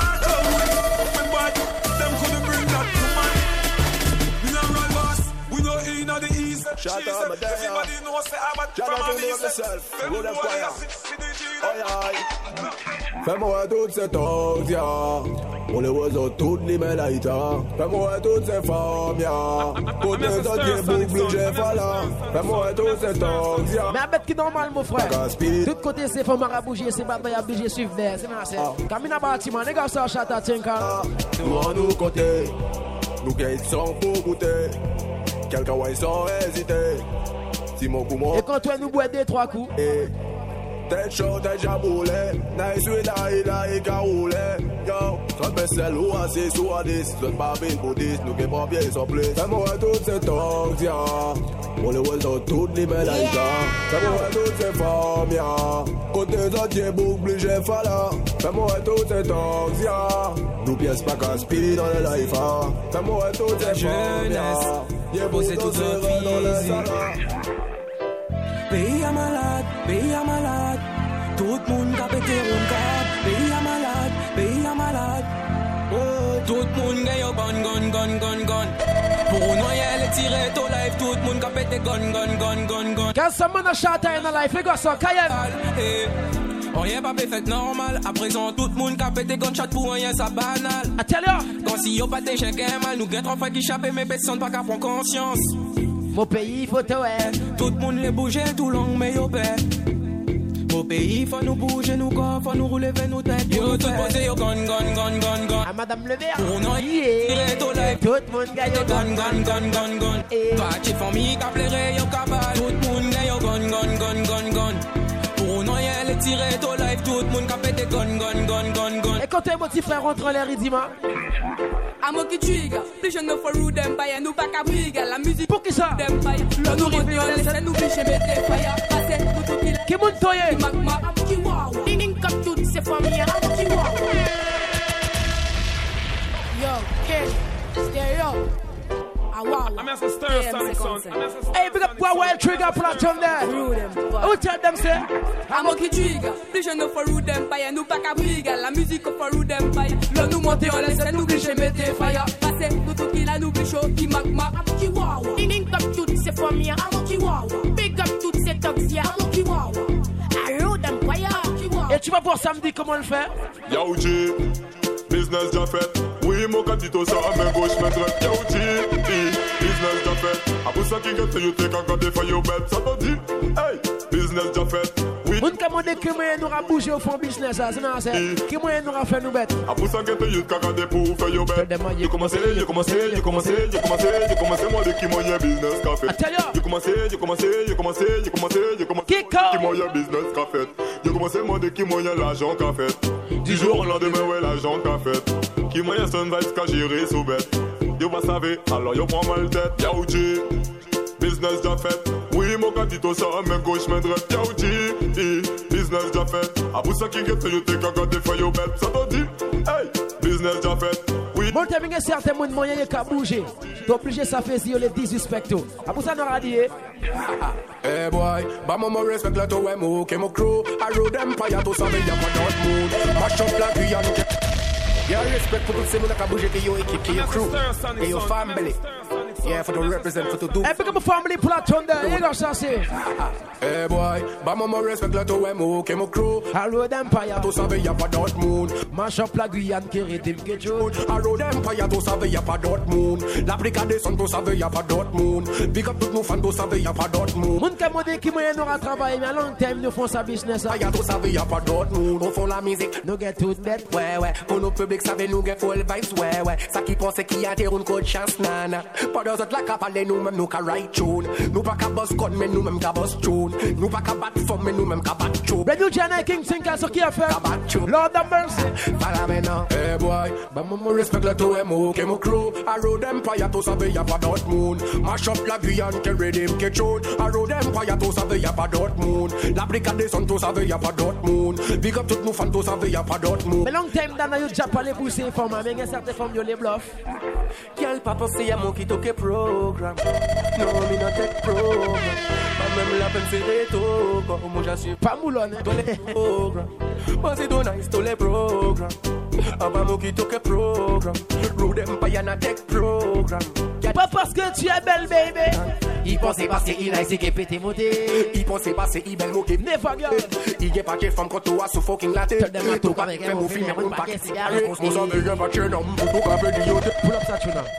Them could bring that to mind. We not run boss, we know in the east. Shout out my day. Everybody knows say I'm a Shout out to yourself. Good empire. Aïe aïe. Fais-moi toutes ces tongues, ya. On les voit sur toutes les mélaïtes. Fais-moi toutes ces femmes, ya. Côté entier, boucle, j'ai fallu. Fais-moi toutes ces tongues, ya. Mais à bête qui normal, mon frère. Tout côté, c'est femmes à bouger, c'est bataille à bouger, suivre d'air. C'est ma sœur. Camina bâtiment, les gars, ça chante à Tinkle. Nous, à nous côté. Nous qui sont pour goûter. Quelqu'un ouais sans hésiter. Si mon coup et quand toi nous bois deux trois coups et Tête chaud, tête jaboulé. Nice with la ida et caroulé. Yo, soit bessel ou assis sous à dix. Soit pas bien pour dix, nous qui pas bien sur place. Fais-moi toutes ces tongs, ya. On les voit dans toutes les médailles, fais-moi toutes ces formes, ya. Côté autres, boucle, j'ai fala. Fais-moi toutes ces tongs, ya. Nous pièces pas casse-pied dans le life, hein. Fais-moi toutes ces formes, ya. J'ai posé toutes ces rêves dans le salon. Pays à malade, pays à malade. Tout le monde a pété un câble. Pays à malade, pays à malade. Oh, tout le monde gagne au gun, gun, gun, gun, gun. Pour noyer les tirer au life, tout le monde a pété gun, gun, gun, gun, gun. Quand ça m'a chanté dans la life, les gars sont caïens. Rien pas fait normal. À présent, tout le monde a pété gunshot pour rien, ça banal. Attends-le. Quand si yo pas tes chiens mal, nous gagne trois fois qui chappent, mais personne pas qu'à prendre conscience. Mon pays, faut te ouais. Tout le monde les bouger tout long, mais yo paix. Mon pays, faut nous bouger, nous corps, faut nous rouler vers nos têtes. Yo, tout posé, yo, gun, gun, gun, gun, gun. À Madame Le Vert. Pour nous, yeah. Tout le monde gagne au gun, gun, gun, gun, gun. Toi, tu famille, qu'a plairé, yo, cabal. Tout le monde gagne au gun, gun, gun, gun, gun. Pour nous, y'a les tirer au life, tout le monde qu'a pété gun, gun, gun, gun, gun. Et quand t'es mon petit frère rentre en l'air, il dit, ma. Amo qui trigger, plus je ne for rude empire, nous pas qu'à briguer, la musique. Pour qui ça? D'empire, le nous revient, on laisse nous bicher, mettez fire, passez, tout tout qui l'a. Qui monte toi, y'a? Magma, amo qui wow. Ding ding comme toutes ces familles, amo qui wow. Yo, kid, stereo. Ah wow. I'm as a stir sonic son. Hey, big up Wild Trigger platform there. Who tell them say? Amo qui trigger, plus je ne for rude empire, nous pas qu'à briguer, la musique for rude empire. Le nous monter, on laisse nous bicher, mettez fire, passez, tout tout qui l'a nous bichot, qui magma, amo qui wow. Ding ding comme toutes ces familles, amo qui wow. Big up toutes ces toxies, amo qui wow. I rude empire, amo qui wow. Et tu vas voir samedi comment on le fait? Yo G, business déjà fait. Oui, mon catito ça à main gauche, main droite. Yo G, business déjà fait. A pour ça qui get you take a god for your bed. Ça te dit, hey, business déjà fait. Oui. Moun ka monde qui moyen nous a bougé au fond business ça, c'est non c'est. Qui moyen nous a fait nous bête. A pour ça get you take a god pour faire your bed. You commencé, you commencé, you commencé, you commencé, you commencé moi de qui moyen business qu'a fait. You commencé, you commencé, you commencé, you commencé, you commencé. Qui moyen business qu'a fait. You commencé moi de qui moyen l'argent qu'a fait. Du jour au lendemain ouais l'argent qu'a fait. Qui moyen son vibes qu'a géré sous bête. Yo pas savez, alors yo prend mal tête. Yo G, business déjà fait. Oui mon catito ça main gauche main droite. Yo G, business déjà fait. A pour ça qui get you take a god for your bed. Ça te dit, hey, business déjà fait. Oui. Bon t'as bien certains moun moyen y a bouger. T'es obligé ça fait si on les disrespecto. A pour ça nous a dit. Hey boy, bah maman respect la to emo, que mon crew. I rode empire to saber y'a pas d'autre mood. Mash up la Guyane. Yeah, respect for the same like a bougie to your equipe, to your crew, to your family. Yeah, for the represent, for the do. Hey, become a family platform there, you know what I'm saying? Hey boy, bah maman respect la to emo, que mon crew. I rode empire to saber y'a pas d'autre mood. Mash up la Guyane qui rythme que Jude. I rode empire to saber y'a pas d'autre mood. L'Afrique des sons to saber y'a pas d'autre mood. Big up tout nos fans to saber y'a pas d'autre mood. Moun ka mode qui moyen nous a travaillé mais à long terme nous font sa business. Y'a to saber y'a pas d'autre mood. On fait la musique, nous get tout net. Ouais ouais, pour nos publics savez nous get full vibes. Ouais ouais, ça qui pense qui a terre une code chance nana. Pas d'autres autres la capale nous même nous ka write tune. Nous pas ka boss gun mais nous même ka boss tune. Nous pas ka bat form mais nous même ka bat tune. Brand new Jana King Tinker so qui a fait. Lord of mercy. Para maintenant. Hey boy, bah maman respect la to emo, que mon crew. I rode empire to saber y'a pas d'autre mood. Mash up la Guyane que redeem que tune. I rode empire to saber y'a pas d'autre mood. L'Afrique des sons to saber y'a pas d'autre mood. Big up tout nos fans to saber y'a pas d'autre mood. Mais long time dans yo déjà parlé pour ces femmes mais il y a certaines femmes yo les bluff. Quel pas penser à mon qui toque programme. Non, mais non tech programme. Pas même la peine faire tout. Comme moi j'assume pas moulonne. Tous les programmes. Moi c'est don nice tous les programmes. Avant mon qui toque programme. Road Empire na tech programme. Pas parce que tu es belle baby. Il pensait passer il a essayé péter monter. Il pensait passer il belle moquer. Never girl. Il y a pas de femme quand tu as sous fucking la tête. Tout pas avec un film un paquet de cigarettes. On s'en veut pas tuer non. Tout pas veut dire. Pull up ça tu là.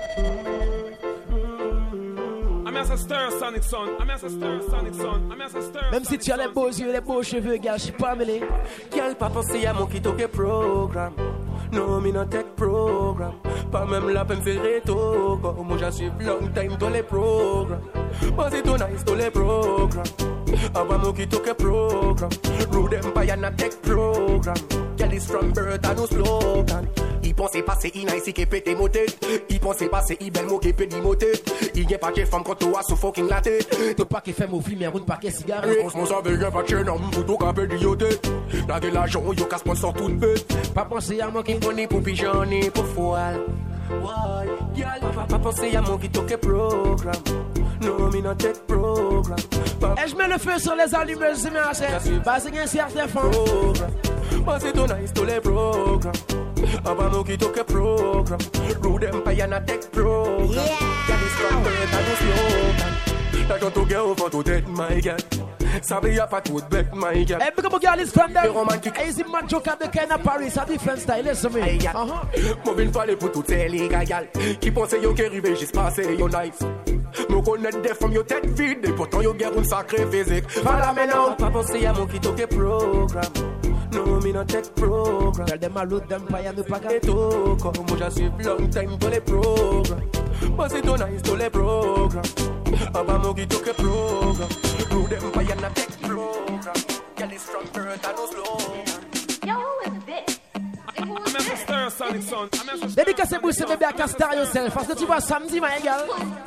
Même si tu as les beaux yeux, les beaux cheveux, gars, je suis pas mêlé. Quel pas penser à mon qui toque programme. Non, mais non tech programme. Pas même la peine faire tout. Moi j'assume long time dans les programmes. Moi c'est tout nice dans les programmes. Aba mo ki toke program. Rude Empire na tech program. Girl is from birth and no slogan. I pense passer i nice qui pété moté. I pense passer i belle mo qui pété moté. I gen pas que femme quand toi sous fucking la tête. Tout pas qui fait mon film, mais roule pas que cigare. On se mange avec un paquet d'hommes pour tout capé d'ioté. La gueule l'argent, yo casse sponsor tout bête. Pas penser à moi qui on est pour pigeon et pour foile. Why, girl, pas penser à moi qui toque programme. No, me not take program. Et je mets le feu sur les allumeuses, c'est merci. Parce qu'il y a un certain fond. Parce que ton nice tous les programmes. Aba mo ki toke program. Rude Empire na tech program. Girl is from birth and no slogan. Like a to girl for to dead, my girl. Sabi ya pa to bet, my girl. Hey, because my girl is from there. Easy man joke at the kind of Paris. A different style, listen me. Uh-huh. Moving fallait pour tout ces les gars. Qui pense yo qui arrive juste passer yo nice. Me connaître des femmes yo tête vide. Et pourtant yo guerre un sacré physique. Voilà maintenant. Pas penser à mon qui toke program. No, me not take program. Tell them I load them fire me pack it to come. Moi j'ai suivi long time pour les programmes. But c'est ton nice tous les programmes. Aba mo qui toke program. Rude Empire na take program. Girl is from birth and no slow. Yo, who is this? I'm a stir Sonic Son. Dédicacé pour ce bébé à Castar yourself. Parce que tu vois samedi, ma égale.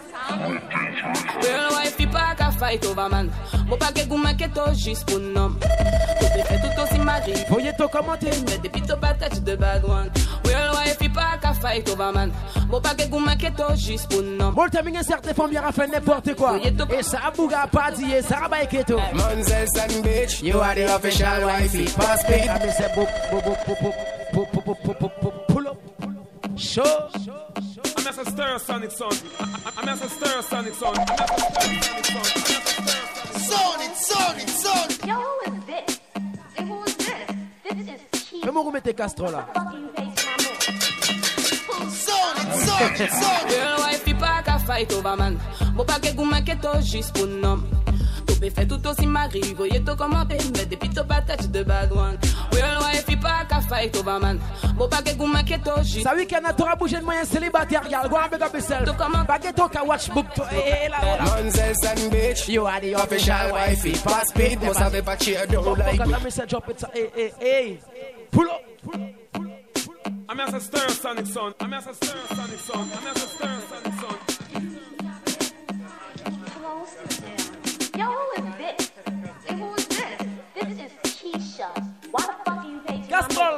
Real wife, il pas qu'à fight over man. Bon, pas que gouma que to juste pour nom. Tout est fait tout aussi mari. Voyez ton commenter. Mais depuis ton patate de bad one. Real wife, il pas qu'à fight over man. Bon, pas que gouma que to juste pour nom. Bon, t'as mis un certain femme, il a fait n'importe quoi. Et ça a bouga pas dit, ça a baillé keto. Monzel and bitch, you are the official wifey. Pass speed. I miss a book, book, book, book, book, book, book, book, book, book, pull up. Show. I'm as a stir Sonic Son. I'm as a stir Sonic Son. Sonic, Sonic, Sonic. Yo, who is this? And who is this? This is cheap. Même où mettez Castro là. Sonic, Sonic, Sonic. Real wife, il pas qu'à fight over man. Bon, pas que gouma que to juste pour nom. Tout est fait tout aussi mari. Voyez tout commenter. Mais depuis ton patate de bad one. Real wife, il pas qu'à fight over man. Bon, pas que gouma que to juste. Ça week-end a t'aura bougé de moyen célibataire. Regarde, go and big up yourself. Pas que ton ka watch book. Eh là là. Monzel and bitch, you are the official wifey. Pass speed, moi savais pas cheer, don't like me. Let me say drop it. Hey, hey, hey. Pull up. I'm as a stir Sonic Son. I'm as a stir Sonic Son. I'm as a stir Sonic Son. Yo, who is this? And who is this? This is Keisha. Why the fuck do you pay Castrol.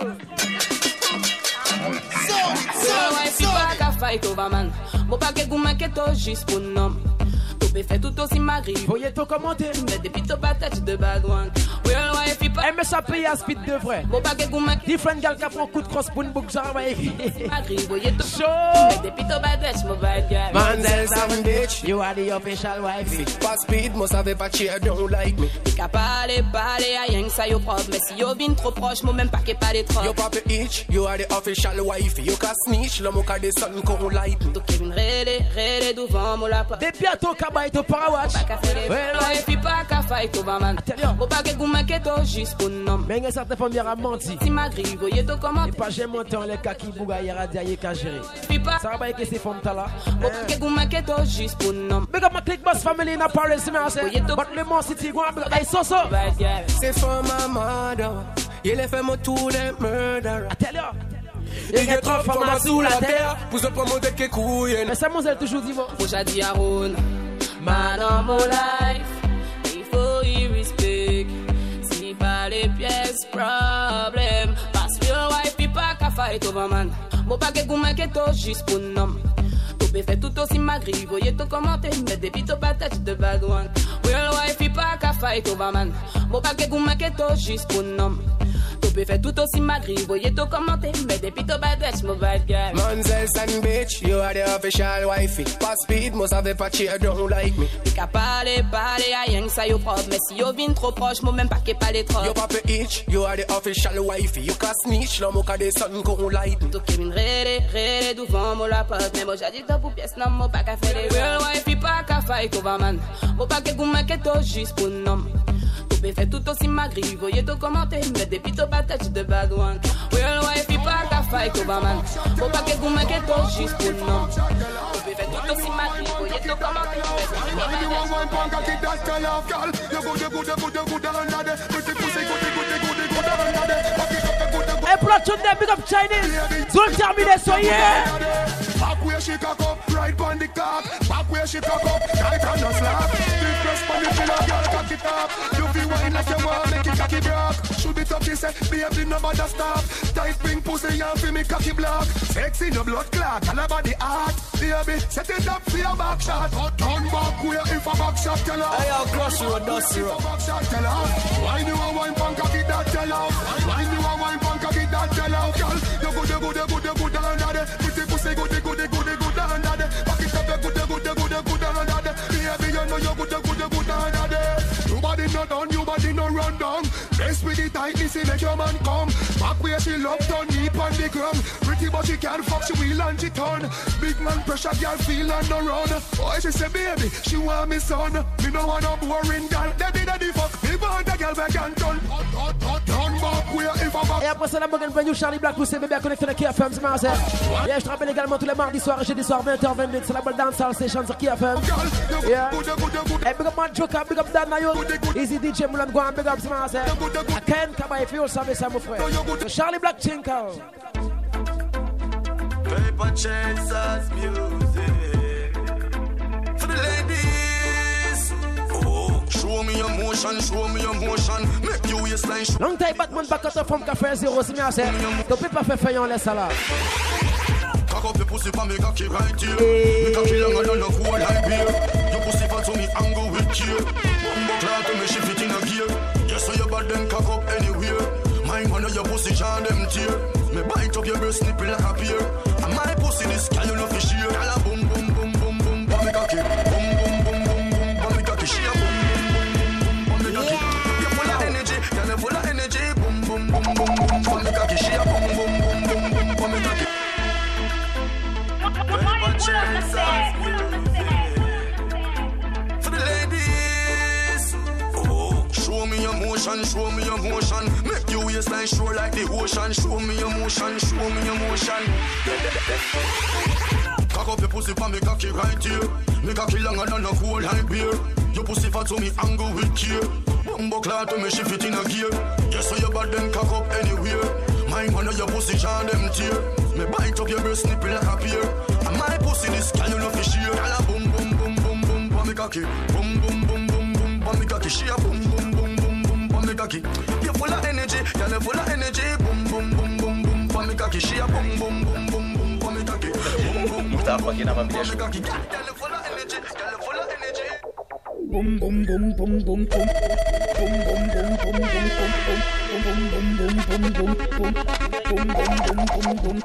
Sonic, Real wife, il pas qu'à fight over man. Bon, pas que gouma que to juste pour nom. Tout est fait tout aussi mari. Voyez ton commenter. Mais depuis ton patate de bad one. Real wife, il pas. M S A paye à speed de vrai. Bon, pas que gouma. Different gal qui prend coup de cross pour une boucle, ça va écrire. Voyez ton show. Mais depuis ton bad bitch, mon bad guy. Monzel and bitch, you are the official wifey. Pass speed, moi savais pas cheer, don't like me. T'es qu'à parler, parler, à rien que ça yo propre. Mais si yo vin trop proche, moi même pas qu'est pas les trop. Yo papa itch, you are the official wifey. You can snitch, l'homme au cas des sons qu'on like me. Donc Kevin rélé, rélé devant mon lapin. Des piatos cabay to parawatch. Real wife, il pas qu'à fight over man. Bon, pas que gouma que to juste pour nom. Mais il y a certaines femmes qui ont menti. Si ma grille, voyez tout comment. Et pas j'ai monté en les cas qui bouga y a dit qu'à gérer. Ça va pas que ces femmes là. Bon, pas que gouma que to juste pour nom. Big up my click boss family in Paris, merci. But le Mont City, go and hey so so. C'est for my mother. Il est fait mon tour de murder. I tell you. Il y a trop de femmes sous la terre. Pour se promoter que couille. Mais ça m'ont toujours dit bon. Moi j'ai dit à Ron. Man of my life. Il faut y respect. Si pas les pièces, problème. Parce que real wife, il pas qu'à fight over man. Bon, pas que gouma que to juste pour nom. Tout est fait tout aussi magri. Voyez tout commenter. Mais depuis ton patate de bad one. Real wife, il pas qu'à fight over man. Bon, pas que gouma que to juste pour nom. Tout est fait tout aussi magri. Voyez tout commenter. Mais depuis ton bad bitch, mon bad guy. Monzel and bitch, you are the official wifey. Pass speed, moi savais pas cheer, don't like me. T'es qu'à parler, parler, à rien que ça yo propre. Mais si yo vin trop proche, moi même pas qu'est pas les trop. Yo papa itch, you are the official wifey. You can snitch, l'homme au cas des sons qu'on like me. Donc Kevin rélé, rélé devant mon lapin. Mais moi j'ai dit top ou pièce, non, moi pas qu'à faire les real wife, il pas qu'à fight over man. Moi pas que gouma que to juste pour nom. Tout est fait tout aussi magri. Voyez tout commenter. Mais depuis ton patate de bad one. Real wife, il pas qu'à fight over man. Moi pas que gouma que to juste pour nom. Tout est fait tout aussi magri. Voyez cocky that tell off. Why you want one punk cocky that tell off, girl? You good, you good, you good, you good under the pretty pussy, good, good, good, good, good under the cocky that good, good. Hey, platoon them, big up Chinese. Don't tell me that, so yeah. Back where she cock up, right on the cock. Back where she cock up, tight on the slap. Stiff press on the pillow, girl, cock it up. You feel wine like you want, make it cocky block. Should be touchy, say, baby, no bother stop. Tight pink pussy, and feel me cocky block. Sexy, no blood clot, all about the art. Baby, set it up for your back shot. Turn back where if a back shot tell off. Hey, I'll crush you, dust you. Back shot tell off. Why you a wine punk cocky that tell off? Why you a wine punk cocky that tell off, girl? You good, you good, you good, you good under the pretty pussy, good, good, good, good, good under the. Back it up, you good, you good, you good, you good under the. Baby, you know you good, you good, you good under the. Your body no done, your body no run down. Best with the tightness, make your man come. Back where she love done, deep on the ground. Pretty but she can't fuck, she will and she turn. Big man pressure, girl feel on the run. Oh, she say baby, she want me son. Me no want no boring girl, daddy daddy fuck. Me want a girl back and turn. Turn back where if a back. Et après ça, la Morgan Brand, Charlie Black, vous savez bien connecté à K F M, c'est marrant. Yeah, je te rappelle également tous les mardis soirs et jeudi soir, vingt heures vingt-deux, c'est la bonne dancehall station sur K F M. Yeah. Hey, big up man Joker, big up Dan Nayon, Easy D J Mulan Guan, big up, c'est marrant. I can't come if you savez ça, mon frère. So Charlie Black Tinkle. Paper chasers music for the ladies. Oh, show me your motion, show me your motion. Make you waistline. Long time Batman back out from Café Zero, c'est bien, c'est. Tu peux pas faire faillir, on laisse ça là. Cock up your pussy for me cocky right here. Me cocky longer than a whole high beer. Your pussy fat so me angle with care. Bumbo clock to me shift it in a gear. Yes, so your bad then cock up anywhere. Mine one of your pussy jam them tear. Me bite up your breast nipple like a pear. And my pussy this can you know for sheer. Gyal a boom boom boom boom boom bum me cocky. Boom boom boom boom boom bum me cocky. She a boom boom boom boom bum me cocky. You full of energy, gyal you full of energy. Boom boom boom boom boom bum me cocky. She a boom boom boom boom boom bum me cocky. For the ladies, oh, show me your motion, show me your motion. Make you waistline show like the ocean. Show me your motion, show me your motion. Cock up your pussy for me cocky right here. Me cocky longer than a whole high beer. Your pussy fat so me angle with care. Bumbo clock to me shift it in a gear. Yes, so your bad then cock up anywhere. Mine one of your pussy jam them tear. Me bite up your breast nipple like a pear. And my pussy this can you know for sheer. Gyal a boom boom boom boom boom bum me cocky. Boom boom boom boom boom bum me cocky. She a boom boom boom boom boom bum me cocky. You full of energy, gyal you full of energy. Boom boom boom boom boom bum me cocky. She a boom boom boom boom boom bum me cocky. Boom boom boom boom bum me cocky. Gyal you full of energy, gyal you full of energy. Boom boom boom boom boom boom. Boom boom boom boom boom boom. Boom boom boom boom boom boom. Boom boom boom boom boom.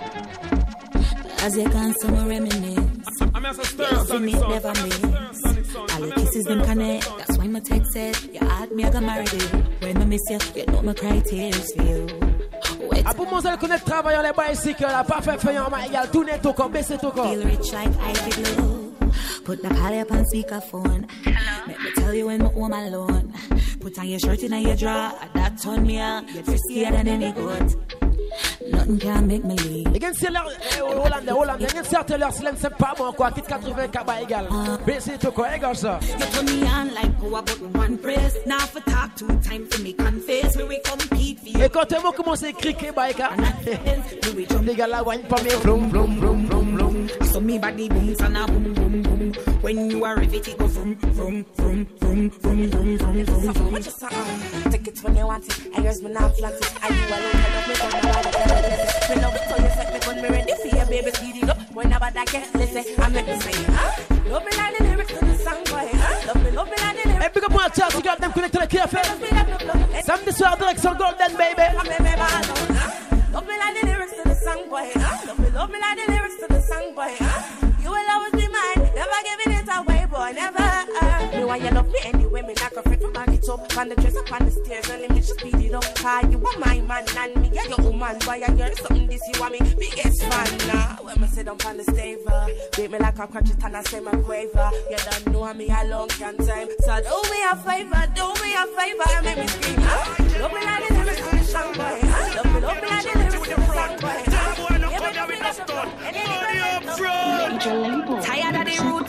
As you can some reminisce. I'm as a stir, sonny song. Never miss. All the kisses them connect. That's why my text said you had me, I got married. When I miss you, you know my cry tears for you. A pour moi, elle connaît le travail, les bicycles, la parfait faillant, ma égale, tout net au corps, baissez au corps. Feel rich like Ivy Blue. Put the call up on speakerphone. Let me tell you when my home alone. Put on your shirt in your drawer. That turn me on. You're friskier than any goat. Nothing can make me leave. Et c'est l'heure, Hollandais, Hollandais, il y a certaines heures, c'est pas bon, quoi, quitte quatre-vingts cabas égal. Baissez au corps, égal ça. You turn me on like power button one press. Now for talk two time for me confess. Where we compete for you. Et quand on commence à criquer, baïka. Les gars là, wine pas mes vroom, vroom, vroom, vroom, vroom. So me body boom, sana boom, boom, boom. When you are riveted, go vroom, vroom, vroom, vroom, vroom, vroom, vroom, vroom, vroom. What you say? Take it when you want it. I here's me now flat it. Are you alone? I love me, don't nobody can listen. Me love it so you set me when me ready for you, baby. Speed it up. Whenever that get listen, I make me say, huh? Love me like the lyrics to the song, boy. Huh? Love me, love me like the lyrics. Hey, big up my chat, you got them connected to the K F M. Samedi soir, direction Golden, baby. Love me like the lyrics to the song, boy. Huh? Love me, love me like the lyrics to the song, boy. Huh? You will always be mine, never giving it away, boy, never. Uh. Me why you love me anyway, me like a friend from my it up. On the dress up on the stairs, and let me just speed it up. Cause you are my man, and me, yeah, your woman. Boy, I hear something this, you want me biggest fan, nah. When me sit up on the stage, uh, beat me like a crutch it and I say my quaver. You don't know me a long can time. So do me a favor, do me a favor, and make me scream, huh? Love me like the lyrics to the song, boy, huh? Love me, love me like the lyrics to the song, boy, huh? Yeah, me love me like the song, and then you front. Tired of the root and feet.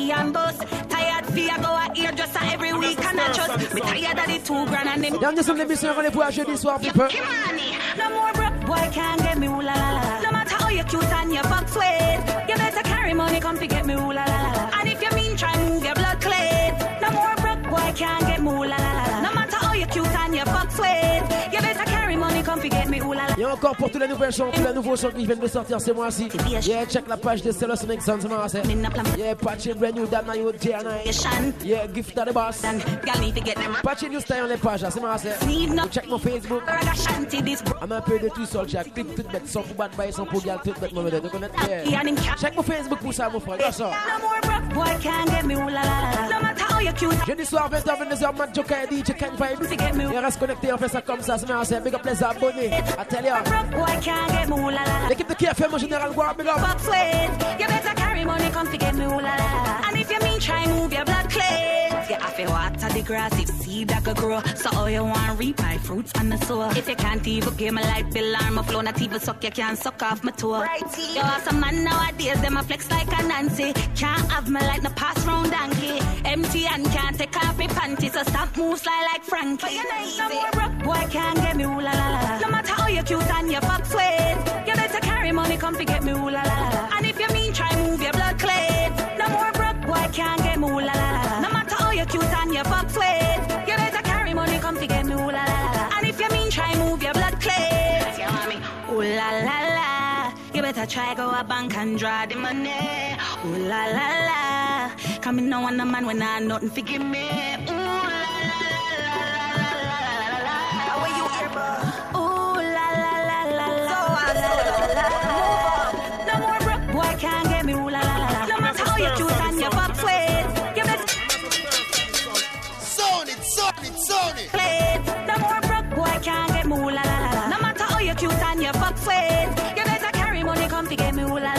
party and bus. Tired fear go a hairdresser every week and I just me tired of the two grand and them. Dernier son de l'émission, on est pour jeudi soir, people. No more broke boy can't get me ooh la la la. No matter how you cute and you fuck sweet, you better carry money come to get me ooh la la la. And if you mean try move your blood clean. No more broke boy can't get me ooh la la la. No matter how you cute and you fuck sweet, you better carry money come to get me ooh la la. Et encore pour tous les nouvelles sons, tous les nouveaux sons qui viennent de sortir ce mois-ci. Yeah, check la page de Stellar Sonic Sons, yeah, patching brand new Dana You J and I. Yeah, gift to the boss. Patching new style on les pages, c'est marrant. Check mon Facebook. I'm un peu de tout seul, check. Click tout bête, sans pour battre, bailler, sans pour gale, tout bête, mauvais de connaître. Check mon Facebook pour ça, mon frère. Là, ça. Jeudi soir, vingt heures, vingt-deux heures, Matt Joker et D J Ken Vibe. Et reste connecté, on fait ça comme ça, c'est marrant. Big up les abonnés. I tell ya. L'équipe de K F M en général, go big up. You better carry money, come to get me ooh la la. And if you mean try move your blood clean, you have to water the grass if seed that could grow. So all you want reap my fruits on the soil. If you can't even pay my light bill or my flow, not even suck, you can't suck off my toe. Right, you are some man nowadays, them a flex like a Nancy. Can't have my light, no pass round donkey. Empty and can't take off my panties, so stop move slide like Frankie. No more broke boy can't get me ooh la la la. No matter how you cute and you fuck sweet, you better carry money come to get me ooh la la la. And if you mean try move your blood clean, no more broke boy can't get me ooh la la la. No matter how you cute and you fuck sweet, you better carry money come to get me ooh la la la. And if you mean try move your blood clean, you want me ooh la la la. You better try go a bank and draw the money. Ooh la la la. Come in no one a man when I nothing forgive me. Ooh la la la la la la la. How are you here, bro? Ooh la la la la la la la la. No more broke boy can't get me ooh la la la. No matter how you cute and you fuck sweet, you better zone it, zone it, zone it. Play. No more broke boy can't get me ooh la la la. No matter how you cute and you fuck sweet, you better carry money come to get me ooh la la.